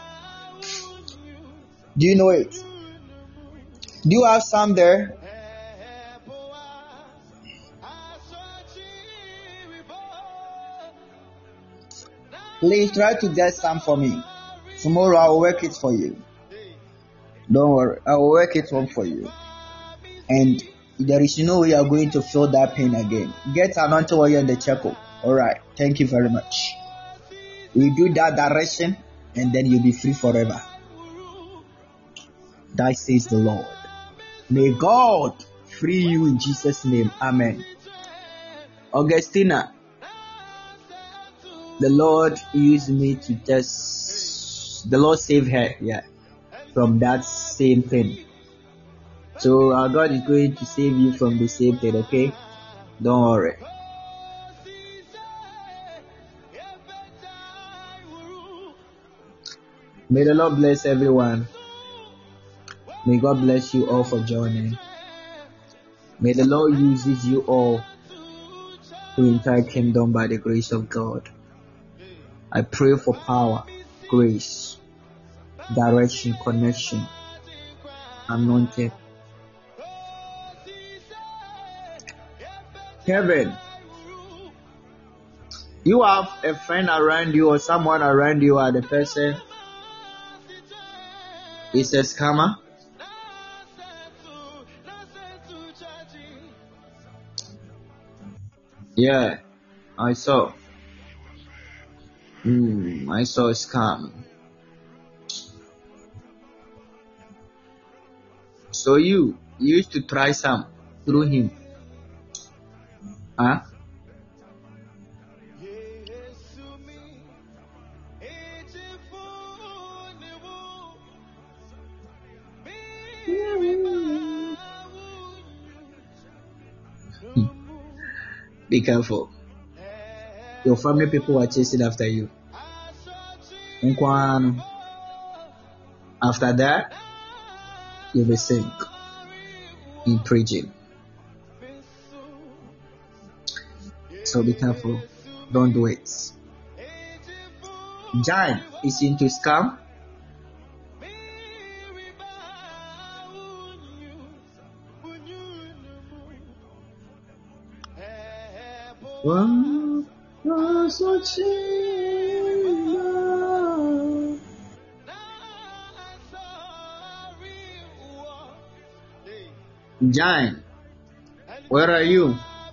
Do you know it? Do you have some there? Please try to get some for me. Tomorrow I will work it for you. Don't worry, I will work it on for you. And there is no way you are going to feel that pain again. Get anointing oil in the charcoal. Alright, thank you very much. We do that direction and then you'll be free forever. That says the Lord. May God free you in Jesus' name. Amen.
Augustina, the Lord used me to just, the Lord saved her, yeah, from that same thing. So our God is going to save you from the same thing, okay? Don't worry. May the Lord bless everyone. May God bless you all for joining. May the Lord uses you all to entire kingdom by the grace of God. I pray for power, grace, direction, connection, anointing. Kevin, you have a friend around you or someone around you, or the person is a scammer? Yeah, I saw. I saw a scam. So you used to try some through him, huh? Be careful. Your family people are chasing after you. After that, you will sink in preaching. So be careful. Don't do it. John is into scam. John, where are you?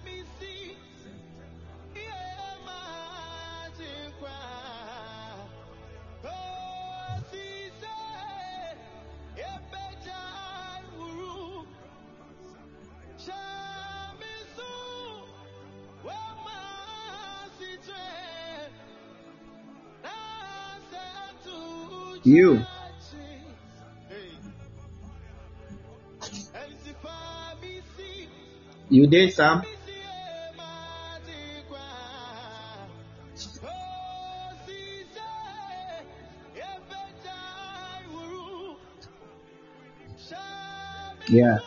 You. You did some? Yeah.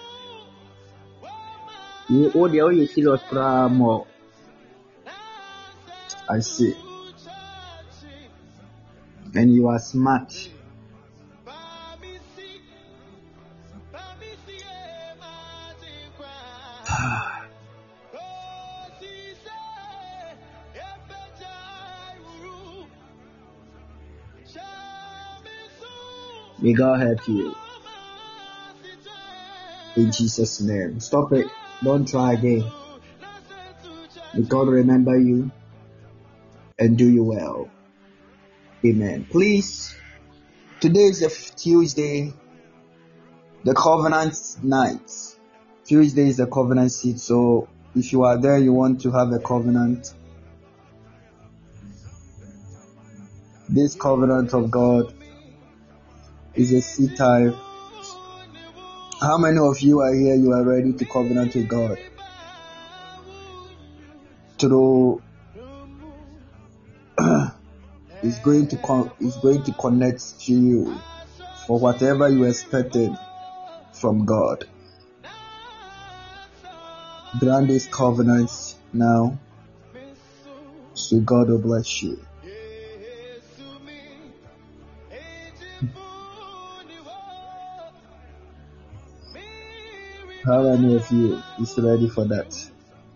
You serious more. I see. And you are smart. May God help you. In Jesus' name. Stop it. Don't try again. May God remember you and do you well. Amen. Please, today is a Tuesday, the covenant night. Tuesday is the covenant seat. So if you are there, you want to have a covenant. This covenant of God is a seed time. How many of you are here? You are ready to covenant with God through is going to connect to you for whatever you expected from God. Grant this covenant now, so God will bless you. How many of you is ready for that?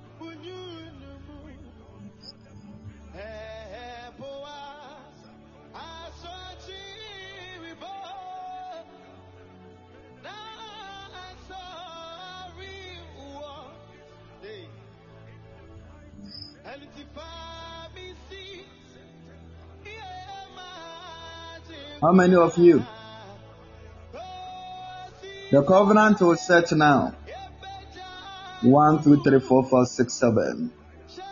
How many of you? The covenant will set now. 1, 2, 3, 4, 5, 6, 7.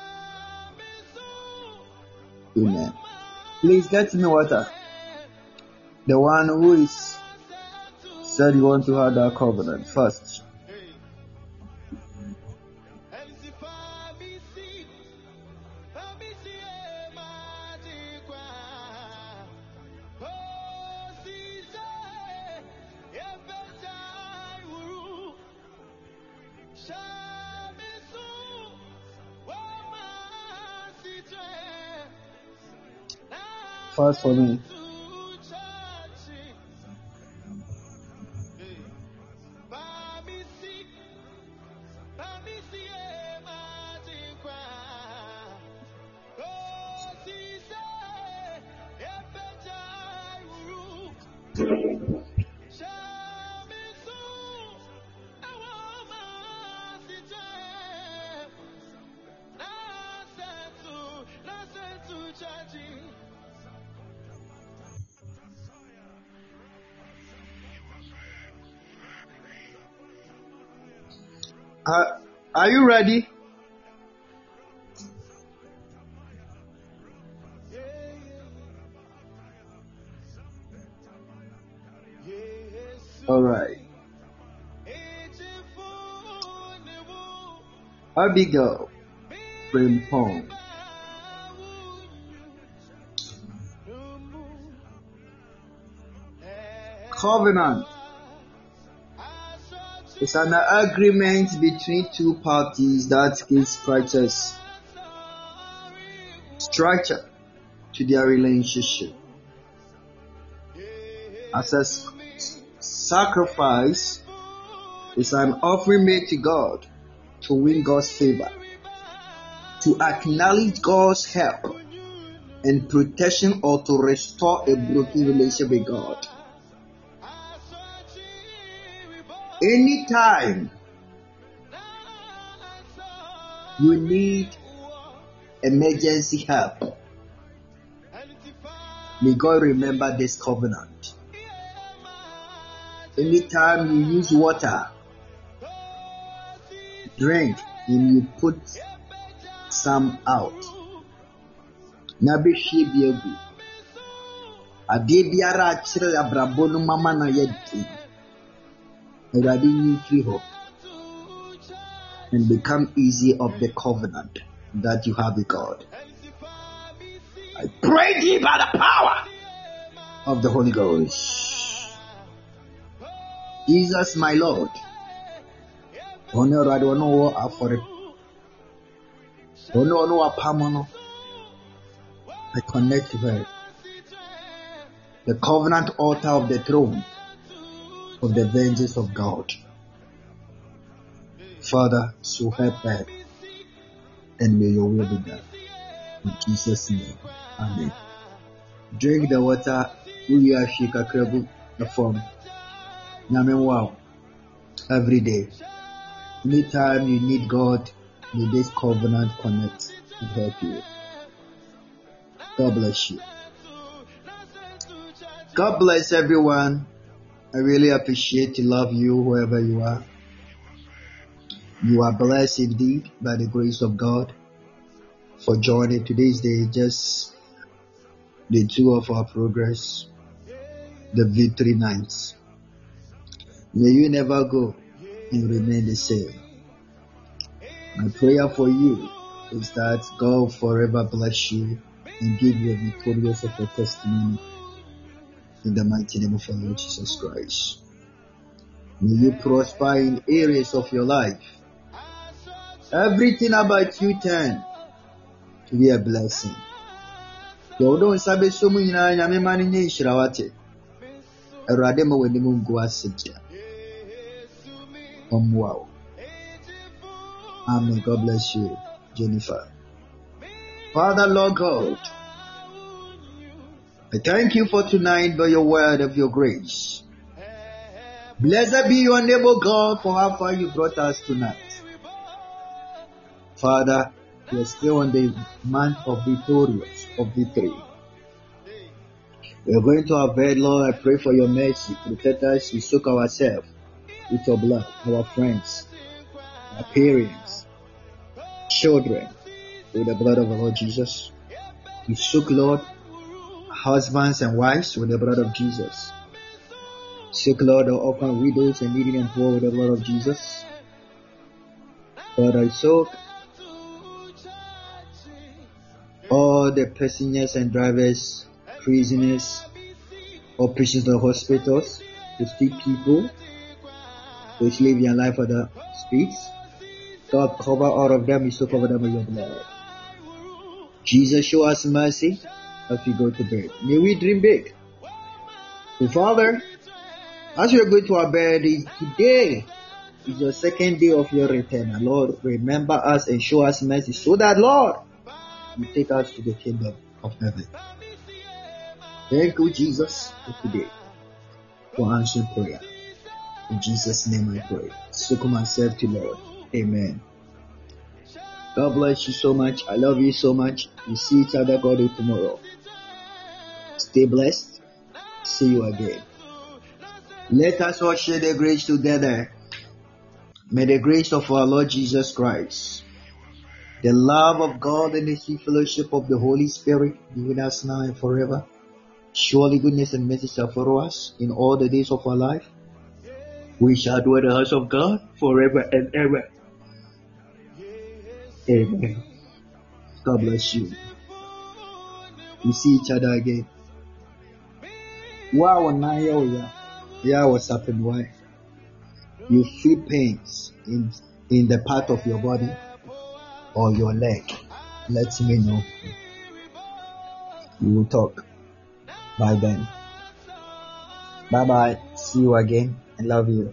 Amen. Please get me water. The one who is said you want to have that covenant first. First for me. Are you ready? All right. Abigail Frimpong. Covenant is an agreement between two parties that gives structure to their relationship. As a sacrifice, is an offering made to God to win God's favor, to acknowledge God's help and protection, or to restore a broken relationship with God. Anytime you need emergency help, may God remember this covenant. Anytime you use water, drink, and you put some out. Nabishi biegu. Ade biara achire abrabo no mama na yedi. And become easy of the covenant that you have with God. I pray thee by the power of the Holy Ghost. Jesus, my Lord. Honor, I don't know what for it. Don't know what pamono. I connect to her. The covenant altar of the throne of the vengeance of God. Father, so help her, and may your will be done. In Jesus' name, amen. Drink the water. We are shika krebu the form. Namen wow. Every day. Anytime you need God, may this covenant connect and help you. God bless you. God bless everyone. I really appreciate to love you wherever you are. You are blessed indeed by the grace of God for joining today's day, just day 2 of our progress, the victory nights. May you never go and remain the same. My prayer for you is that God forever bless you and give you a victorious of a testimony. In the mighty name of our Lord Jesus Christ. May you prosper in areas of your life. Everything about you turn to be a blessing. Wow. Amen. God bless you, Jennifer. Father, Lord God, I thank you for tonight by your word of your grace. Blessed be your name, O God, for how far you brought us tonight. Father, we are still on the month of victory. We are going to our bed, Lord. I pray for your mercy. Protect us. We soak ourselves with your blood, our friends, our parents, children, with the blood of the Lord Jesus. We soak, Lord, husbands and wives with the blood of Jesus. Soak, Lord, the orphan widows and needy and poor with the blood of Jesus. Lord, I soak all the passengers and drivers, prisoners, or prisoners of hospitals, the street people, which live their life on the streets. God, cover all of them. We soak over them with your blood. Jesus, show us mercy as we go to bed. May we dream big. So, Father, as we are going to our bed, today is your second day of your return. Lord, remember us and show us mercy so that, Lord, you take us to the kingdom of heaven. Thank you, Jesus, for today, for answering prayer. In Jesus' name I pray. Soak myself to Lord. Amen. God bless you so much. I love you so much. We see each other, God, tomorrow. Stay blessed. See you again. Let us all share the grace together. May the grace of our Lord Jesus Christ, the love of God, and the sweet fellowship of the Holy Spirit be with us now and forever. Surely goodness and mercy shall follow us in all the days of our life. We shall dwell in the house of God forever and ever. Amen. God bless you. We see each other again. Wow, yeah, what's happened? Why? You feel pains in the part of your body or your leg. Let me know. We will talk. Bye then. Bye bye. See you again. I love you.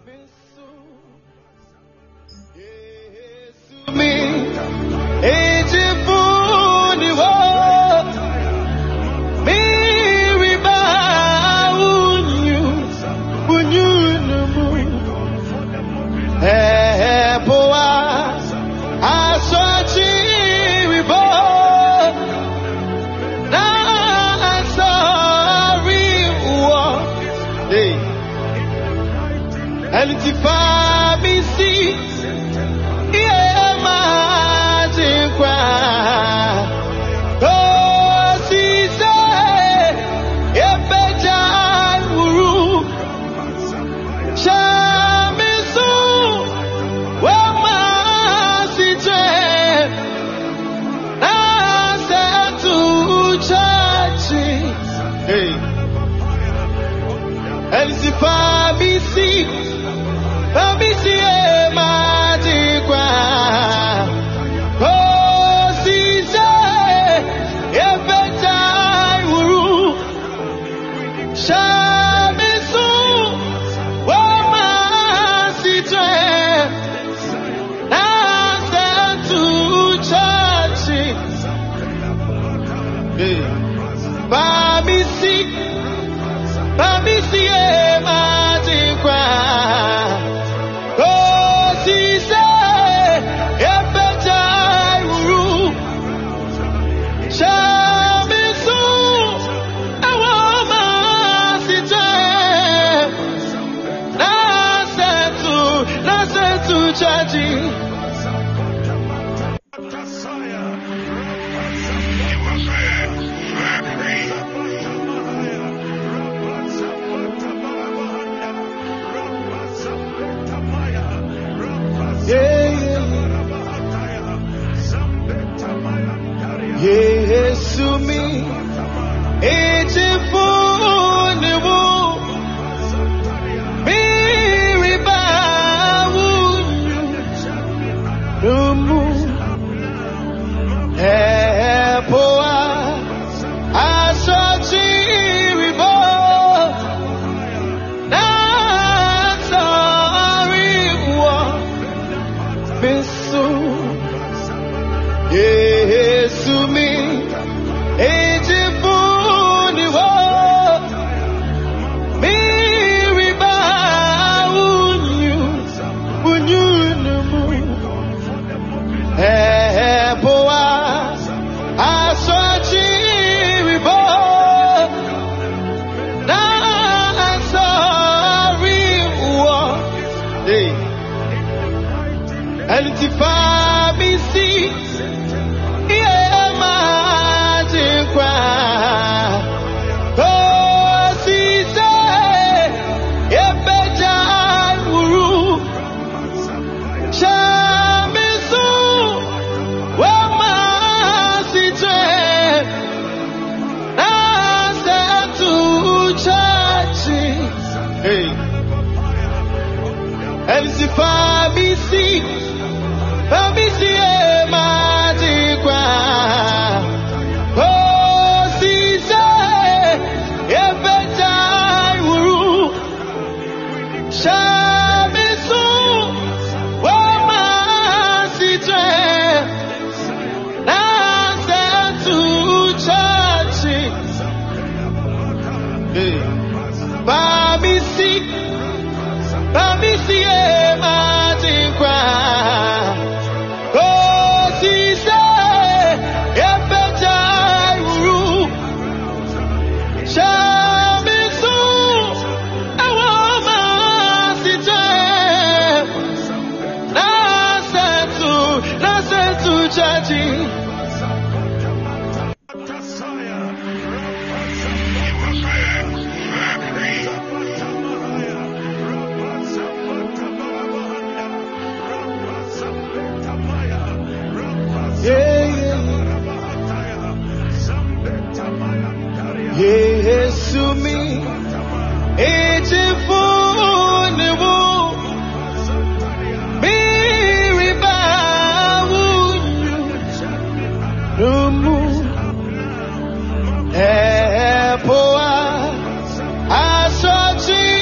Bamisi, Bamisi,